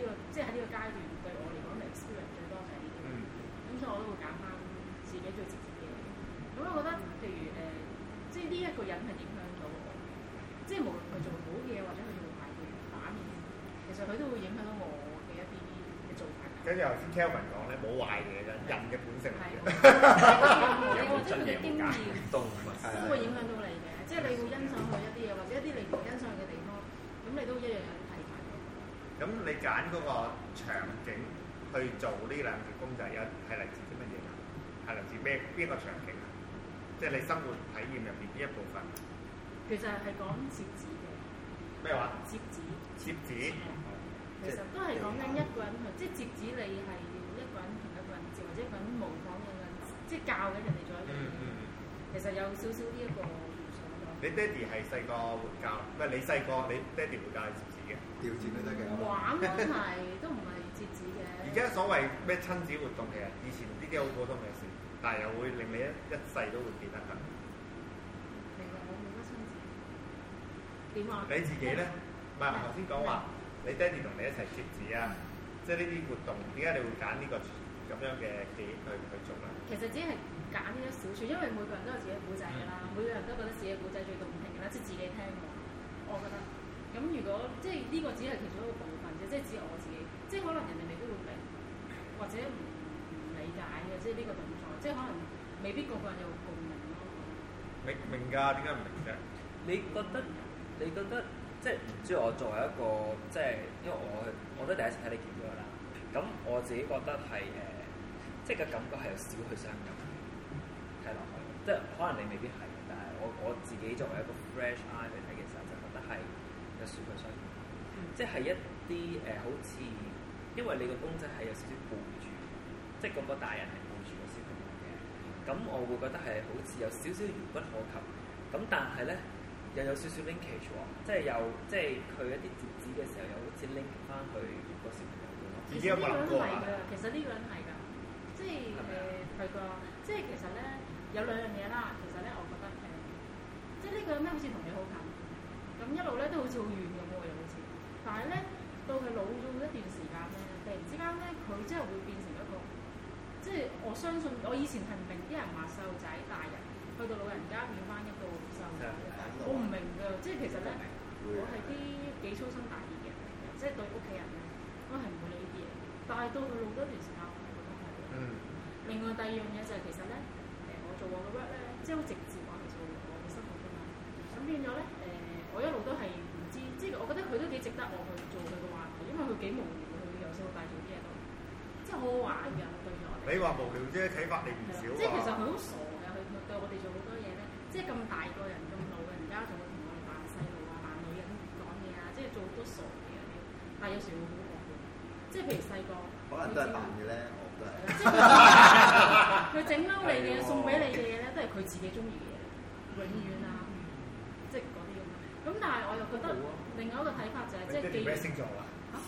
個即係喺呢個階段對我嚟講，experience 最多就係呢啲。咁所以我都會揀翻自己最直接嘅嘢。咁我覺得譬如即係呢一個人係影響到我，即係無論佢做好嘅嘢或者佢做壞嘅反面，其實佢都會影響到我嘅一啲嘅做法。 跟住頭先 Kelvin 講咧，冇壞嘅啫，人嘅本性嚟嘅。 你或者佢嘅經驗都會影響到你嘅，即係你會欣賞佢一啲嘢，或者一啲你唔欣賞嘅地方，咁你都一樣有啲睇法。 咁你揀嗰個場景去做呢兩條公仔，係嚟自啲乜嘢啊？係嚟自邊個場景啊？即係你生活體驗入邊邊一部分？ 其實係講摺紙嘅。咩話？摺紙。 摺紙。 其實都係講緊一個人去，即係摺紙你係要一個人同一個人摺，或者一個人模仿一個人，即係教緊人哋做一樣嘢。其實有少少呢一個元素咯。你爹哋係細個會教，唔係你細個你爹哋會教你摺紙嘅？調轉都得嘅。 玩都係都唔係摺紙嘅。 而家所謂咩親子活動，其實以前呢啲好普通嘅事，但係又會令你一世都會記得㗎。 其實我冇乜親子。點啊？ 你自己咧？唔係頭先講話。你爹哋同你一齊摺紙啊，即係呢啲活動，點解你會揀呢個咁樣嘅記憶去做咧？ 其實只係揀呢一小處，因為每個人都有自己嘅古仔㗎啦，每個人都覺得自己嘅古仔最動聽㗎啦，即係自己聽我覺得。咁如果即係呢個只係其中一個部分啫，即係只係我自己，即係可能人哋未必會明，或者唔理解嘅，即係呢個動作，即係可能未必個個人有共鳴咯。 明㗎，點解唔明啫？ 你覺得？即係唔知我作為一個即係，因為我都第一次睇你見咗啦。咁我自己覺得係即係個感覺係有少許傷感睇落去。即係可能你未必係，但係我自己作為一個 fresh eye 去睇嘅時候，就覺得係有少許傷感。即係一啲好似因為你個公仔係有少少背住，即係嗰個大人係背住個小朋友嘅。咁我會覺得係好似有少少遙不可及。咁但係咧。又有少少 linkage 喎，即係佢一啲摺紙嘅時候，又好似 link 翻去個小朋友度咯。 其實呢個人係㗎，其實呢個人係㗎，即係係㗎，即係其實咧有兩樣嘢啦。其實咧，我覺得即係呢個人咧好似同你好近，咁一路咧都好似好遠咁喎，又好似。但係咧到佢老咗一段時間咧，突然之間咧佢真係會變成一個，即係我相信我以前係唔明啲人話細路仔大人。去到老人家變翻一個細路仔，我唔明㗎，即係其實咧，我係啲幾粗心大意嘅人嚟嘅，即係對屋企人咧，我係唔會理呢啲嘢。但係到佢老咗一段時間，我係覺得係。另外第二樣嘢就係其實咧，我做我嘅 work 咧，即係好直接話嚟做我嘅生活㗎嘛。咁變咗咧，我一路都係唔知，即係我覺得佢都幾值得我去做佢嘅話題，因為佢幾無聊，佢由細到大做啲嘢都，即係好好玩嘅對住我哋。 你話無聊啫，啟發你唔少啊。 即係其實佢好傻。對我哋做好多嘢咧，即係咁大個人咁老嘅人家仲會同我哋扮細路啊、扮女人講嘢啊，即係做好多傻嘅嘢。但係有時會好惡嘅，即係譬如細個， 可能都係扮嘅咧，我都係。 即係佢整嬲你嘅嘢、送俾你嘅嘢咧，都係佢自己中意嘅嘢，永遠啊，即係嗰啲咁。咁但係我又覺得另外一個睇法就係，即係既然咩星座啊？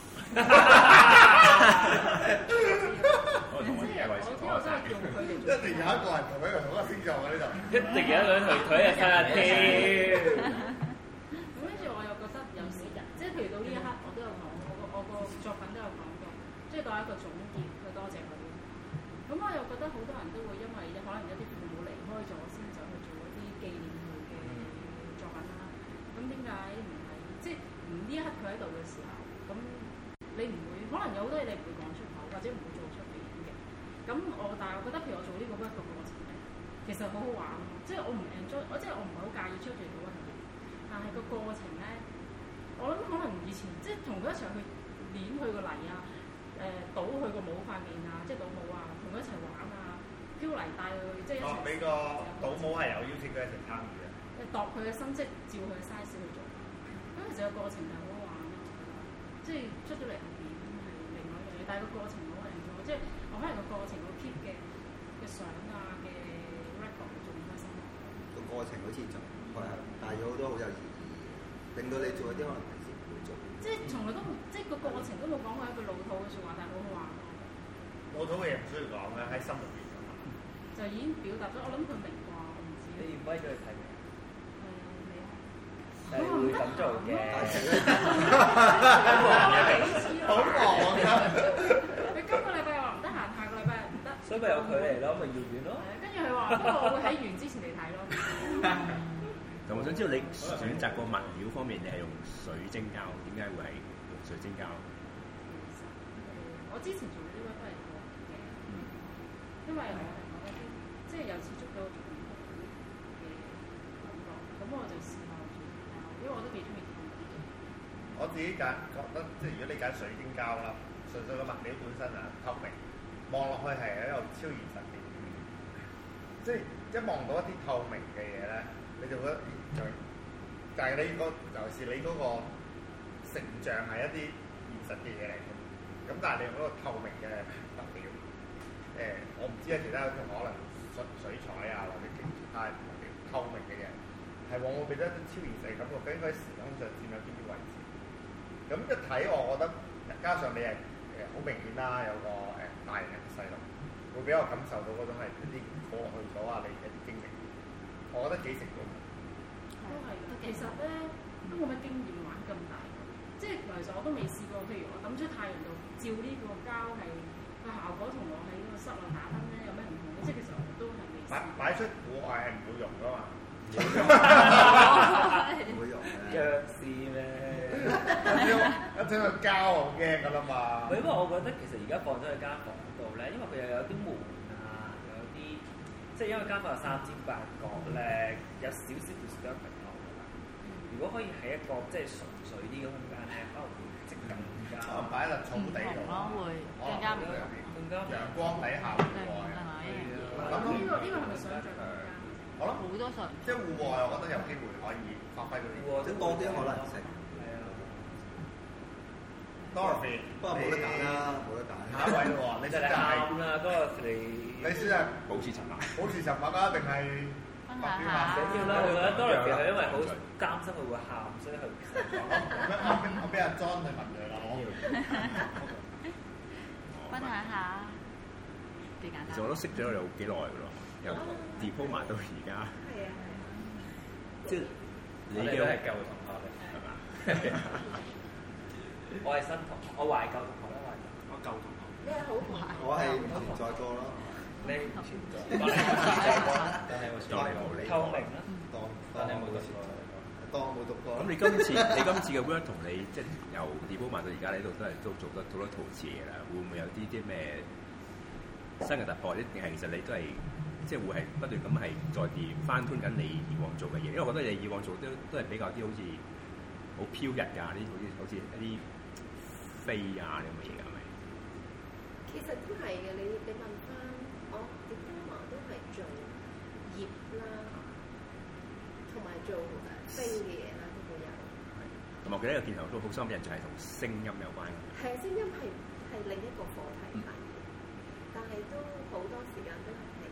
我同我啲嘢為先，我真係用佢哋。 一定有一個人同佢同一個星座喺呢度。 一定有一個人同佢一齊睇下添。 咁跟住我又覺得有時人，即係譬如到呢一刻，我都有講，我個作品都有講過，即係當一個總結去多謝佢。咁我又覺得好多人都會因為可能有啲父母離開咗，先走去做一啲紀念佢嘅作品啦。咁點解唔係？即係呢一刻佢喺度嘅時候，咁你唔會可能有好多嘢你唔會講出口，或者唔會做出嚟嘅。咁但係我覺得譬如我做呢個 work 嘅過程咧，其實好好玩，即係我唔 enjoy，即係我唔係好介意出嚟到嗰樣嘢。但係個過程咧，我諗可能以前即係同佢一齊去攣佢個泥啊，倒佢個帽塊面啊，即係倒帽啊，同佢一齊玩啊，飄泥帶佢即係一齊。 你個倒帽係有邀請佢一齊參與嘅。 度佢嘅心，即係照佢嘅 size 去做。咁其實個過程係好好玩咯，即係出咗嚟係點係另外一樣嘢，但係個過程好靚咗，即係我可能個過程我 keep 嘅相啊嘅 record 仲唔開心。 個過程好似就係帶咗好多好有意義，令到你做一啲可能平時唔會做。 即係從來都即係個過程都冇講過一句老土嘅説話，但係好好玩咯。 老土嘅嘢唔需要講嘅，喺心入邊㗎嘛。 就已經表達咗，我諗佢明啩，我唔知。 你要威咗佢睇未？ 係會咁做嘅， 好忙咪有距離咯，咪遙遠咯。 跟住佢話，不過我會喺完之前嚟睇咯。 咁我想知道你選擇個物料方面，你係用水晶膠，點解會係用水晶膠？ 我之前做呢個都係過嘅，因為我係覺得即係有接觸到唔同嘅感覺，咁我就試下做膠，因為我都幾中意透啲嘅。 我自己覺得，即係如果你揀水晶膠啦，純粹個物料本身啊透明，望落去係一個超現實嘅，即係一望到一啲透明嘅嘢咧，你就覺得但係你尤其是你嗰個成像係一啲現實嘅嘢嚟嘅，咁但係你用嗰個透明嘅物料，我唔知啊，其他同可能水彩啊或者其他透明嘅嘢，係往往俾咗一啲超現實嘅感覺，究竟佢喺時空上佔有邊啲位置？咁一睇我覺得，加上你係好明顯啦，有個大人嘅細路，會俾我感受到嗰種係一啲過去咗啊，你嘅啲經歷，我覺得幾成功。 都係嘅，其實咧都冇乜經驗玩咁大，即係其實我都未試過。譬如我抌出太陽度照呢個膠係個效果同我喺個室內打燈咧有咩唔同咧？即係其實我都係未試。擺出戶外係唔會用噶嘛？ 唔會用嘅。 弱視咩？ 一聽個膠我驚噶啦嘛。 因為我覺得其實而家放咗喺間房度咧，因為佢又有啲門啊，有啲即係因為間房有3尖8角咧，有少少 disturbing 咯。如果可以喺一個即係純粹啲嘅空間咧，可能會即更加。 可能擺喺草地度咯，會更加陽光底下戶外。 咁呢個係咪想像空間？ 我諗好多場，即係戶外，我覺得有機會可以發揮到呢個， 即係多啲可能性。 係啊 ，Dorothy， 不過冇得揀啦，冇得揀。 下一位喎，你真係啱啦，Dorothy。 你先係保持沉默， 保持沉默啊，定係分享下？緊要啦，我覺得 Dorothy 係因為好擔心佢會喊，所以佢我俾阿 John 去問佢啦，我分享下幾簡單。 其實我都識咗你好幾耐㗎咯。由 diploma 到而家， 係啊， 即係你嘅都係舊同學嚟，係嘛？我係新同學，我懷舊同學啦，我舊同學。 你係好懷？ 我係唔存在過咯。 你唔存在，但係我當你冇理。透明啦，當你冇讀過， 當我冇讀過。 咁你今次嘅 work 同你即係由 diploma 到而家呢度都做得好多陶瓷嘢啦，會唔會有啲咩新嘅突破？定係其實你都係即係會係不斷咁係再翻推緊你以往做嘅嘢？因為我覺得你以往做都係比較啲好似好飄逸㗎，啲好似一啲飛啊咁嘅嘢㗎，係咪？ 其實都係嘅，你問翻我 diploma 都係做葉啦，同埋做飛嘅嘢啦，都會有。 同埋我記得一個鏡頭都好深印象係同聲音有關嘅。 係聲音係另一個課題嚟。但係都好多時間都係喺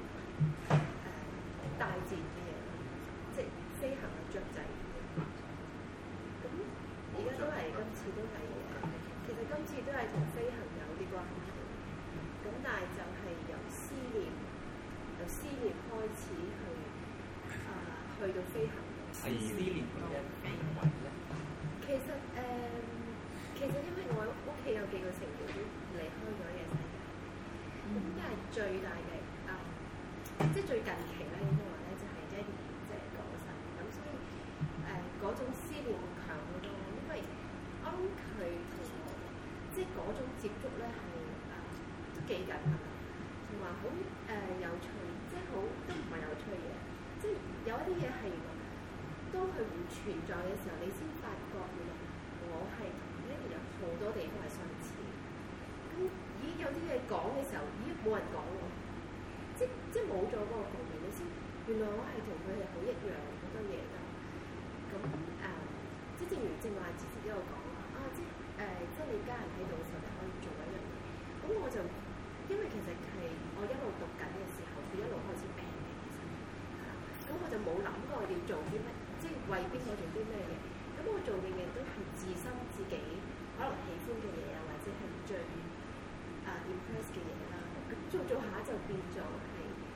大自然嘅嘢，即係飛行嘅雀仔。咁而家都係今次都係其實今次都係同飛行有啲關係。咁但係就係由思念開始去到飛行。 係思念嗰一飛雲咧。 其實因為我屋企有幾個成員都離開咗嘅世界。咁依家係最大嘅即係最近期咧，應該話咧就係Jenny即係過世，咁所以嗰種思念會強好多，因為我諗佢同我即係嗰種接觸咧係都幾緊密，同埋好有趣，即係好都唔係有趣嘅，即係有一啲嘢係當佢唔存在嘅時候，你先發覺原來我係同呢度有好多地方係相似。咁咦有啲嘢講嘅時候，咦冇人講喎，即係冇咗嗰個共鳴，你先原來我係同佢哋好一樣好多嘢㗎。咁即係正如正話之前都有講啦，即係你家人喺度嘅時候，你可以做一樣嘢。咁我就因為其實係我一路讀緊嘅時候，佢一路開始病嘅，其實咁我就冇諗過要做啲乜，即係為邊個做啲咩嘢。咁我做嘅嘢都係自身自己可能喜歡嘅嘢啊，或者係最impress 嘅嘢啦。咁做下就變咗係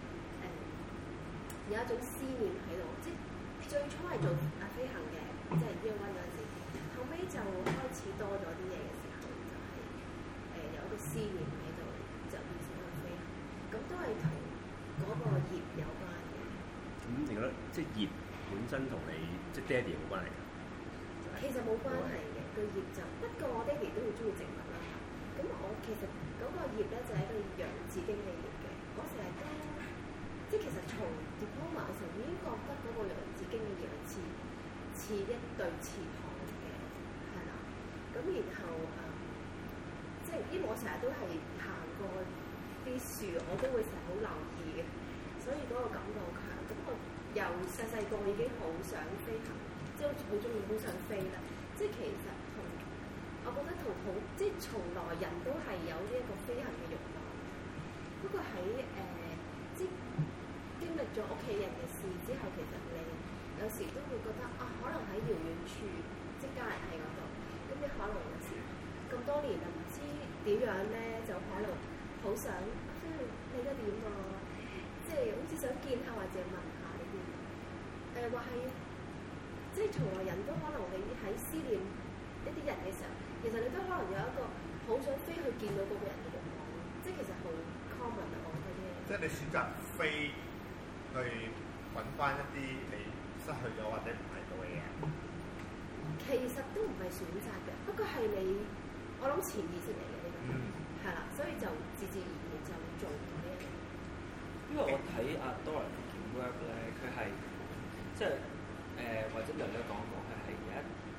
有一種思念喺度，即係最初係做飛行嘅，即係 Year 1嗰陣時，後尾就開始多咗啲嘢嘅時候，就係有一個思念喺度，就變成一個飛行。咁咁都係同嗰個葉有關嘅。 咁你覺得即係葉本身同你即係爹哋有冇關係㗎？ 其實冇關係嘅，個葉就不過我爹哋都好中意植物啦。咁我其實嗰個葉咧就係一個洋紫荊嘅葉嘅，嗰時係都即係其實從 diploma 嘅時候已經覺得嗰個洋紫荊嘅葉係似一對翅膀嘅，係啦。咁然後即係因為我成日都係行過啲樹，我都會成日好留意嘅，所以嗰個感覺好強。咁我由細細個已經好想飛行，即係好中意，好想飛啦。即係其實我覺得即係從來人都係有呢一個飛行嘅慾望。不過喺即係經歷咗屋企人嘅事之後，其實你有時都會覺得可能喺遙遠處，即係家人喺嗰度，咁你可能有時咁多年啊，唔知點樣咧，就可能好想即係你而家點啊？即係好似想見下或者問下呢啲。話係即係從來人都可能你喺思念一啲人嘅時候，其實你都可能有一個好想飛去見到嗰個人嘅慾望，即係其實好 common 啊！我覺得即係你選擇飛去揾翻一啲你失去咗或者唔係到嘅嘢。 其實都唔係選擇嘅，不過係你我諗潛意識嚟嘅呢個，係啦，所以就自然而然就做到呢一樣。 因為我睇阿 Dora 嘅 work 咧，佢係即係或者人哋講過，佢係有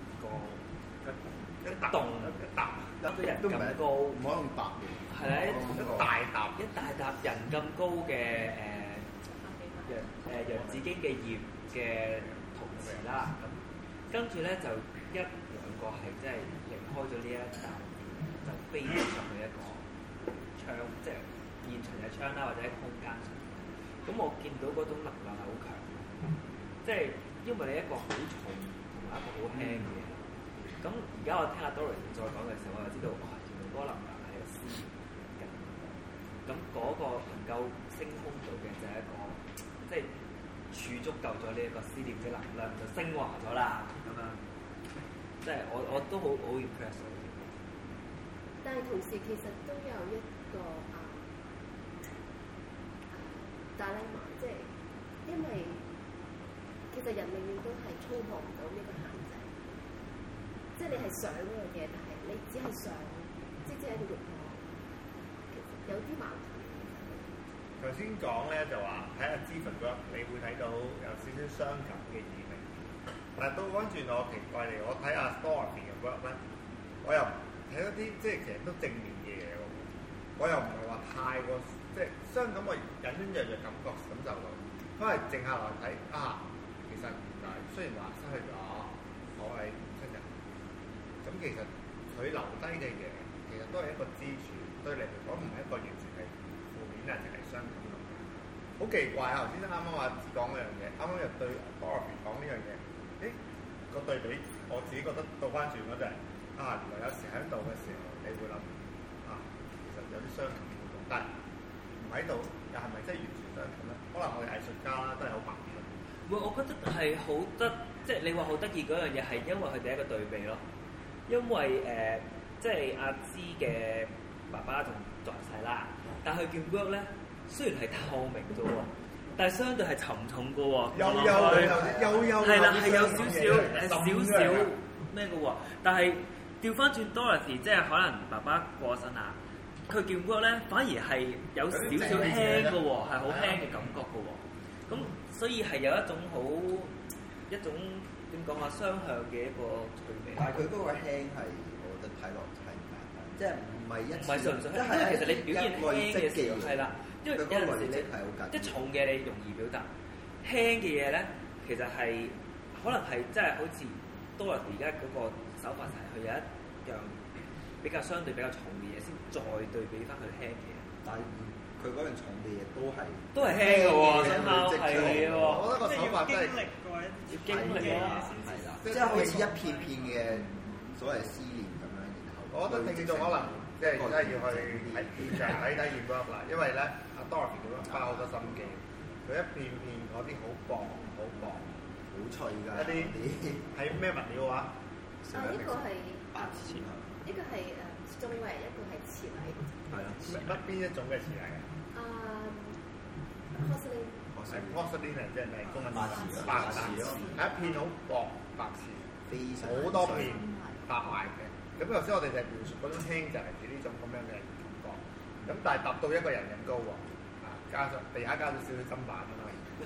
一個一個人咁高，唔可以用搭嘅，係啦，一大笪人咁高嘅洋紫荊嘅葉嘅同時啦，咁跟住咧就一兩個係即係離開咗呢一笪，就飛咗上去一個窗，即係現場嘅窗啦，或者空間上。咁我見到嗰種能量係好強，即係因為你一個好重同埋一個好輕嘅嘢。咁而家我聽阿 Doris 再講嘅時候，我就知道哇，原來嗰個能量係一個思念嘅。咁嗰個能夠升空到嘅就係一個，即係儲足夠咗呢一個思念嘅能量，就升華咗啦咁樣。即係我都好 impress 到。 但係同時其實都有一個dilemma，即係因為其實人永遠都係衝破唔到呢個限制，即係你係想嗰樣嘢，但係你只係想，即係一個慾望，其實有啲矛盾。 頭先講咧就話睇下Stephen work，你會睇到有少少傷感嘅意味，但係倒翻轉我奇怪嚟，我睇下 Dora 嘅 work 咧，我又睇到啲即係其實都正面嘅嘢喎，我又唔係話太過即係傷感，我隱隱約約感受到，因為靜下來睇其實原來雖然話失去咗我係親人，咁其實佢留低嘅嘢其實都係一個支柱，對你嚟講唔係一個完全係負面啊，淨係傷感咁。好奇怪啊！頭先啱啱話講嗰樣嘢，啱啱又對 Dora 講呢樣嘢，個對比我自己覺得倒翻轉嗰就係原來有時喺度嘅時候，你會諗其實有啲傷感嘅，但係唔喺度又係咪真係完全傷感咧？可能我哋藝術家啦都係好矛盾。 我覺得係好得，即係你話好得意嗰樣嘢係因為佢哋一個對比咯。因為即係阿芝嘅爸爸仲在世啦，但係佢件 work 咧雖然係透明啫喎，但係相對係沉重嘅喎。有係啦，係有少少咩嘅喎。但係調翻轉 Dorothy， 即係可能爸爸過身啦，佢件 work 咧反而係有少少輕嘅喎，係好輕嘅感覺嘅喎。咁所以係有一種點講啊，雙向嘅一個趣味。 但係佢嗰個輕係，我覺得睇落係唔簡單，即係唔係一次， 純粹，因為其實你表現輕嘅時候係啦，因為有陣時即係重嘅你容易表達，輕嘅嘢咧其實係可能係即係好似多人而家嗰個手法就係佢有一樣比較相對比較重嘅嘢，先再對比翻佢輕嘅嘢。 但係佢嗰樣重嘅嘢都係輕嘅喎，真係喎。 我覺得個手法真係要經歷啦， 係啦，即係好似一片片嘅所謂思念咁樣，然後我覺得聽眾可能即係真係要去睇現場睇現場啦，因為咧阿 Dorothy 咁樣花好多心機，佢一片片嗰啲好薄、 好脆㗎， 一啲係咩物料啊？ 呢個係呢個係 stone 中嘅，一個係詞禮。 係啊，邊一種嘅詞禮啊？porcelain 即係咩？公文白瓷咯，係一片好薄白瓷，好多片白埋嘅。咁頭先我哋就描述嗰種輕就係指呢種咁樣嘅感覺。咁但係達到一個人咁高喎，加上地下加咗少少砧板啊嘛。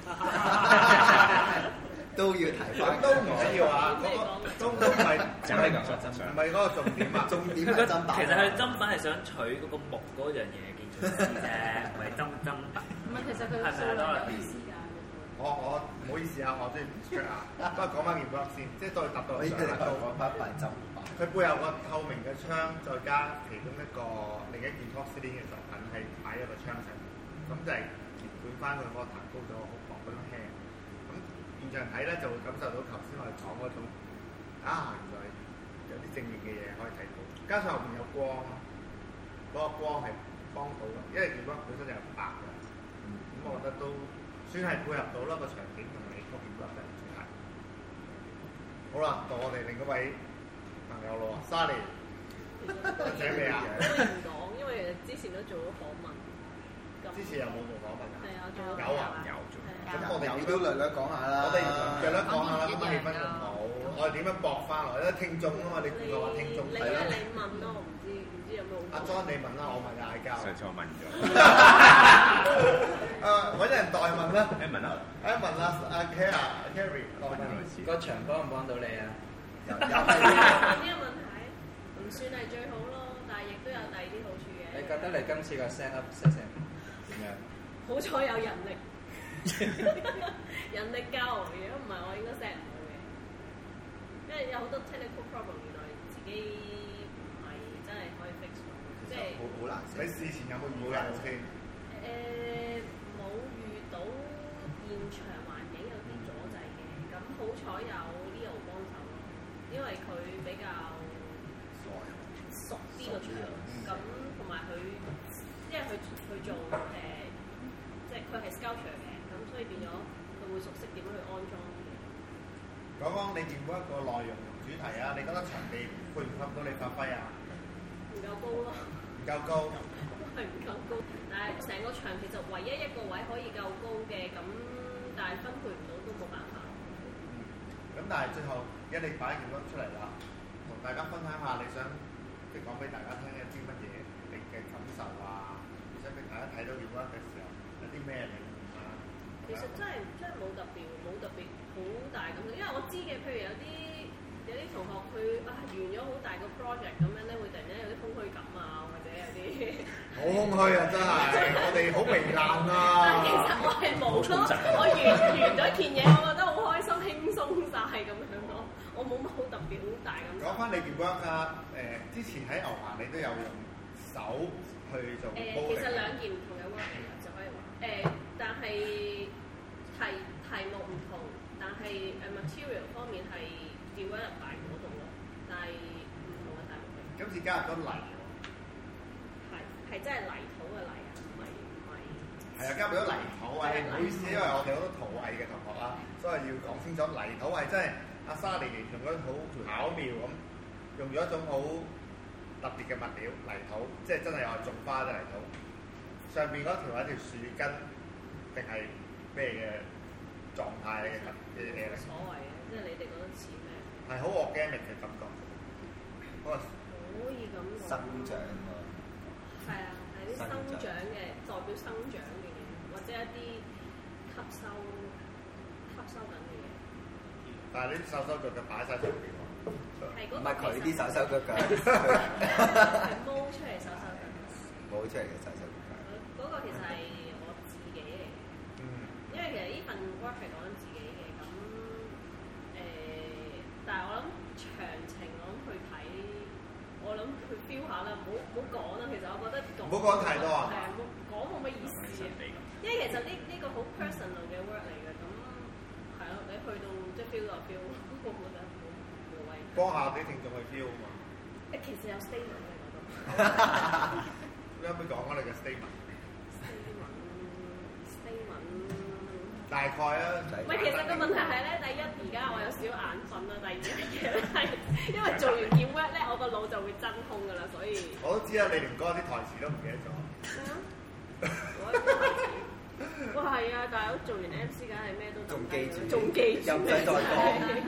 都要提翻， 都唔緊要啊！都唔係真係咁真相，唔係嗰個重點啊！重點係砧板。 其實佢砧板係想取嗰個木嗰樣嘢建築師啫，唔係砧板。唔係，其實佢係咪多啲時間？ 我唔好意思啊，我真係唔出啊。不過講翻件 work 先，即係再達到上下高。佢背後個透明嘅窗，再加其中一個另一件 porcelain 嘅作品係擺喺個窗上，咁就係結伴翻佢個彈高咗好薄嗰種輕。現場睇咧就會感受到頭先我哋講嗰種原來有啲正面嘅嘢可以睇到，加上後面有光，嗰個光係幫到嘅，因為件 work 本身就係白嘅，咁我覺得都算係配合到啦個場景同你嗰件 work 嘅主題。好啦，到我哋另一位朋友咯，Sally，請你啊！ 我唔講，因為之前都做咗訪問。 之前有冇做訪問啊？ 係啊，做咗。 有啊，有做。咁我哋都略略講下啦。 我哋略略講下啦，咁氣氛仲好。我哋點樣駁翻落嚟咧？聽眾啊嘛，你估我話聽眾係啦。 你問咯，我唔知有冇。 阿 John 你問啦，我問嗌交。 上次我問咗。 揾人代問啦。 問啊。 問啦，阿 Carrie 代問。 個場幫唔幫到你啊？ 有呢個問題，唔算係最好咯，但係亦都有第二啲好處嘅。 你覺得你今次個 set up 點樣？ 好彩有人力，人力夠，如果唔係我應該 set 唔到嘅，因為有好多 technical problem，原來自己唔係真係可以 fix 到，即係好難。 你事前有冇遇過人先？ 冇遇到現場環境有啲阻滯嘅，咁好彩有 Leo 幫手咯，因為佢比較熟啲個場，咁同埋佢。因為佢做即係佢係 sculpture 嘅，咁所以變咗佢會熟悉點樣去安裝嘅。 講講你見過一個內容同主題啊？你覺得場地配唔配到你發揮啊？ 唔夠高咯。 唔夠高。 係唔夠高，但係成個場其實唯一一個位可以夠高嘅，咁但係分配唔到都冇辦法。 咁但係最後而家你擺件 work 出嚟啦，同大家分享下你想即係講俾大家聽一啲乜嘢你嘅感受啊？想俾大家睇到件 work 嘅時候有啲咩領悟啊？ 其實真係冇特別好大咁，因為我知嘅，譬如有啲同學佢完咗好大個 project 咁樣咧，會突然間有啲空虛感啊，或者有啲好空虛啊！真係我哋好糜爛啊！ 其實我係冇咯，我完咗件嘢，我覺得好開心、輕鬆晒咁樣咯，我冇乜好特別好大咁。 講翻你件 work 啊，之前喺牛棚你都有用手去做。 其實兩件唔同嘅 work 就可以話，但係題目唔同，但係material 方面係掉咗入大嗰度咯，但係唔同嘅題目。 今次加入咗泥喎。 係真係泥土嘅泥啊，唔係。 係啊，加入咗泥土啊！唔好意思，因為我哋好多陶藝嘅同學啦，所以要講清楚泥土係真係阿沙尼形容得好巧妙咁，用咗一種好特別嘅物料泥土，即係真係我種花嘅泥土。上邊嗰條係一條樹根定係咩嘅狀態嘅嘢嚟？ 冇所謂嘅，即係你哋覺得似咩？ 係好 organic 嘅感覺， 可以咁講。 生長喎。 係啊，係啲生長嘅，代表生長嘅嘢，或者一啲吸收緊嘅嘢。 但係呢啲手手腳腳擺晒上邊喎。 唔係佢啲手手腳腳。 係摸出嚟手手腳腳。 摸出嚟嘅手手腳腳。 嗰個其實係我自己嚟嘅。因為其實呢份 work 係講緊自己嘅，咁但係我諗詳情我諗去睇，我諗去 feel 下啦，唔好講啦。其實我覺得唔好講太多啊。 係啊，講冇乜意思啊。因為其實呢個好 personal 嘅 work 嚟嘅，咁係咯，你去到即係 feel 就 feel，我覺得冇謂。 幫下啲聽眾去 feel 啊嘛。 其實有 statement 嘅我都。 你可唔可以講我哋嘅 statement？ 大概啊。 唔係，其實個問題係咧，第一而家我有少少眼瞓啦，第二樣嘢咧係因為做完件 work 咧，我個腦就會真空㗎啦，所以我都知啊，你連嗰啲台詞都唔記得咗。 哇，係啊！大佬做完 MC 梗係咩都仲記住， 仲記住， 又唔使再講。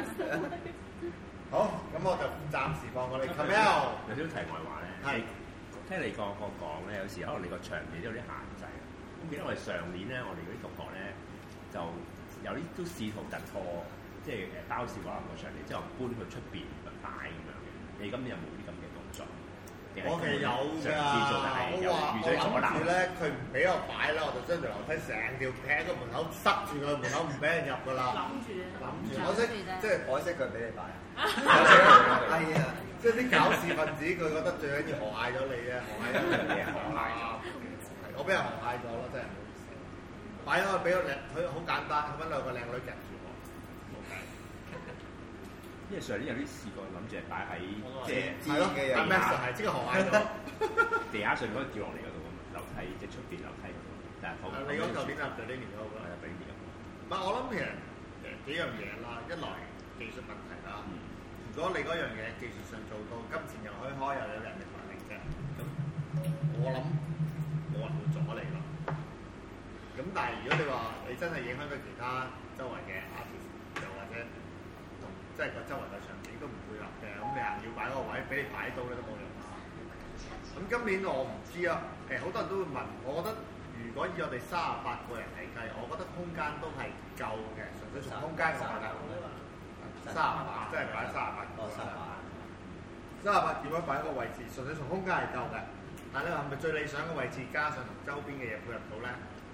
好，咁我就暫時放過你。Camille 有少少題外話咧，係聽你個講咧，有時可能你個場地都有啲限制。咁記得我哋上年咧，我哋嗰啲同學咧就有啲都試圖突破，即係包笑話個場地，之後搬去出邊擺咁樣嘅。你今年有冇啲咁嘅動作？ 我哋有㗎，我諗住咧，佢唔俾我擺啦，我就將條樓梯成條劈喺個門口，塞住個門口，唔俾人入㗎啦。諗住，可惜即係可惜佢俾你擺。係啊，即係啲搞事分子，佢覺得最緊要河蟹咗你啫，河蟹咗你啊，河蟹。我俾人河蟹咗咯，真係唔好意思。擺咗俾個靚，佢好簡單，揾兩個靚女夾住我，冇計。 因為上年有啲試過諗住係擺喺即係咯，阿 Max 係即係河蟹咗， 地下上嗰個掉落嚟嗰度咁，樓梯即係出邊樓梯嗰度。但係你講舊年啊，就呢年嗰個啦， 俾年。 唔係我諗其實幾樣嘢啦，一來技術問題啦。如果你嗰樣嘢技術上做到金錢又可以開，又有人力物力嘅，咁我諗冇人會阻你咯。咁但係如果你話你真係影響到其他周圍嘅 artist，又或者同即係個周圍嘅場景都唔配合嘅，咁你硬要擺個位俾你擺到咧都冇用。咁今年我唔知啊，好多人都會問，我覺得如果以我哋38個人嚟計，我覺得空間都係夠嘅，純粹從空間個問題。38，即係擺38個。38點樣擺個位置？純粹從空間係夠嘅，但係你話係咪最理想嘅位置？加上同周邊嘅嘢配合到咧，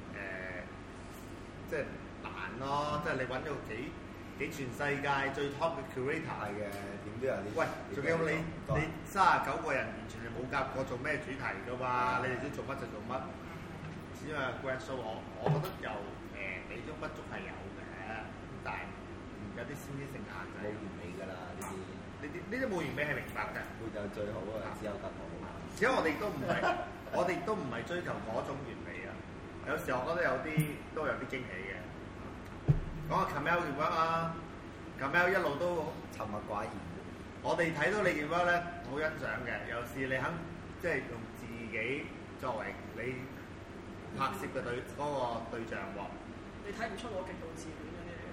即係難咯。即係你揾到幾全世界最 top 嘅 curator 嘅，點都有啲。喂，仲有你39個人完全係冇夾過做咩主題㗎嘛？你哋知做乜就做乜。只係 grad show，我覺得有美中不足係有嘅，但係有啲先天性限制。冇完美㗎啦，呢啲冇完美係明白嘅。沒有最好啊，只有得好。而且我哋都唔係追求嗰種完美啊。有時候我覺得有啲都有啲驚喜嘅。講下 Camille 嘅 work 啊 ，Camille 一路都沉默寡言。我哋睇到你嘅 work 咧，好欣賞嘅。有時你肯即係用自己作為你拍攝嘅對象喎。 你睇唔出我極度自戀嘅嘢。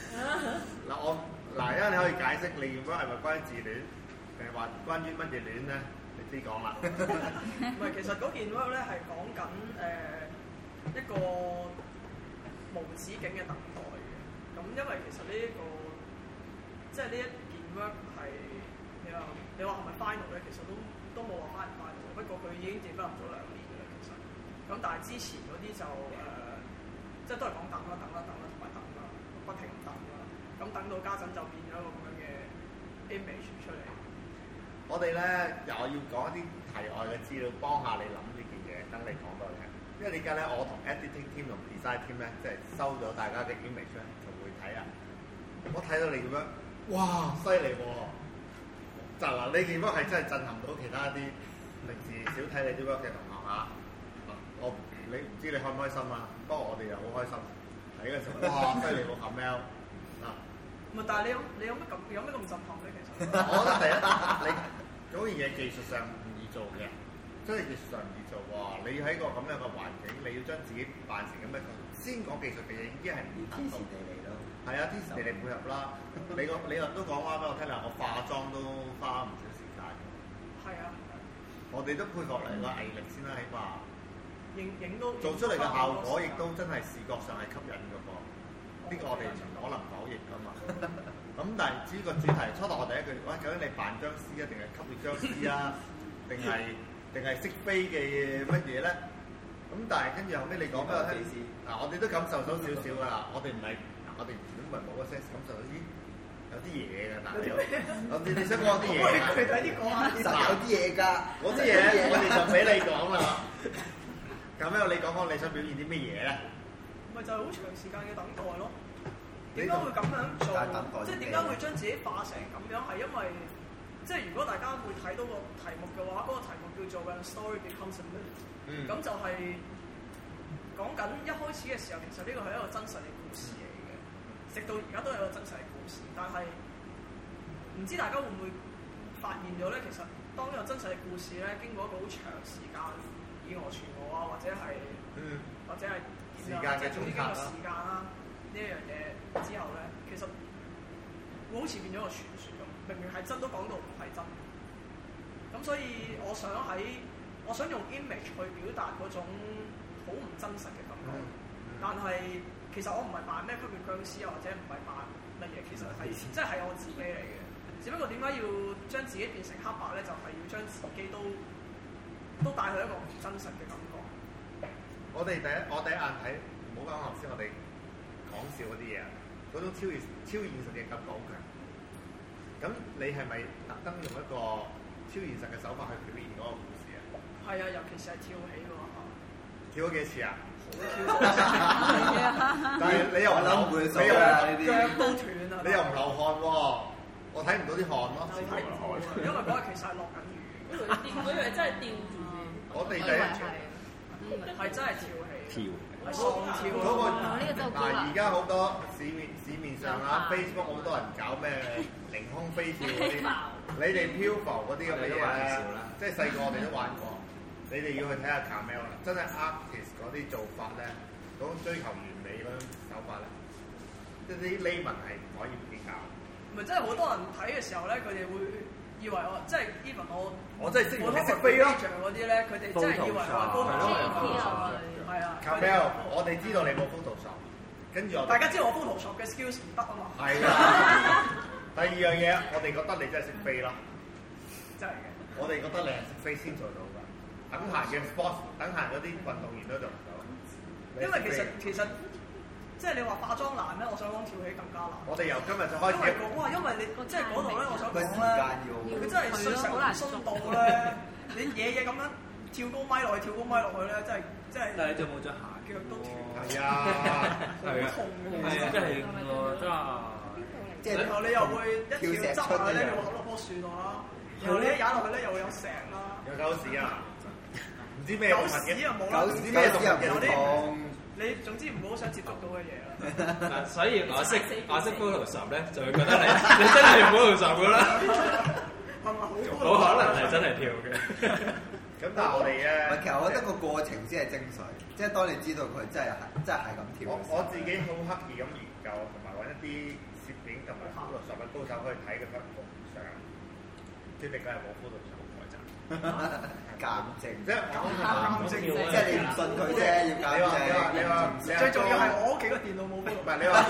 嗱，因為你可以解釋你嘅 work 係咪關於自戀，定係話關於乜嘢戀咧？你知講啦。 唔係，其實嗰件 work 咧係講緊一個無止境嘅等待嘅。咁因為其實呢一個即係呢一件 work 係你話係咪 final 咧？其實都冇話 final。不過佢已經接翻入咗2年嘅啦，其實。咁但係之前嗰啲就即係都係講等啦，同埋等啦，不停等啦。咁等到家陣就變咗一個咁樣嘅 image 出嚟。 我哋咧又要講一啲題外嘅資料，幫下你諗呢件嘢，等你講多啲。因為點解咧？我同 editing team 同 design team 咧，即係收咗大家嘅 image 咧，就會睇啊。我睇到你咁樣，哇，犀利喎！就嗱，呢件 work 係真係震撼到其他啲平時少睇你啲 work 嘅同學嚇。你唔知你開唔開心啊？不過我哋又好開心。睇嘅時候，哇，犀利喎 Camille 啊！ 唔係，但係你有咩咁震撼咧？其實我覺得第一，你嗰件嘢技術上唔易做嘅。真係技術上唔易做喎！你喺個咁樣嘅環境，你要將自己扮成咁樣，先講技術嘅嘢已經係唔易達到。天時地利咯。係啊，天時地利配合啦。你又都講話俾我聽啦，我化妝都花唔少時間。係啊。我哋都配合嚟個毅力先啦，起碼。影到。做出嚟嘅效果亦都真係視覺上係吸引嘅噃。呢個我哋唔可能否認㗎嘛。咁但係至於個主題，初頭我第一句，喂，究竟你扮僵屍啊，定係吸血僵屍啊，定係識飛嘅乜嘢咧？咁但係跟住後尾你講俾我聽，嗱我哋都感受到少少㗎啦。我哋唔係，我哋唔係冇個 sense 感受到啲有啲嘢㗎，但係你想講啲嘢㗎？佢睇啲講下啲，有啲嘢㗎。嗰啲嘢我哋就俾你講啦。咁樣你講你想表現啲乜嘢咧？ 咪就係好長時間嘅等待咯。點解會咁樣做？即係點解會將自己化成咁樣？係因為即係如果大家會睇到個題目嘅話，嗰個題目叫做《When a Story Becomes a Myth》。咁就係講緊一開始嘅時候，其實呢個係一個真實嘅故事嚟嘅，直到而家都係一個真實嘅故事。但係唔知大家會唔會發現咗咧？其實當呢個真實嘅故事咧，經過一個好長時間以訛傳訛啊，或者係時間嘅總結啦，時間啦呢一樣嘢之後咧，其實會好似變咗個傳說咁，明明係真都講到唔係真。咁所以我想用 image 去表達嗰種好唔真實嘅感覺，但係其實我唔係扮咩吸血僵屍啊，或者唔係扮乜嘢，其實係即係我自己嚟嘅。只不過點解要將自己變成黑白咧？就係要將自己都帶去一個唔真實嘅感覺。 我第一眼睇，唔好講頭先，我哋講笑嗰啲嘢啊，嗰種超現實嘅感覺好強。咁你係咪特登用一個超現實嘅手法去表現嗰個故事啊？ 係啊，尤其是係跳起嘅喎。 跳咗幾次啊？ 但係你又唔諗唔會手啊？ 腳都斷啊！ 你又唔流汗喎？我睇唔到啲汗咯。 因為嗰日其實係落緊雨。 我以為真係吊住。 我哋第一係真係跳起。 嗰個嗱，而家好多市面上啊 ，Facebook 好多人搞咩凌空飛跳嗰啲，你哋漂浮嗰啲咁嘅嘢咧，即係細個我哋都玩過。你哋要去睇下 Camel 啦，真係 artist 嗰啲做法咧，嗰種追求完美嗰種手法咧，即係啲 layman 係唔可以比較。 唔係真係好多人睇嘅時候咧，佢哋會以為我即係 even 我真係識飛咯嗰啲咧，佢哋真係以為我 Photoshop 係啊。 Camel，我哋知道你冇 Photoshop，跟住大家知道我 Photoshop 嘅 skills 唔得啊嘛。 係啦。第二樣嘢，我哋覺得你真係識飛咯。 真係嘅。 我哋覺得你係識飛先做到㗎。等閒嘅 sports，等閒嗰啲運動員都做唔到。 因為其實即係你話化妝難咧，我想講跳起更加難。 我哋由今日就開始。 因為你即係嗰度咧，我想講咧，佢真係衰成鬆到咧，你嘢咁樣跳高咪落去，跳高咪落去咧，真係。但係你仲冇着鞋，腳都斷。 係啊， 好痛嘅。 係啊，真係喎，真係。 即係然後你又會一跳執落去咧，又會攞落棵樹度啦。然後你一踩落去咧，又會有石啦。 有狗屎啊！唔知咩狗屎啊冇啦， 狗屎咩動物嘅痛。 你總之唔好想接觸到嘅嘢啦。 所以我識 Photoshop 咧，就會覺得你真係用 Photoshop 㗎啦。 係咪好可能係真係跳嘅。 咁但係我哋咧， 其實我覺得個過程先係精髓，即係當你知道佢真係咁跳。 我自己好刻意咁研究，同埋揾一啲攝影同埋 Photoshop 嘅高手去睇佢幅相，決定佢係冇 Photoshop 嘅就鑑證， 即係你唔信佢啫，要鑑證。 你話最重要係我屋企個電腦冇 Photoshop。 唔係你話，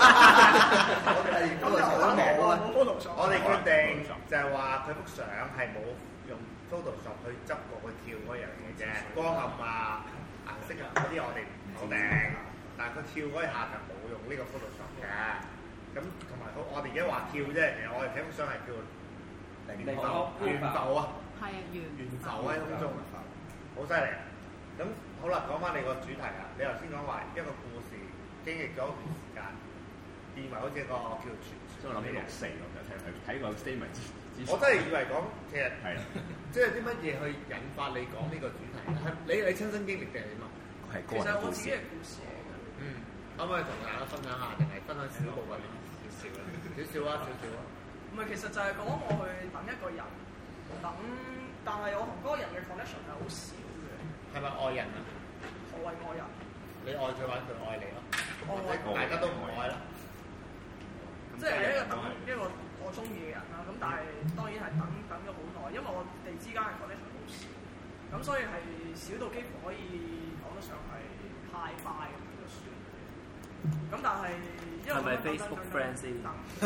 我哋決定就係話佢幅相係冇用 Photoshop 去執過去跳嗰樣嘢啫，光暗啊、顏色啊嗰啲我哋唔好定，但係佢跳嗰一下就冇用呢個 Photoshop 嘅。咁同埋我哋而家話跳啫，其實我哋睇幅相係叫懸浮啊， 係啊， 懸浮喺空中，好犀利。咁好啦，講翻你個主題啊，你頭先講話一個故事經歷咗一段時間，變為好似一個叫傳說。 即係我諗起64咁樣睇個 statement。 我真係以為講其實係，即係啲乜嘢去引發你講呢個主題？係你親身經歷定係點啊？ 係個人故事嘅故事嚟嘅。 可唔可以同大家分享下，定係分享少部分少少咧？少少啊！ 唔係，其實就係講我去等一個人，但係我同嗰個人嘅 connection 係好少嘅。 係咪愛人啊？ 何謂愛人？ 你愛佢，或者佢愛你咯？大家都唔愛啦。 即係一個我中意嘅人啦，咁但係當然係等咗好耐，因為我哋之間嘅 connection 好少，咁所以係少到幾乎可以講得上係太快咁就算。咁但係因為係咪 Facebook friend 先？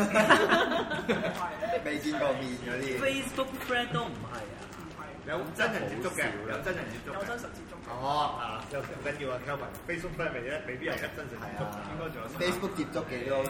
未見過面嗰啲 Facebook friend 都唔係啊， 有真人接觸嘅，有真人接觸， 有真實接觸。 又唔緊要啊 Kelvin Facebook friend 未必有真實接觸，應該仲有 Facebook 接觸幾多？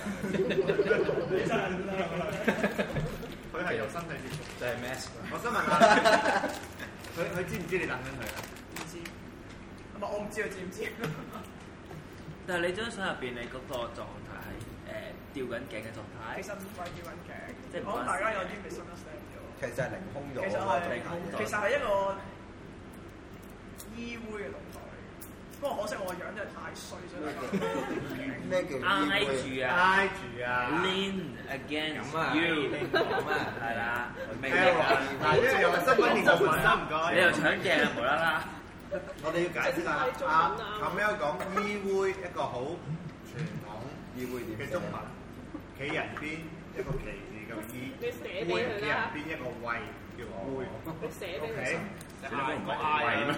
佢係有身體接觸， 就係 mask。 我想問下，佢知唔知你等緊佢啊？ 唔知，唔係我唔知佢知唔知。 但係你張相入邊，你嗰個狀態係吊緊頸嘅狀態。 其實唔係吊緊頸，即係可能大家有啲 misunderstand 咗。 其實係凌空咗。 其實係一個依偎嘅動作嚟嘅。 不過可惜我個樣真係太衰咗。 咩叫挨住啊 ？Lean against you 咁啊，係啦。明㗎。 嗱，呢個又係新聞連續文啦，唔該。 你又搶鏡啊，無啦啦。 我哋要解釋下阿 Mel 講議會一個好傳統議會嘅中文，企人邊一個旗字嘅議，會企人邊一個位叫會。 你寫俾佢。 你都唔講嗌咩？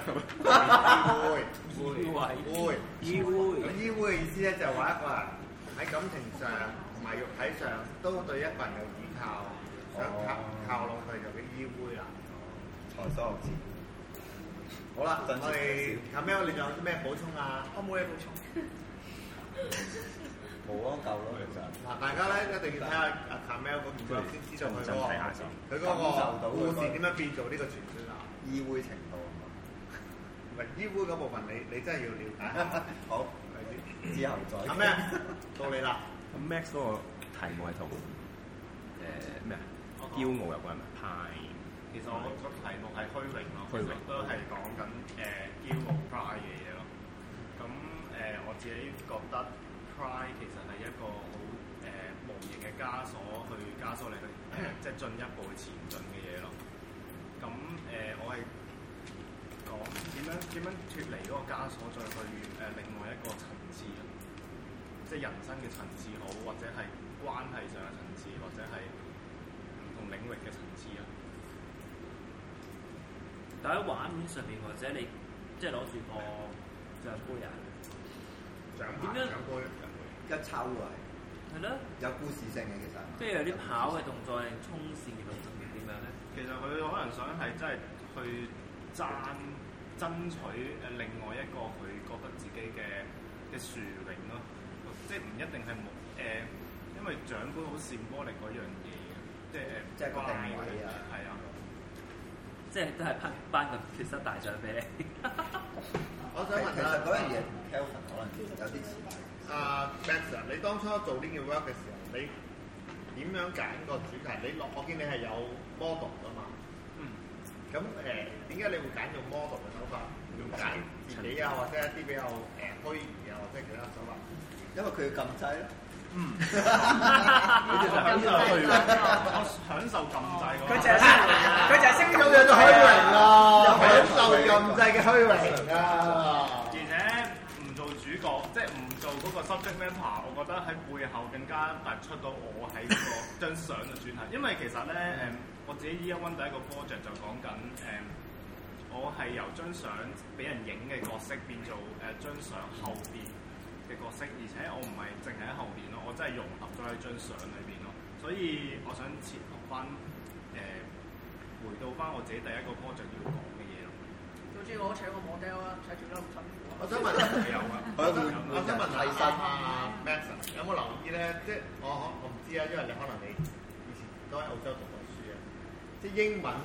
會。咁議會嘅意思咧就係話一個人喺感情上同埋肉體上都對一個人有依靠，想靠攏佢就叫議會啦。 財所學字。 好啦，我哋阿 Mel 你仲有啲咩補充啊？ 我冇嘢補充。 冇啊，夠咯其實。 嗱，大家咧一定要睇下阿 Mel 嗰邊先知道佢嗰個故事點樣變做呢個傳說啊！ 議會程度啊嘛， 唔係議會嗰部分，你真係要了解。 好，之後再。 阿 Max 到你啦。 咁 Max 嗰個題目係同咩啊？驕傲有關咪？派。 其實我個題目係虛榮咯，其實都係講緊驕傲 pride 嘅嘢咯。咁我自己覺得 pride 其實係一個好無形嘅枷鎖，去枷鎖你去即係進一步前進嘅嘢咯。咁我係講點樣脫離嗰個枷鎖，再去另外一個層次，即係人生嘅層次好，或者係關係上嘅層次，或者係唔同領域嘅層次啊。 但喺畫面上面，或者你即係攞住個獎杯啊，點樣一抽啊？ 係咯， 有故事性嘅其實。 即係有啲跑嘅動作，定衝線嘅動作點樣咧？ 其實佢可能想係真係去爭取另外一個佢覺得自己嘅殊榮咯，即係唔一定係因為獎杯好symbolic嗰樣嘢嘅， 即係個定位啊， 係啊。 即係都係頒個決賽大獎俾你。 我想問其實嗰樣嘢同 Kelvin 可能有啲似。 Max 你當初做呢件 work 嘅時候，你點樣揀個主題？我見你係有 model 㗎嘛？咁點解你會揀用 model 嘅手法？要揀自己啊，或者一啲比較虛擬啊，或者其他手法？ 因為佢要撳掣咯。 佢就享受虛榮，我享受撳掣。 佢就係識咁樣嘅虛榮啊！享受撳掣嘅虛榮啊！ 而且唔做主角，即係唔做嗰個 subject matter，我覺得喺背後更加突出到我喺嗰個張相嘅主題。因為其實咧我自己 Year One 第一個 project 就講緊我係由張相俾人影嘅角色變做張相後邊嘅角色，而且我唔係淨係喺後邊咯，我真係融合咗喺張相裏邊咯，所以我想切合翻回到翻我自己第一個 project 要講嘅嘢咯。 總之我請個 model 啦，睇住得咁辛苦。 我想問有啊，我想問阿 Max 有冇留意咧？即係我唔知啊，因為你可能你以前都喺澳洲讀過書啊，即係英文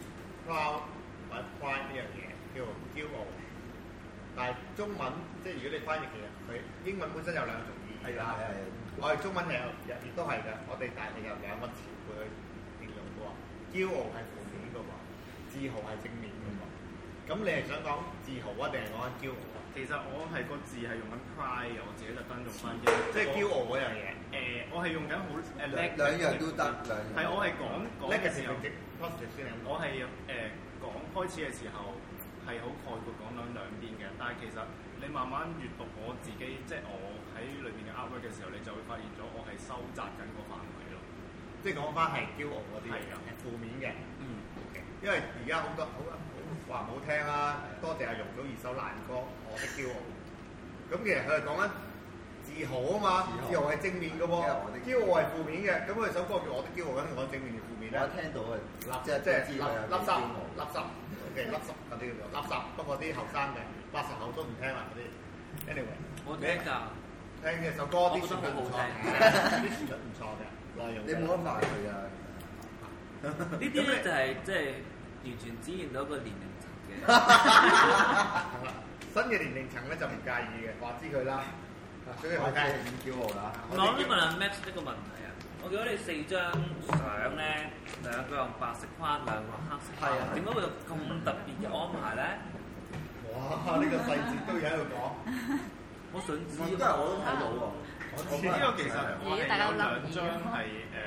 proud 或者 pride 呢樣嘢叫做驕傲。但係中文即係如果你翻譯，其實佢英文本身有兩種意義啦。我哋中文亦都係嘅，我哋大係有兩個詞彙去形容嘅喎。驕傲係負面嘅喎，自豪係正面嘅喎。咁你係想講自豪啊，定係講緊驕傲啊？ 其實我係個字係用緊 pride 嘅，我自己特登用翻英。 即係驕傲嗰樣嘢。 我係用緊好兩樣都得， 係我係講嘅時候，我係講開始嘅時候。係好概括講兩邊嘅，但係其實你慢慢閲讀我自己，即係我喺裏邊嘅 artwork 嘅時候，你就會發現咗我係收窄緊個範圍咯。 即係講翻係驕傲嗰啲，係負面嘅。因為而家好多好話唔好聽啦，多謝阿容祖兒首爛歌《我的驕傲》。咁其實佢係講緊自豪啊嘛，自豪係正面嘅喎，驕傲係負面嘅。咁佢首歌叫《我的驕傲》，梗係講正面定負面咧？ 我聽到即係垃圾。嘅垃圾嗰啲叫做垃圾，不過啲後生嘅80後都唔聽啦嗰啲。Anyway， 我聽㗎， 聽嘅首歌啲旋律唔錯嘅，啲旋律唔錯嘅內容。 你冇得賣佢啊！ 呢啲咧就係即係完全展現到一個年齡層嘅。 新嘅年齡層咧就唔介意嘅，話知佢啦。所以我梗係唔驕傲啦。 我想問阿 Max 一個問題啊，我見到你4張相咧，兩個用白色框，兩個黑色框，點解會有咁特別嘅安排咧？ 哇！ 呢個細節都要喺度講。 我想知， 都係我都睇到喎。 呢個其實我係有兩張係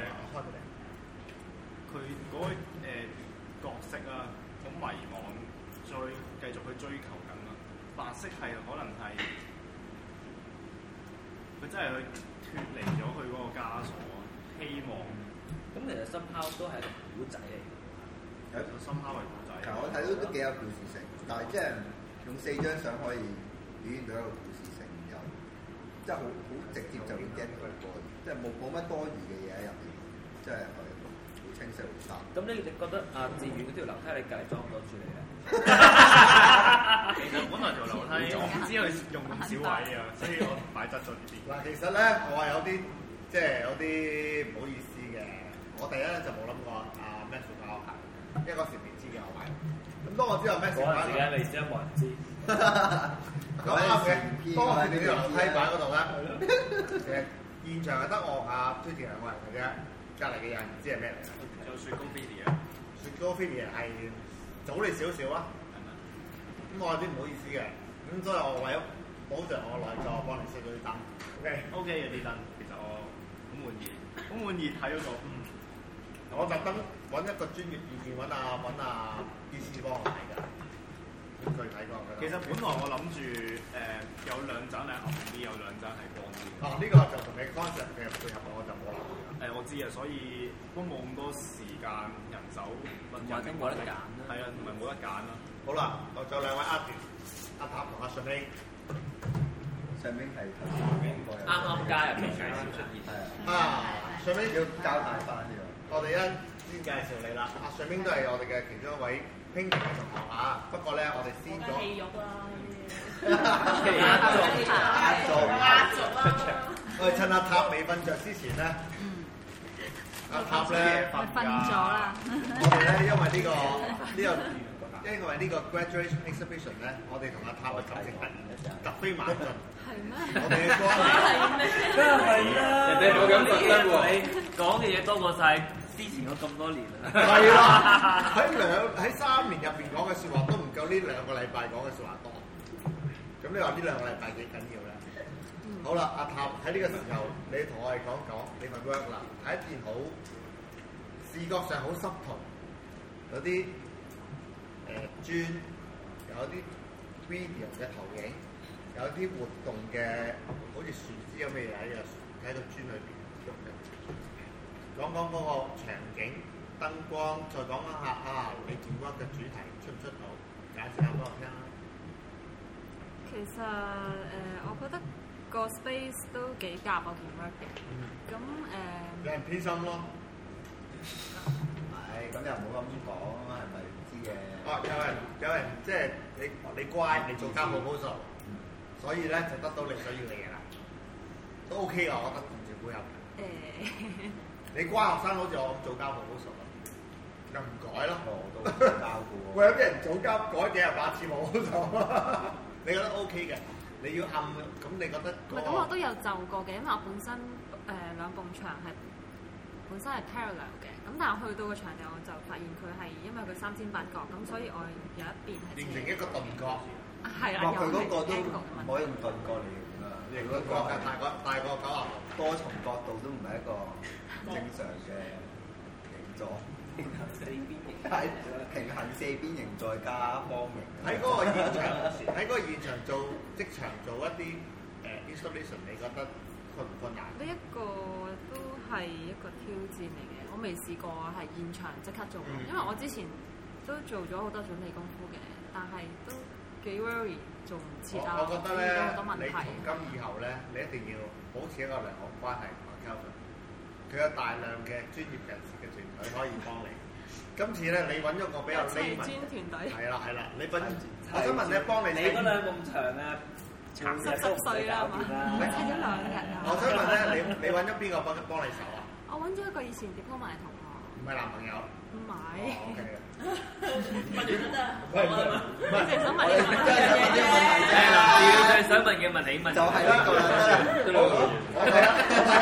佢嗰個角色啊，好迷惘，繼續去追求緊啊。白色係可能係佢真係去脫離咗佢嗰個枷鎖，希望。 咁其實深拋都係一個古仔嚟嘅， 有一個深拋係古仔。 其實我睇到都幾有故事性，但係即係用4張相可以表現到一個故事性，又即係好直接就會 get 到個，即係冇乜多餘嘅嘢喺入邊，即係好清晰好曬。咁你覺得阿志遠嗰條樓梯你隔離裝唔到住嚟咧？ 其實本來條樓梯我唔知佢用咁少位啊，所以我擺側咗呢邊。 嗱，其實咧我係有啲即係有啲唔好意思嘅。我第一咧就冇諗過阿 Matthew 教我排，因為嗰時未知嘅我排。咁當我知道 Matthew 排， 嗰陣時未知，冇人知。 咁啱嘅，當我見到條樓梯擺嗰度咧，其實現場係得我阿推薦兩個人嘅啫，隔離嘅人唔知係咩嚟嘅。 就雪糕 Billy 啊， 雪糕 Billy 係早你少少啊。咁我有啲唔好意思嘅，咁所以我為咗保障我內在，我幫你熄咗啲燈。 OK 嘅啲燈，其實我好滿意，好滿意睇嗰個。 我特登揾一個專業意見，揾阿醫師幫我睇㗎。咁佢睇過佢。 其實本來我諗住有兩盞係暗啲，有兩盞係光啲。 呢個就同你 concept 嘅配合，我就冇諗過。 我知啊，所以都冇咁多時間人手，或者冇得揀啦。 係啊，同埋冇得揀啦。 好啦，我仲有兩位artist，阿塔同阿上兵。 上兵係啱啱加入嘅介紹出現。 係上兵要交代翻呢個。 我哋先介紹你啦，阿上兵都係我哋嘅其中一位拼圖嘅同學啊。不過咧，我哋先咗。 戲肉啦， 壓軸啦。我哋趁阿塔未瞓着之前咧，阿塔咧瞓咗啦。 我哋咧因為呢個 graduation exhibition 咧，我哋同阿塔嘅感情突飛猛進。 係咩？ 我哋嘅關係係咩？ 梗係啦！人哋冇咁覺得喎，你講嘅嘢多過晒之前嗰咁多年啦。 係啦，喺3年入邊講嘅説話都唔夠呢2個禮拜講嘅説話多。咁你話呢2個禮拜幾緊要咧？好啦，阿塔喺呢個時候，你同我哋講你份 work 啦，係一件好視覺上好濕痛，有啲磚，有啲 video 嘅投影，有啲活動嘅好似樹枝咁嘅嘢喺個磚裏邊喐嘅。講嗰個場景、燈光，再講下你件 work 嘅主題出唔出到？介紹下俾我聽啦。 其實我覺得個 space 都幾夾我件 work 嘅。咁有人偏心咯。 係，咁又唔好咁講啊，係咪知嘅？ 有人即係你乖，你做家務好做，所以咧就得到你想要嘅嘢啦，都 OK 啊，我覺得同時配合。你乖學生好似我咁做家務好熟啊，又唔改咯。 我都交嘅喎。 喂，有啲人做家改幾日8次冇好做，你覺得 OK 嘅？你要暗咁，你覺得？ 咁我都有就過嘅，因為我本身兩埲牆係本身係 parallel 嘅，咁但係去到個牆就我就發現佢係因為佢38角，咁所以我有一邊係形成一個鈍角。 係啦， 佢嗰個都唔可以用鈍角嚟形容啊， 形個角係大過90度， 多重角度都唔係一個正常嘅形狀。平行4邊形，平行4邊形再加方形。 喺嗰個現場做即場做一啲installation， 你覺得困唔困難？ 呢一個都係一個挑戰嚟嘅，我未試過係現場即刻做，因為我之前都做咗好多準備功夫嘅，但係都幾 worry 做唔切啊， 我覺得咧， 好多問題。 你從今以後咧，你一定要保持一個良好關係同埋溝通。佢有大量嘅專業人士嘅團隊可以幫你。今次咧，你揾咗個比較 layman 專團隊。係啦，你揾，我想問你幫你。 你嗰兩埲牆啊， 殘濕碎啦嘛，唔係砌咗2日啊。 我想問咧，你揾咗邊個幫你手啊？ 我揾咗一個以前 diploma 嘅同學。 唔係男朋友。 唔係。 OK 嘅。 問完都得。 唔係， 你淨係想問你問嘅啫。 係想問嘅問你問。 就係呢個啦。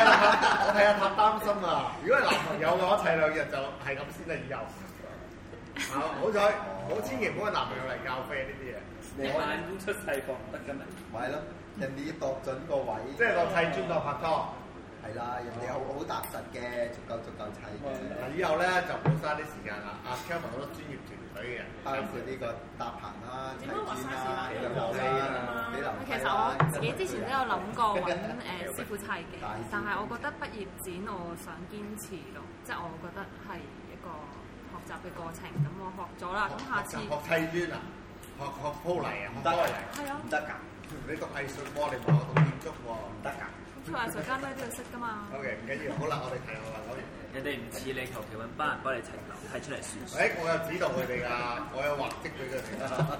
我睇下塔擔心啊！如果係男朋友嘅話，砌2日就係咁先啦，以後。 好彩，千祈唔好揾男朋友嚟教飛呢啲嘢。 我眼中出細貨唔得㗎嘛。 咪係咯，人哋要度準個位， 即係個砌磚當拍拖。 係啦，人哋好踏實嘅，足夠砌嘅。 以後咧就唔好嘥啲時間啦。阿 Kevin 好多專業團隊嘅， 包括呢個搭棚啦、砌磚啦、起樓其實我自己之前都有諗過揾師傅砌嘅，但係我覺得畢業展我想堅持咯，即係我覺得係一個學習嘅過程。咁我學咗啦，咁下次學砌磚啊，學鋪泥啊，學多泥， 係啊， 唔得㗎。你讀藝術科，你唔係我讀建築喎，唔得㗎。 做藝術家咩都要識㗎嘛。 OK， 唔緊要，好啦，我哋睇下啦，講完。 人哋唔似你求其揾班人幫你砌樓，砌出嚟算。 我有指導佢哋㗎，我有畫則俾佢哋。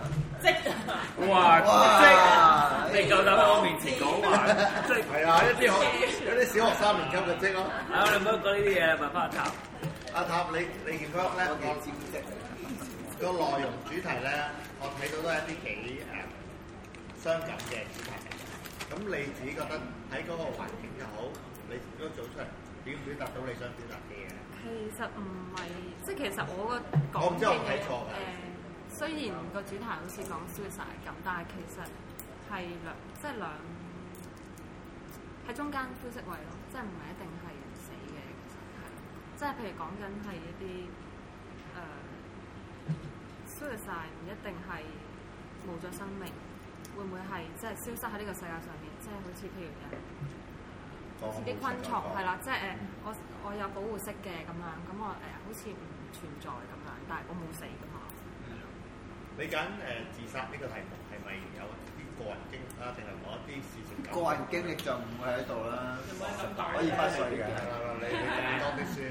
哇！你夠膽喺我面前講話？ 係啊，有啲小學3年級嘅則咯。 你唔好講呢啲嘢，問翻阿塔。 阿塔，你見到咧個內容主題咧，我睇到都係一啲幾傷感嘅主題。咁你自己覺得喺嗰個環境又好，你如果做出嚟表唔表達到你想表達嘅嘢？ 其實唔係，即係其實我個講我唔知我睇錯㗎。 雖然個主題好似講 suicide 咁，但係其實係兩喺中間灰色位咯，即係唔係一定係死嘅，其實係，即係譬如講緊係一啲suicide 唔一定係冇咗生命。會唔會係即係消失喺呢個世界上面？即係好似譬如自己昆蟲係啦，即係我有保護色嘅咁樣，咁我好似唔存在咁樣，但係我冇死㗎嘛。 你揀自殺呢個題目係咪有啲個人經歷啊，定係某一啲事情？ 個人經歷就唔會喺度啦，可以翻水嘅。 你多啲書。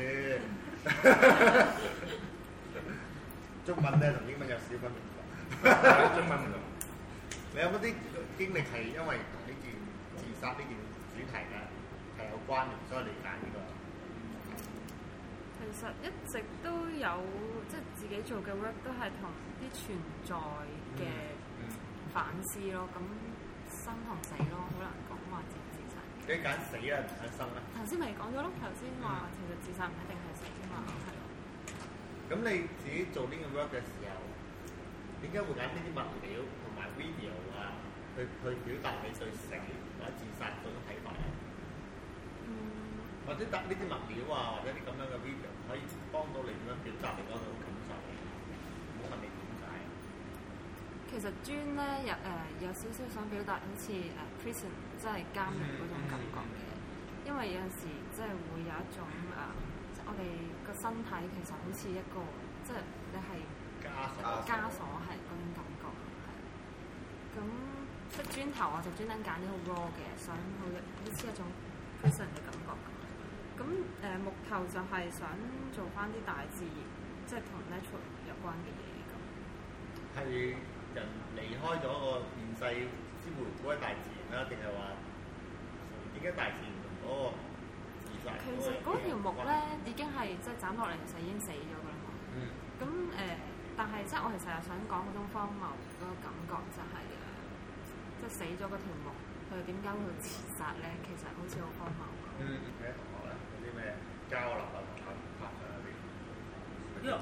中文咧同英文有少分別。中文唔同。你有冇啲經歷係因為同呢件自殺呢件主題咧係有關嘅，所以你揀呢個？ 其實一直都有，即係自己做嘅 work 都係同啲存在嘅反思咯。咁生同死咯，好難講話自殺。 你揀死啊，唔揀生咧？ 頭先咪講咗咯，頭先話其實自殺唔一定係死㗎嘛，係咯。 咁你自己做呢個 work 嘅時候，點解會揀呢啲物料同埋 video 啊，去表達你對死或者自殺嗰種睇法咧？或者搭呢啲物料啊，或者啲咁樣嘅 video 可以幫到你點樣表達你嗰種感受？唔好問你點解。 其實磚咧有少少想表達好似prison 即係監獄嗰種感覺嘅，因為有陣時即係會有一種即係我哋個身體其實好似一個即係你係枷鎖係嗰種感覺，係。咁即係磚頭我就專登揀啲好 raw 嘅，想好似一種 prison 嘅感覺。咁木頭就係想做翻啲大自然，即係同 natural 有關嘅嘢咁。 係人離開咗個現世先回歸大自然啦，定係話點解大自然同嗰個自殺？ 其實嗰條木咧已經係即係斬落嚟，其實已經死咗㗎啦嘛。咁但係即係我其實又想講嗰種荒謬嗰個感覺就係即係死咗嗰條木，佢點解會自殺咧？其實好似好荒謬。 你啲同學咧有啲咩交流啊？同拍上嗰啲， 因為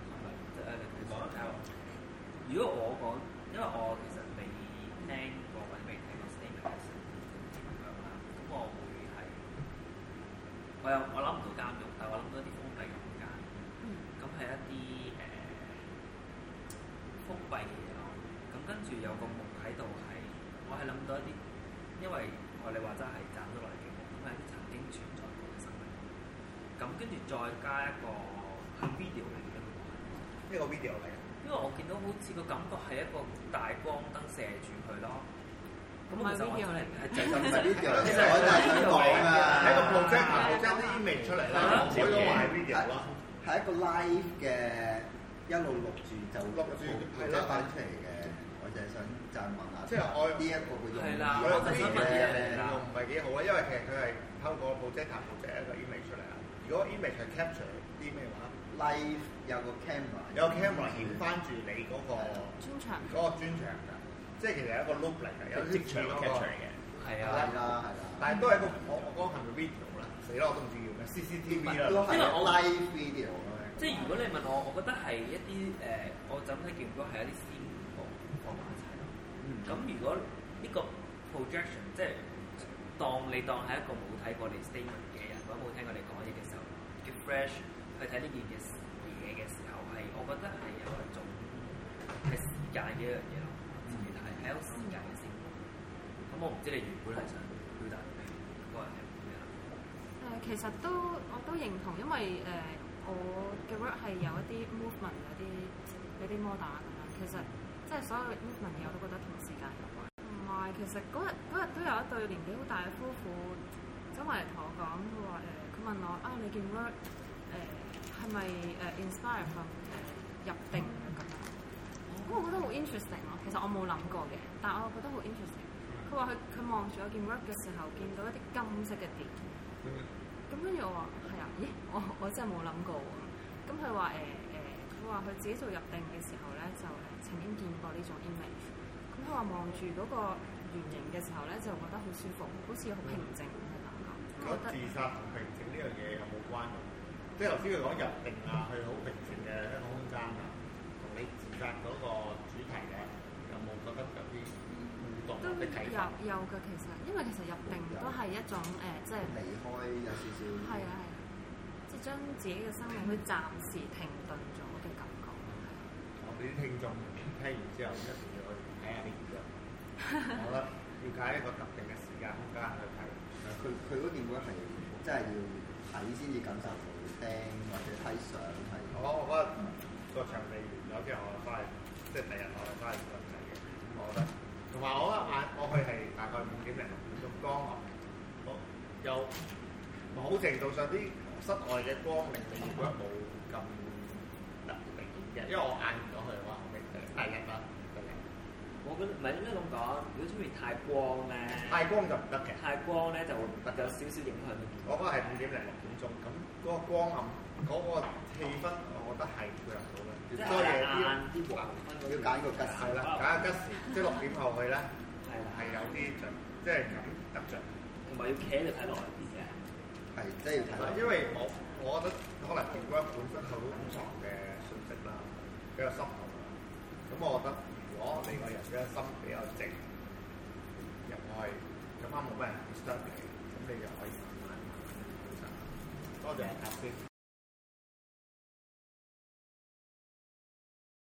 如果我講，因為我其實未聽過或者未聽過 statement 咁樣啦，咁我會係我諗唔到監獄，但係我諗到一啲封閉嘅空間。咁係一啲封閉嘅嘢咯。咁跟住有個木喺度係，我係諗到一啲，因為我哋話齋係斬咗落嚟嘅木，咁係一啲曾經存在過嘅生命。咁跟住再加一個係 video 嚟嘅， 呢個 video 嚟。 因為我見到好似個感覺係一個大光燈射住佢咯。咁唔係 video 嚟嘅， 係真係 video 嚟嘅。我就係想講啊， 喺個 project 啲 image 出嚟啦，唔可以話係 video 咯。 係一個 live 嘅一路錄住就錄住翻出嚟嘅。我就係想就係問下， 即係我呢一個佢用我有啲嘢用唔係幾好啊，因為其實佢係透過 project 一個 image 出嚟啦。如果 image 係 capture 啲咩話？ Live 有個 camera， 有個 camera 顯翻住你嗰個專場㗎，即係其實係一個 loop 嚟嘅，有啲似嗰個 capture 嚟嘅。係啊， 但係都係一個我講係咪 video 啦？死啦，我都唔知叫咩 CCTV 啦。 都係 live video 咯。 即係如果你問我，我覺得係一啲我就咁睇見到係一啲先放埋一齊咯。咁如果呢個 projection 即係當係一個冇睇過你 statement 嘅人，或者冇聽過你講嘢嘅時候，叫 fresh 去睇呢件嘢嘅時候，係我覺得係有一種係時間嘅一樣嘢咯。自己睇係有時間嘅先。咁我唔知你原本係想表達嘅個人係點樣？ 其實我都認同，因為我嘅 work 係有一啲 movement 有啲 model 咁樣。其實即係所有 movement 嘢我都覺得同時間有關。同埋其實嗰日都有一對年紀好大嘅夫婦走埋嚟同我講，佢問我你件 work 係咪inspire from 入定嘅咁樣？咁我覺得好 interesting 咯。其實我冇諗過嘅，但我覺得好 interesting。佢話佢望住我件 work 嘅時候，見到一啲金色嘅點。咁跟住我話係啊，咦？我真係冇諗過喎。咁佢話佢話佢自己做入定嘅時候咧，就曾經見過呢種 image。咁佢話望住嗰個圓形嘅時候咧，就覺得好舒服，好似好平靜咁嘅感覺。 覺得自殺同平靜呢樣嘢有冇關係？即係頭先佢講入定啊，去好平靜嘅一個空間啊，同你自殺嗰個主題咧，有冇覺得有啲互動嘅睇法？ 有嘅，其實因為其實入定都係一種即係離開有少少。係啊，即係將自己嘅生命去暫時停頓咗嘅感覺。 我哋啲聽眾聽完之後，一定要去睇下呢啲。我覺得要解一個特定嘅時間空間去睇。 佢嗰件會係真係要睇先至感受到，聽或者睇相係。 我覺得個場地完咗之後，我翻去即係第日我翻去再睇嘅。我覺得，同埋我去係大概5點零6點鐘光暗，有某程度上啲室外嘅光令你覺得冇咁特別嘅，因為我眼唔到佢嘅話，我明第日啦。 我覺得唔係應該咁講，如果出面太光咧， 太光就唔得嘅。 太光咧就會有少少影響到健康。 我覺得係5點零6點鐘，咁嗰個光暗嗰個氣氛，我覺得係配合到嘅。 即係晏啲黃昏嗰啲， 要揀個吉時。 係啦，揀個吉時，即係6點後去咧，係有啲著，即係咁得著。 同埋要企喺度睇耐啲嘅。係， 即係要睇。 因為我覺得可能電光本身係好隱藏嘅訊息啦，比較深厚啦。咁我覺得。如果你個人嘅心比較靜入去，咁啱冇乜人 disturb 你，咁你就可以慢慢。多謝阿先。